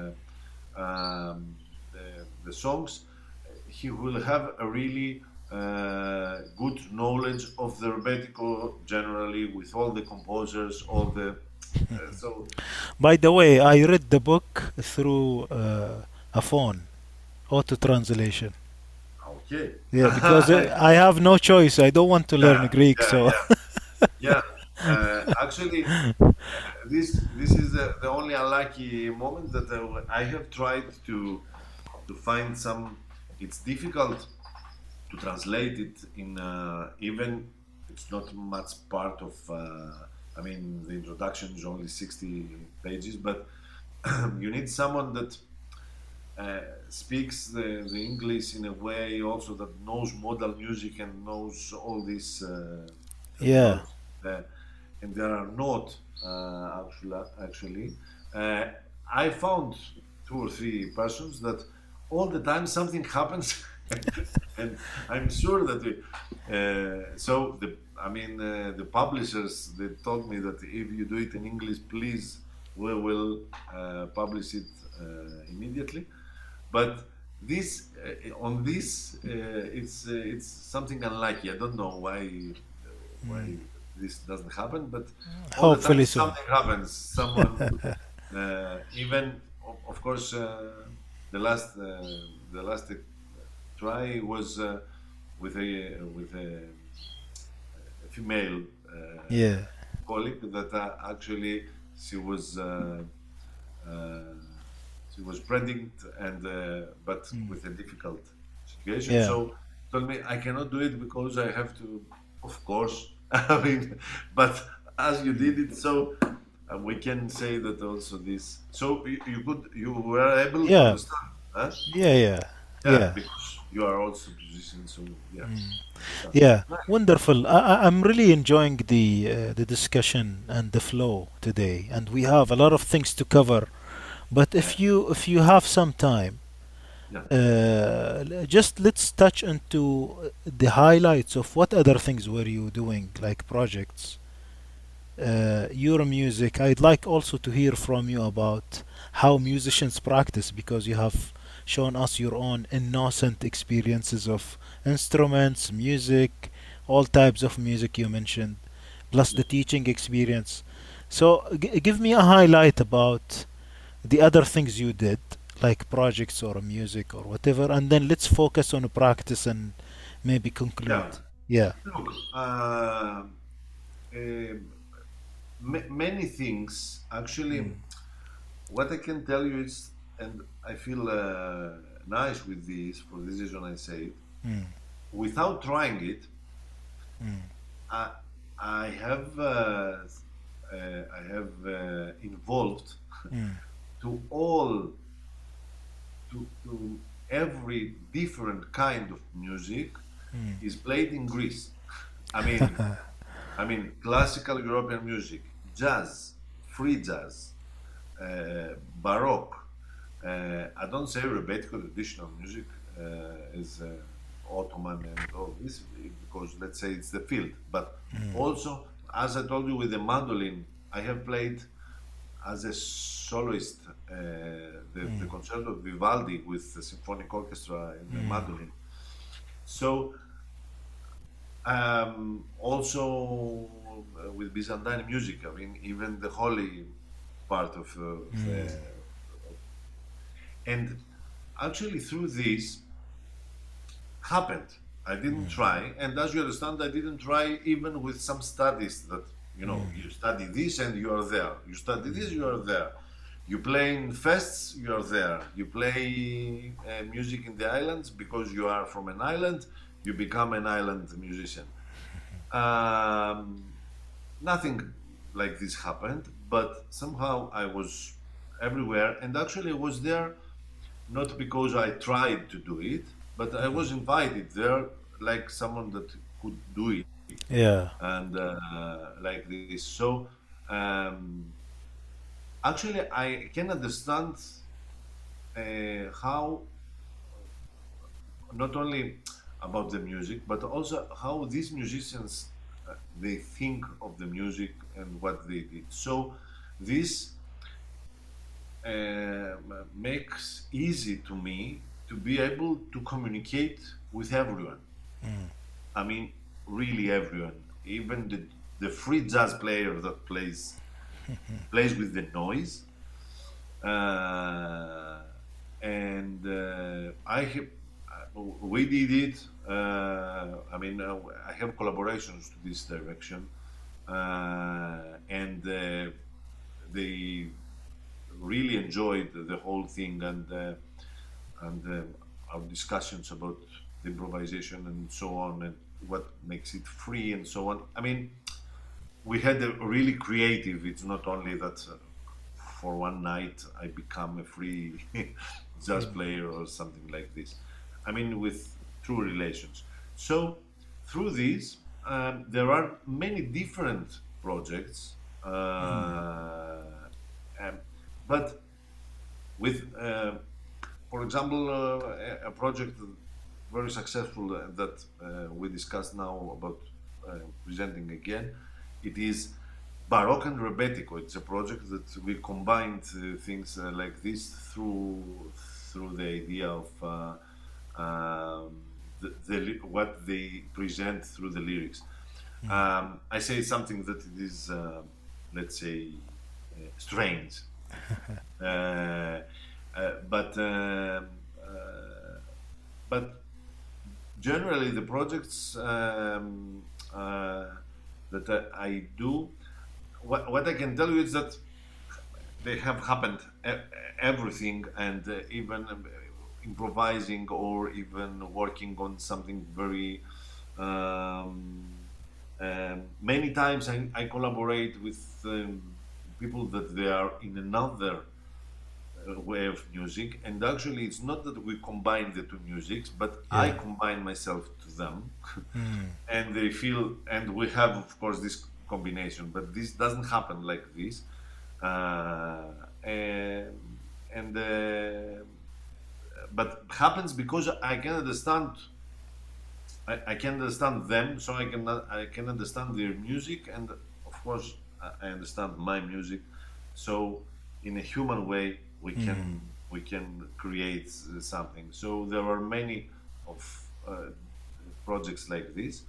the songs, he will have a really good knowledge of the rebetiko generally, with all the composers, all the so By the way, I read the book through a phone, auto translation. okay. Yeah, because I have no choice. I don't want to learn Yeah, Greek, yeah, so yeah, yeah. Actually, this is the only unlucky moment that I have tried to find some. It's difficult to translate it in even it's not much part of. I mean, the introduction is only 60 pages, but you need someone that speaks the English in a way also that knows modal music and knows all these yeah. terminology. Uh, and there are not actually. Uh, I found two or three persons that all the time something happens, and I'm sure that so I mean the publishers, they told me that if you do it in English, please we will publish it immediately. But this on this it's something unlucky. I don't know why this doesn't happen, but all the time Hopefully soon. something happens. Someone even of course the last try was with a female Yeah. colleague that actually she was. Uh, she was pregnant and but Mm. with a difficult situation. Yeah. So told me I cannot do it because I have to, of course. I mean, but as you did it, so we can say that also this. So you were able to Yeah. understand, huh? Yeah. Yeah. Yeah, Yeah. because you are also musician. So yeah, understand. Yeah. Right. Wonderful. I'm really enjoying the discussion and the flow today, and we have a lot of things to cover. But Yeah, if you have some time, yeah, just let's touch into the highlights of what other things were you doing, like projects, your music. I'd like also to hear from you about how musicians practice, because you have shown us your own innocent experiences of instruments, music, all types of music you mentioned, plus yeah. the teaching experience. So give me a highlight about the other things you did, like projects or music or whatever, and then let's focus on practice and maybe conclude. Yeah. Yeah. Look, many things actually. Mm. What I can tell you is, and I feel nice with this for this reason I say it, Mm. without trying it, Mm. I, I have involved Mm. to all to every different kind of music Mm. is played in Greece. I mean, classical European music, jazz, free jazz, baroque. I don't say rebetiko traditional music as Ottoman and all this, because let's say it's the field. But also, as I told you, with the mandolin, I have played as a soloist the concerto of Vivaldi with the symphonic orchestra and the mandolin. So also with Byzantine music, I mean, even the holy part of the, and actually through this happened. I didn't try, and as you understand, I didn't try even with some studies that you study this and you are there. You study this, you are there. You play in fests, you are there. You play music in the islands because you are from an island. You become an island musician. Um, Nothing like this happened, but somehow I was everywhere, and actually I was there not because I tried to do it, but I was invited there like someone that could do it, Yeah. and like this. So um, actually, I can understand how not only about the music, but also how these musicians they think of the music and what they did. So this makes easy to me to be able to communicate with everyone. I mean, really everyone, even the free jazz player that plays with the noise. Uh, and we did it. I mean, I have collaborations to this direction, and they really enjoyed the whole thing, and our discussions about the improvisation and so on, and what makes it free and so on. I mean, we had a really creative. It's not only that for one night I become a free jazz player or something like this. I mean, with true relations. So through this, there are many different projects, um, but with, for example, a project very successful that we discussed now about presenting again. It is Baroque and Rebetiko. It's a project that we combined things like this through the idea of what they present through the lyrics. I say something that it is, let's say, strange, uh, but but generally the projects that I do, what I can tell you is that they have happened everything, and even improvising or even working on something very many times I collaborate with people that they are in another way of music, and actually it's not that we combine the two musics, but I Yeah. combine myself to them Mm. and they feel, and we have of course this combination, but this doesn't happen like this, and, and but happens because I can understand, I can understand them, so I can understand their music, and of course I understand my music. So in a human way, we can create something. So there are many of projects like this.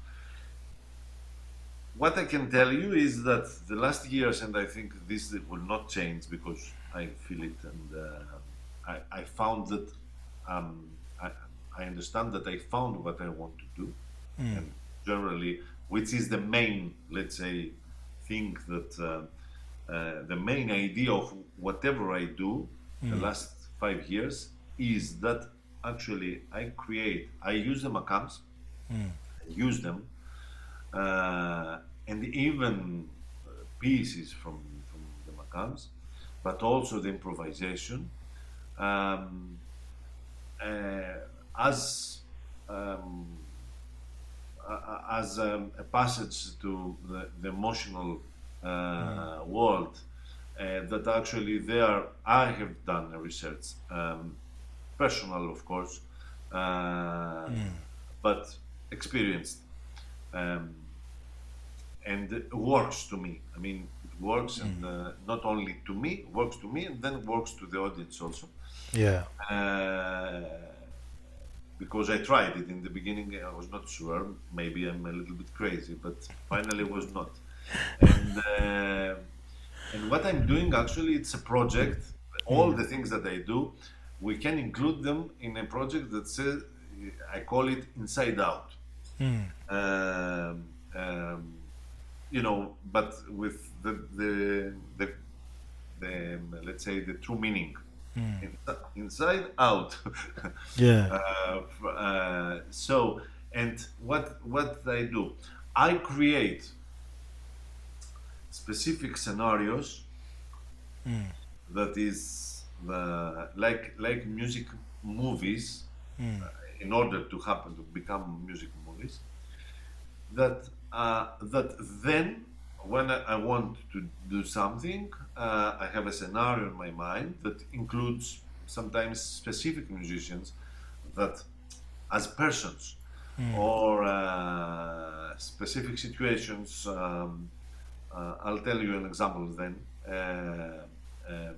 What I can tell you is that the last years, and I think this will not change because I feel it, and I found that um, I, I understand that I found what I want to do, and generally, which is the main, let's say, thing that the main idea of whatever I do the last 5 years is that actually I use the macams, I use them, uh, and even pieces from the macams, but also the improvisation um, as um, a passage to the emotional world. That actually there I have done a research, personal of course, uh, Mm. but experienced, um, and it works to me. I mean, it works, and not only to me, works to me, and then works to the audience also. Yeah. Uh, because I tried it in the beginning, I was not sure. Maybe I'm a little bit crazy, but finally was not. And what I'm doing actually, it's a project. All Mm. the things that I do, we can include them in a project that says, I call it Inside Out. Mm. Um, um, but with the let's say the true meaning. Mm. Inside out. Yeah. So, and what I do, I create specific scenarios Mm. that is the like music movies, Mm. in order to happen to become music movies, that then when I want to do something, I have a scenario in my mind that includes sometimes specific musicians that as persons, Mm. or specific situations. I'll tell you an example then. Um,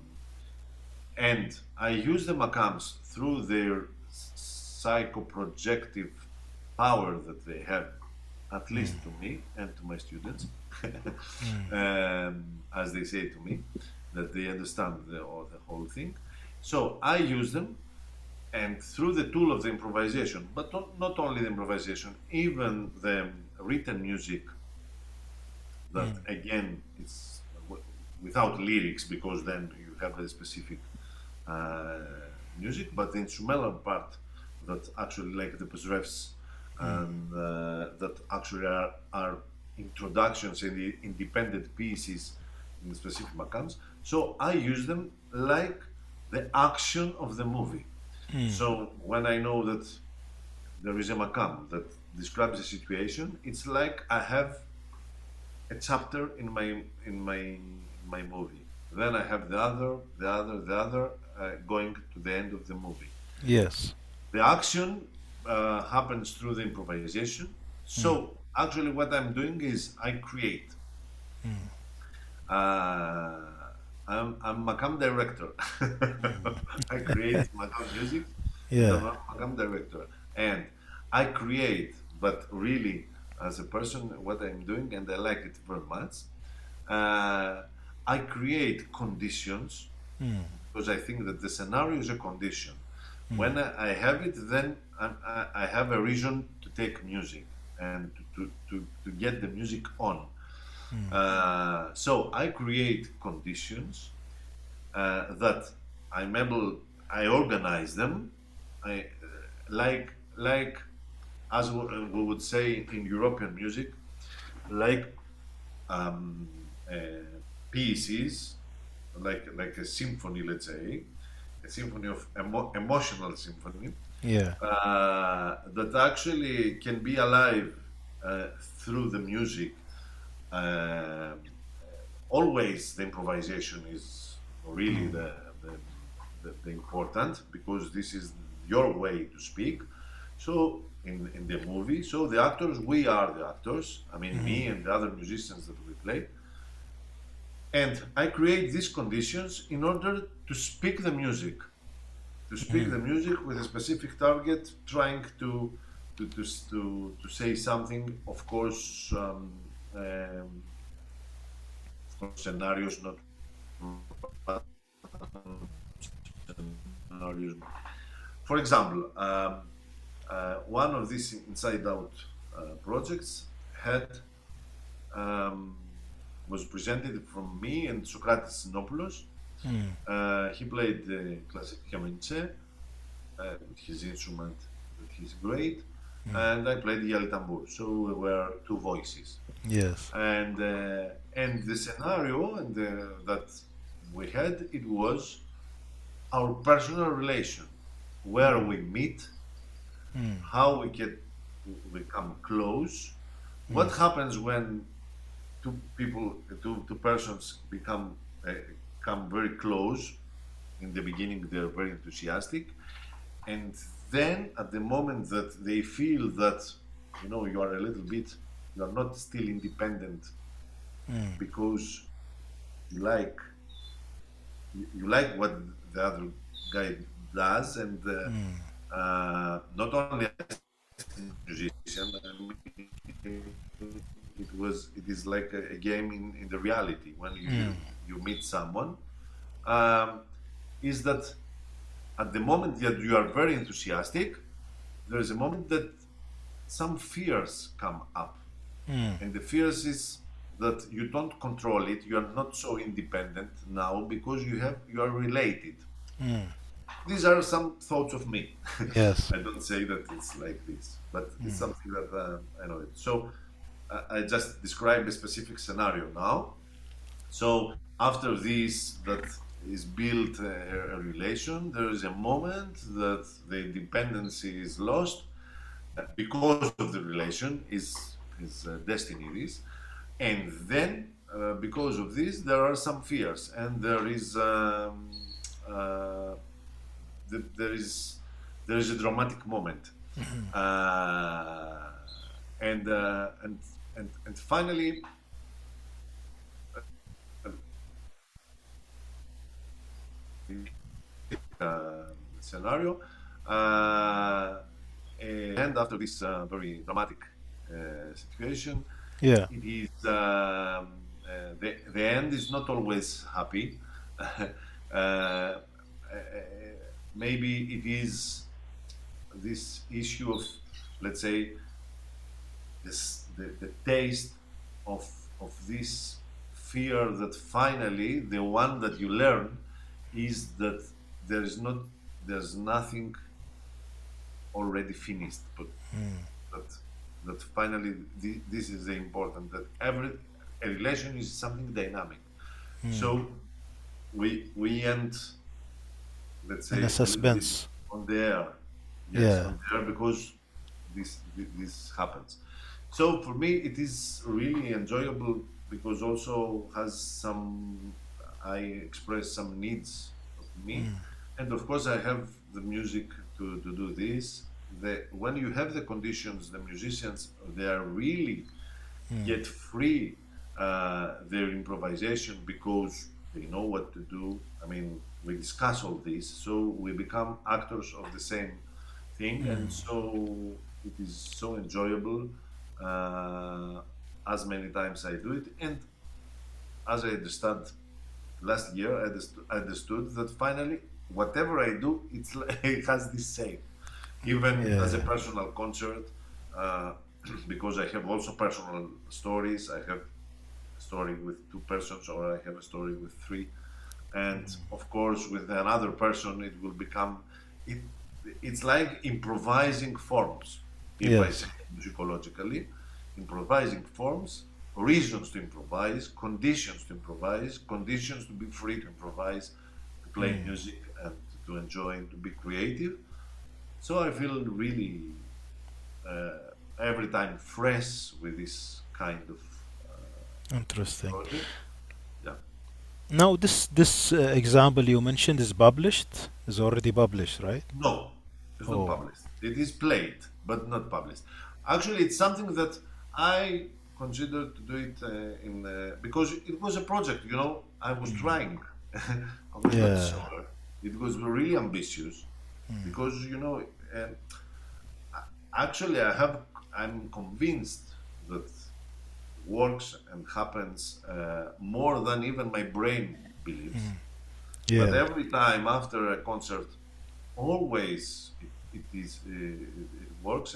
and I use the Macams through their psychoprojective power that they have, at Mm. least to me and to my students, Mm. as they say to me, that they understand the whole thing. So I use them, and through the tool of the improvisation, but not only the improvisation, even the written music, that Mm. again it's without lyrics, because then you have a specific uh, music, but the instrumental part, that actually like the Pesrefs, Mm. and that actually are introductions and the independent pieces in the specific Macams. So I use them like the action of the movie. Mm. So when I know that there is a Macam that describes a situation, it's like I have a chapter in my movie. Then I have the other, going to the end of the movie. Yes. The action happens through the improvisation. Mm. So actually, what I'm doing is I create. Mm. Uh, I'm Macam director. I create Macam music, and I'm Yeah. a Macam director, and I create. But really, as a person, what I'm doing, and I like it very much. Uh, I create conditions, Mm. because I think that the scenario is a condition. Mm. When I have it, then I have a reason to take music and to get the music on. Mm. So I create conditions that I'm able, I organize them. I like as we would say in European music, like um, uh, pieces, like a symphony, let's say, a symphony of emotional symphony, Yeah. that actually can be alive through the music. Um Always the improvisation is really Mm. the important, because this is your way to speak. So in the movie, so the actors, we are the actors. I mean, Mm. me and the other musicians that we play, and I create these conditions in order to speak the music, Mm. with a specific target, trying to say something. Of course, scenarios, not scenarios. For example, one of these Inside Out projects had um, was presented from me and Socrates Sinopoulos. Mm. He played the classic Kamenche with his instrument, that he's great, Mm. and I played the tambur. So we were two voices, Yes. and the scenario that we had, it was our personal relation, where we meet, Mm. how we get we come close, what Mm. happens when two persons come very close. In the beginning, they're very enthusiastic, and then at the moment that they feel that you are a little bit, you are not still independent Mm. because you like you like what the other guy does, and not only as a musician. I mean, it is like a game in the reality when you meet someone. Um, is that at the moment that you are very enthusiastic, there is a moment that some fears come up, Mm. and the fears is that you don't control it. You are not so independent now because you are related. Mm. These are some thoughts of me. Yes. I don't say that it's like this, but it's something that I know it. So I just describe a specific scenario now. So after this, that is built a relation, there is a moment that the independency is lost because of the relation, is destiny this, and then because of this there are some fears, and uh, there is a dramatic moment, uh, and and finally scenario, and after this very dramatic situation, Yeah. it is the end is not always happy. uh, Maybe it is this issue of, let's say, the taste of this fear that finally the one that you learn is that there is not there's nothing already finished, but that finally this is the important, that every a relation is something dynamic. So we end, let's In a say, a little bit suspense. on the air. Yes, Yeah. on the air, because this happens. So for me, it is really enjoyable because also has some. I express some needs of me, and of course I have the music to do this. When you have the conditions, the musicians, they are really get free their improvisation because they know what to do. I mean, we discuss all this, so we become actors of the same thing, and so it is so enjoyable. Uh, as many times I do it, and as I understand, last year I understood that finally, whatever I do, it has the same. Even as a Yeah. personal concert, uh, because I have also personal stories. I have a story with two persons, or I have a story with three, and of course, with another person, it will become it. It's like improvising forms, if I say Yes. musicologically, improvising forms, reasons to improvise, conditions to be free to improvise, to play music and to enjoy and to be creative. So I feel really uh, every time fresh with this kind of Interesting. project. Yeah. Now, this example you mentioned is published, is already published, right? No, it's not Oh. published. It is played, but not published. Actually, it's something that I considered to do it because it was a project. I was trying. I was not Yeah. sure. It was really ambitious because actually I'm convinced that works and happens more than even my brain believes. But Yeah. every time after a concert, always it works,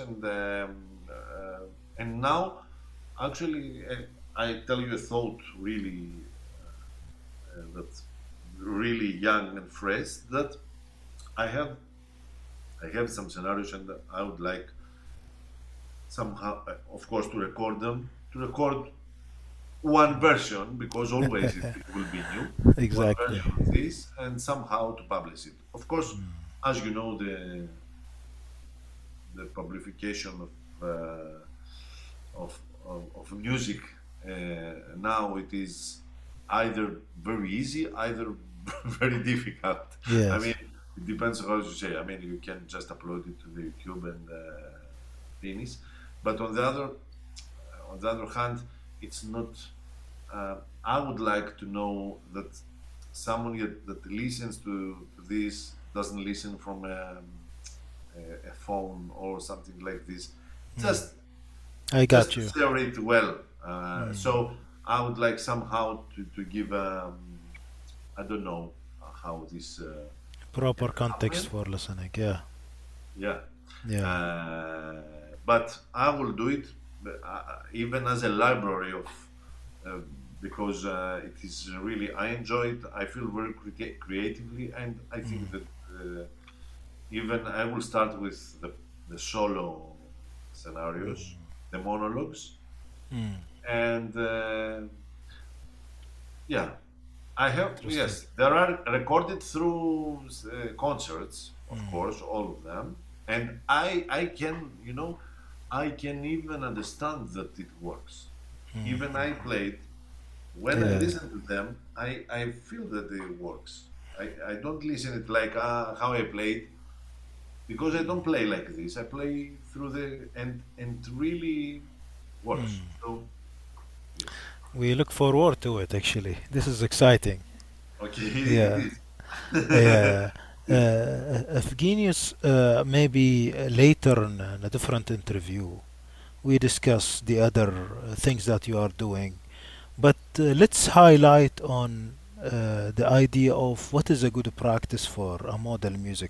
and now actually I tell you a thought really that's really young and fresh, that I have I have some scenarios, and I would like somehow, of course, to record them, to record one version, because always it will be new, one Exactly. version of this, and somehow to publish it. Of course, as you know, the publication of music now, it is either very easy, either very difficult. I mean, Yes. it depends how you say. I mean, you can just upload it to the YouTube and finish. But on the other hand, it's not. I would like to know that someone that listens to this doesn't listen from a phone or something like this. Mm. Just I got you. share it well. Mm. So I would like somehow to give I don't know how this can Proper context happen. for listening. Yeah. Yeah, Yeah. uh, but I will do it even as a library of uh, because it is really I enjoy it. I feel very creatively, and I think Mm. that even I will start with the solo scenarios, the monologues, Mm. and yeah, I have, Interesting. yes, there are recorded through concerts, of Mm. course, all of them, and I can, I can even understand that it works. Even I Mm. played when I Yeah. listen to them, I feel that it works. I don't listen it like how I played because I don't play like this. I play through the and it really works. Mm. So yes, We look forward to it actually. This is exciting. okay, it Yeah. is. Yeah. It is. Evgenius, maybe later in a different interview, we discuss the other things that you are doing. But let's highlight on the idea of what is a good practice for a model music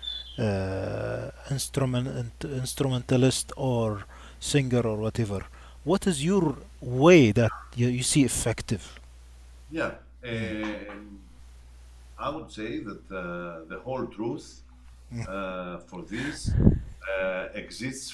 instrumentalist or singer or whatever. What is your way that you see effective? Yeah, Mm. I would say that the whole truth Mm. for this exists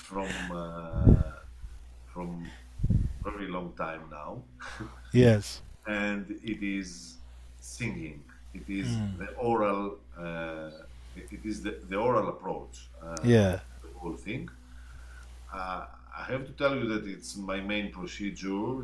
from very long time now, Yes. and it is singing. It is Mm. the oral. It is the oral approach Yeah. to the whole thing. I have to tell you that it's my main procedure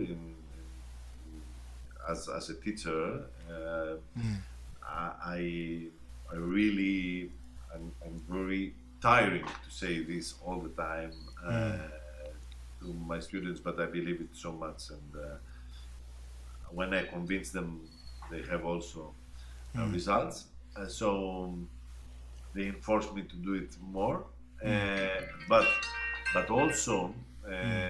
as a teacher. Mm. I I really I'm very tiring to say this all the time Mm. to my students, but I believe it so much, and when I convince them, they have also Mm. results. So they enforce me to do it more, Mm. but also Mm.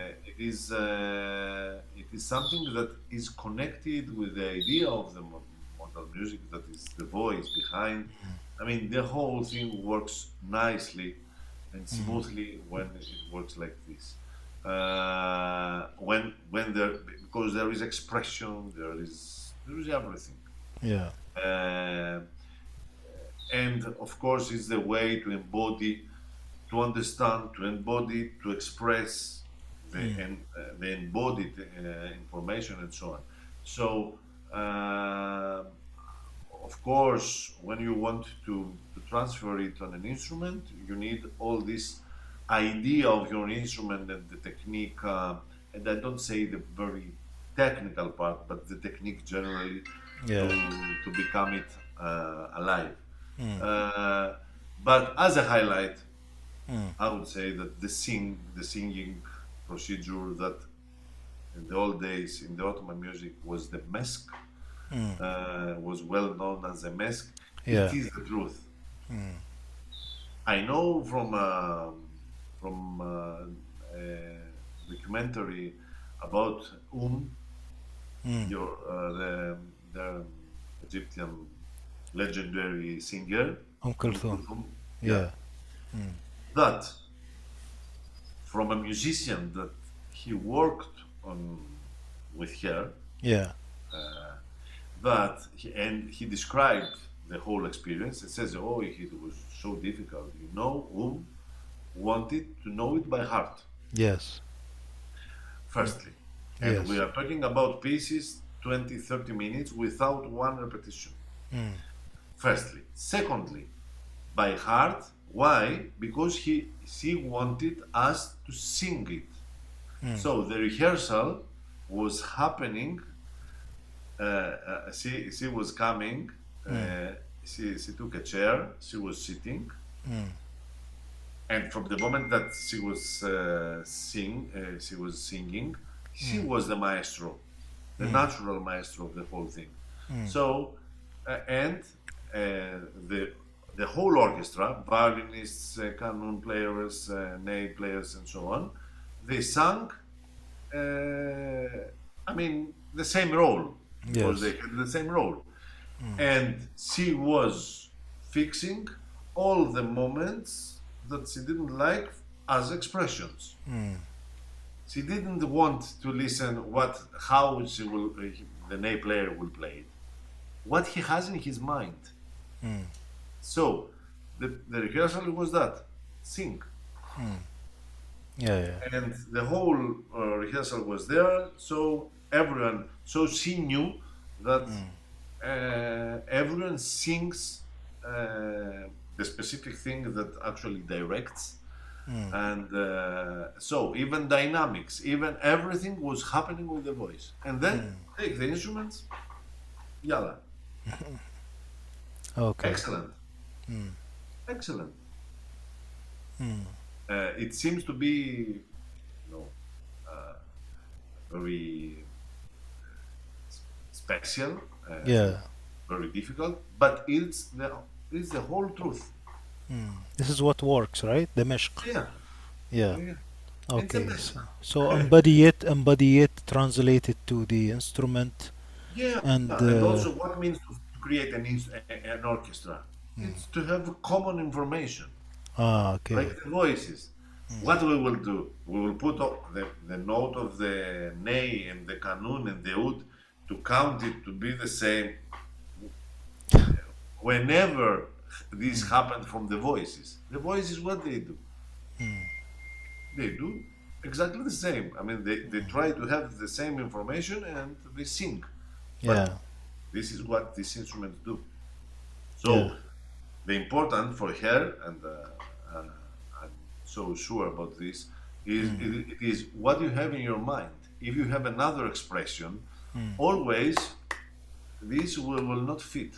it is something that is connected with the idea of the modal music, that is the voice behind. I mean, the whole thing works nicely and Mm. smoothly when it works like this. When there, because there is expression, there is everything. Yeah. Uh, and of course, it's the way to embody, to understand, to embody, to express Mm. the embodied information and so on. So, of course, when you want to transfer it on an instrument, you need all this idea of your instrument and the technique. And I don't say the very technical part, but the technique generally Yeah. to become it alive. Mm. Uh, but as a highlight, Mm. I would say that the singing procedure that in the old days in the Ottoman music was the mesk, Mm. was well known as a mesk. It Yeah. is the truth. Mm. I know from a documentary about Mm. your the Egyptian legendary singer Kulthum. Kulthum. Yeah, Yeah. Mm. that from a musician that he worked on with her, Yeah. uh, and he described the whole experience. It says, "Oh, it was so difficult. You know, wanted to know it by heart, Yes. Mm. firstly, and we Yes. are talking about pieces 20, 30 minutes without one repetition. Mm. Firstly, secondly, by heart. Why? Because she wanted us to sing it. Mm. So the rehearsal was happening. She was coming. Mm. Uh, she took a chair. She was sitting, Mm. and from the moment that she was singing, she Mm. was the maestro, the Mm. natural maestro of the whole thing. Mm. So, and the whole orchestra, violinists, canon players, ney players, and so on, they sang. I mean, the same role because they Yes. had the same role, Mm. and she was fixing all the moments that she didn't like as expressions. Mm. She didn't want to listen how the ney player will play it, what he has in his mind. Mm. So the rehearsal was that sing, Mm. Yeah. Yeah. and the whole rehearsal was there. So everyone, so she knew that Mm. everyone sings the specific thing that actually directs. Mm. And so even dynamics, even everything was happening with the voice. And then Mm. take the instruments, yalla, Okay. excellent, Mm. excellent. Mm. It seems to be, uh, very special, Yeah. very difficult, but it's the whole truth. Mm. This is what works, right? Dimashq. Yeah, Yeah. yeah. It's a Okay. mess. So embody it, translate it to the instrument, Yeah, and and also what means to create an orchestra? It's to have common information, okay. like the voices. What we will do, we will put the note of the ney and the kanun and the oud to count it to be the same. Whenever this happened from the voices, what they do? They do exactly the same. I mean, they try to have the same information and they sing. But Yeah. this is what these instruments do. Yeah. So the important for her, and I'm so sure about this, is it is what you have in your mind. If you have another expression, always this will not fit.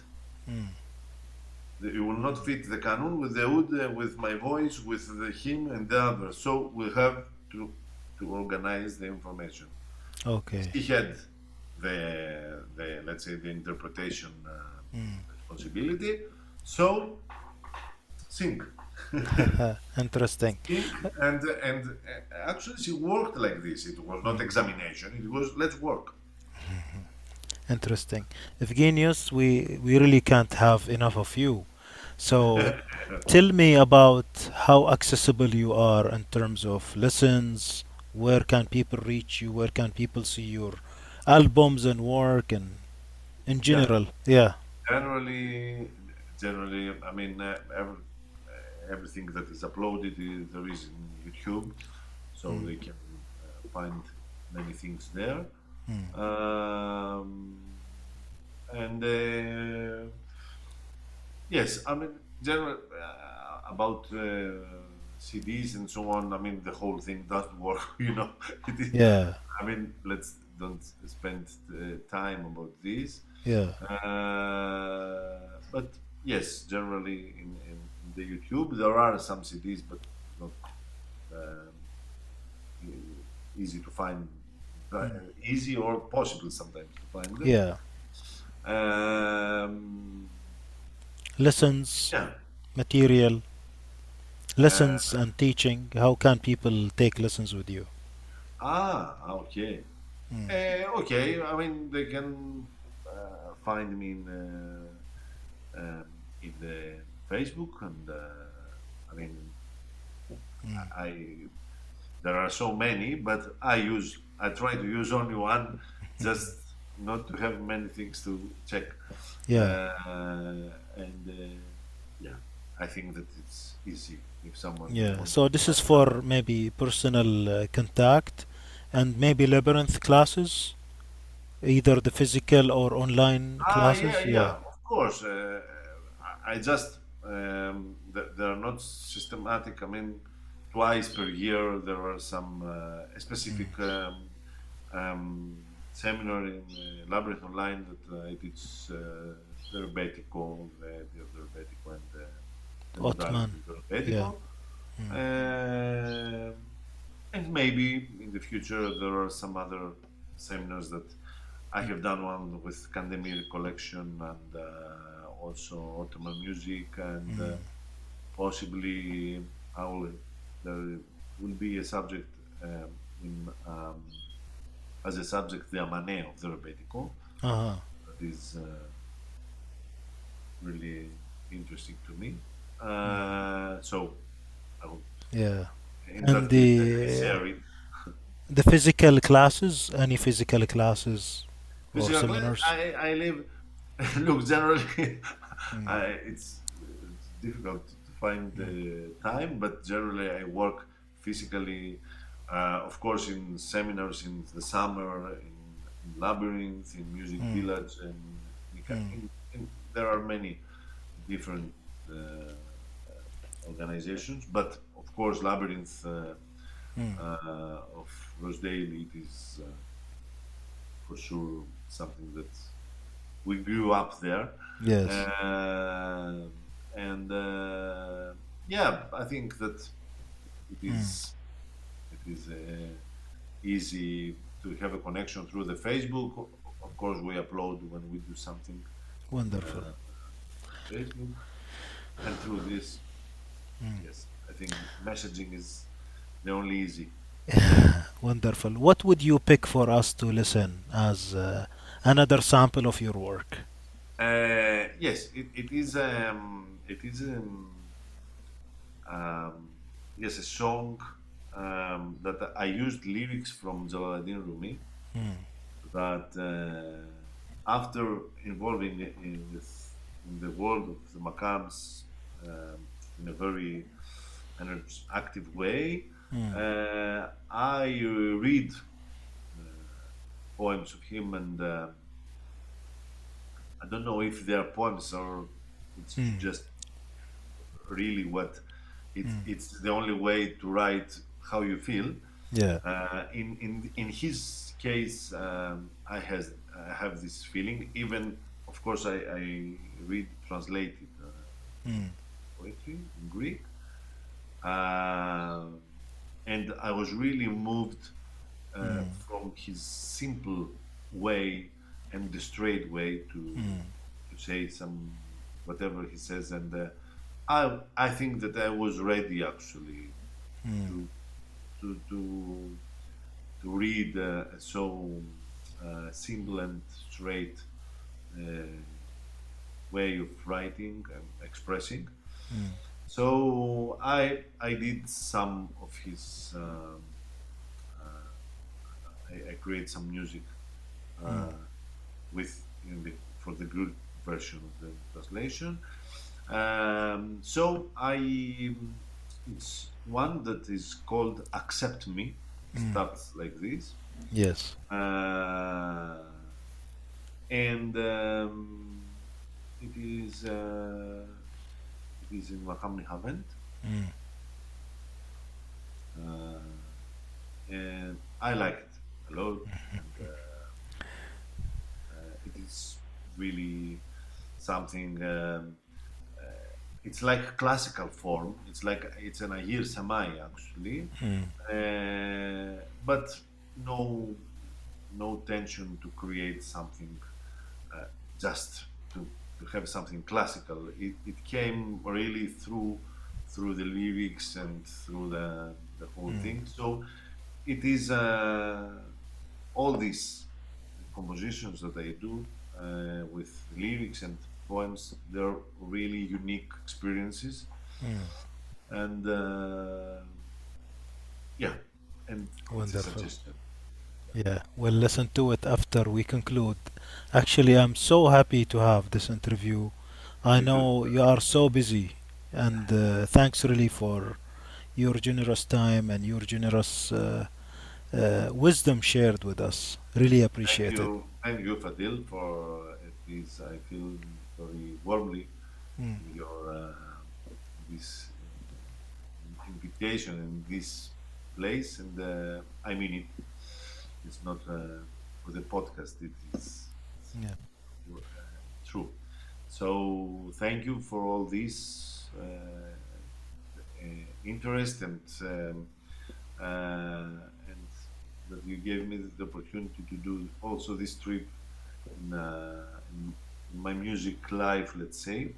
It will not fit the canon with the oud, with my voice, with the hymn and the other. So we have to organize the information. Okay. He had the let's say the interpretation responsibility. So sing, Interesting. sing, and actually she worked like this. It was not examination. It was let's work. Interesting. Evgenius, we really can't have enough of you. So tell me about how accessible you are in terms of lessons. Where can people reach you? Where can people see your albums and work and in Yeah, general? Yeah. generally, generally, I mean, everything that is uploaded there is in YouTube, so they can find many things there. Um, and yes, I mean, general about CDs and so on. I mean, the whole thing doesn't work. It is, Yeah. I mean, let's don't spend time about this. Yeah. But yes, generally in the YouTube there are some CDs, but not um, easy to find. Easy or possible sometimes to find them. Yeah. Um, Lessons, yeah. material, Uh, lessons and teaching. How can people take lessons with you? okay. Okay. I mean, they can find me in the Facebook, and I mean, I there are so many, but I try to use only one, just not to have many things to check. Yeah. And yeah, I think that it's easy if someone Yeah. wants So to this is find something. for maybe personal contact and maybe labyrinth classes, either the physical or online Yeah, classes. yeah, Yeah. of course. I just they're not systematic. I mean, twice per year there are some specific um, seminar in Labyrinth Online that I teach the rebetiko, the rebetiko, and the modality Ottoman. of the Yeah. rebetiko. Mm. Uh, and maybe in the future there are some other seminars that I have done one with Kandemir collection and also Ottoman music, and possibly I will, there will be a subject in as a subject the Amane of the Rebetiko. Uh-huh. That is really interesting to me. So I will, Yeah. in And that case, I share it. the physical classes, any physical classes or Physical, seminars? I live. Look, generally, Mm. it's difficult to find the time, but generally, I work physically. Of course, in seminars in the summer, in Labyrinth, in Music Mm. Village, and Mm. there are many different uh, organizations. But of course, Labyrinth Mm. of Rosedale, it is for sure something that we grew up there. Yes. Uh, and yeah, I think that it Mm. is it is easy to have a connection through the Facebook. Of course, we upload when we do something Wonderful. on Facebook, and through this, yes, I think messaging is the only easy. Wonderful. What would you pick for us to listen as another sample of your work? Yes, it is um, yes, a song that I used lyrics from Jalaluddin Rumi Mm. that after involving in the world of the Makams in a very active way, Mm. I read uh, poems of him, and I don't know if they are poems or it's Mm. just really what Mm. it's the only way to write how you feel. Yeah. In his case, I have this feeling. Even of course, I read translated Mm. poetry in Greek, uh, and I was really moved from his simple way and the straight way to say some whatever he says, and I think that I was ready actually to to to to read so simple and straight uh, way of writing and expressing. So I did some of his. I create some music with for the good version of the translation. So it's one that is called "Accept Me." It starts like this, Yes. uh, and it is uh, it is in Makam Nihavend, Mm. uh, and I like it a lot, and it is really something. It's like classical form. It's like it's an Ahir Samai actually, but no no tension to create something uh, just to have something classical. It came really through the lyrics and through the whole thing. So it is all these compositions that I do with lyrics and poems. They're really unique experiences, and yeah, and it's a Wonderful. suggestion. Yeah, we'll listen to it after we conclude. Actually, I'm so happy to have this interview. I Me too. know you are so busy, and thanks really for your generous time and your generous wisdom shared with us. Really appreciate it. Thank you, Fadil, for this. I feel very warmly Mm. in your this invitation in this place, and I mean it. It's not for the podcast. It is Yeah. true. So thank you for all this interest and that you gave me the opportunity to do also this trip in my music life, let's say.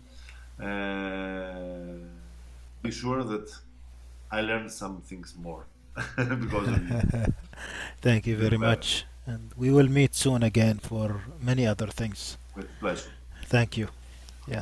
Uh, be sure that I learned some things more because of you. Thank you very With much. And we will meet soon again for many other things. pleasure. Thank you. Yeah.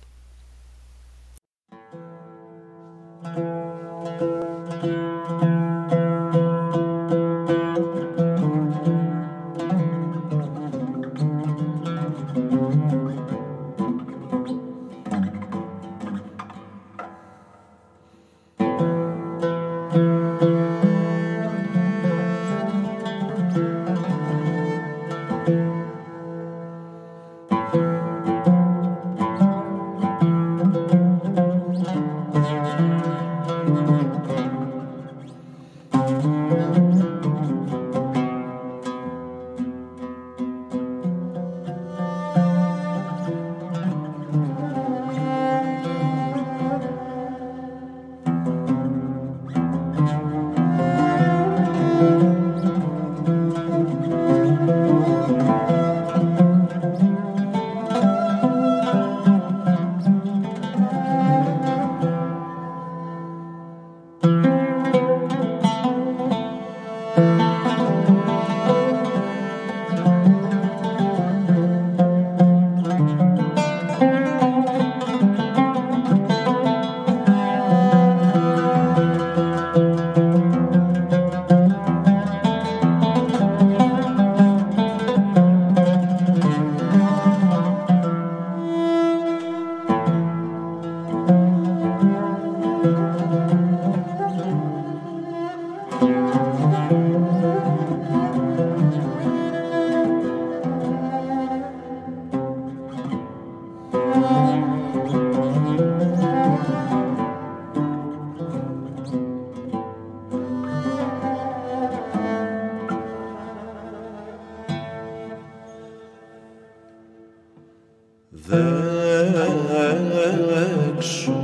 ذاك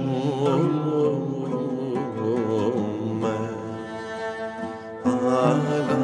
شوم على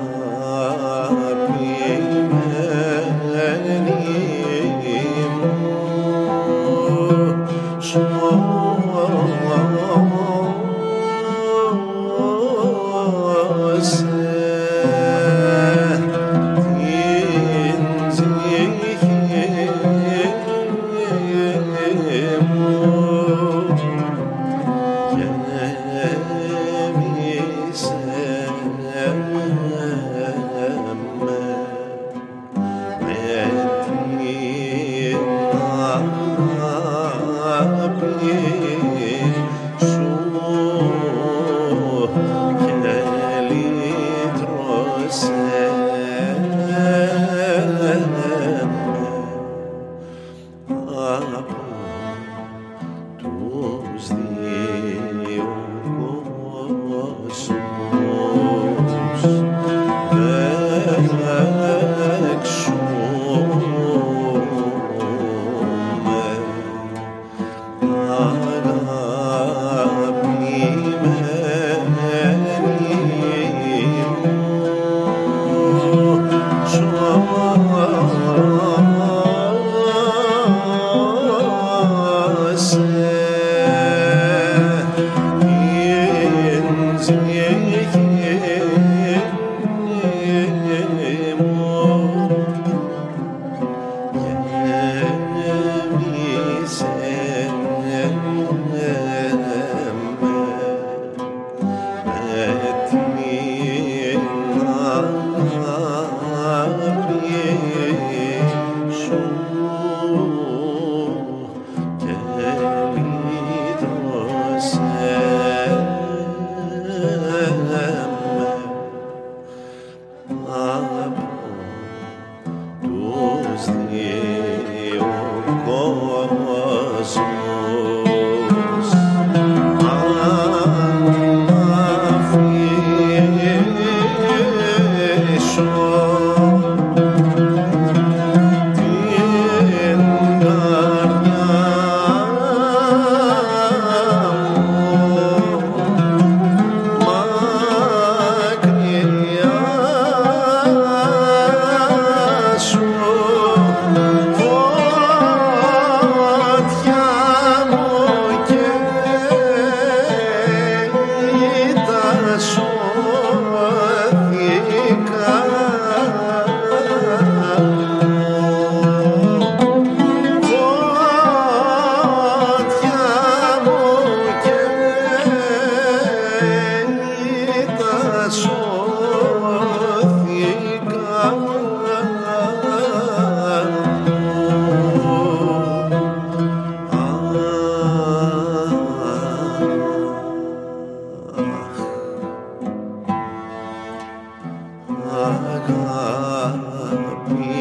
Kami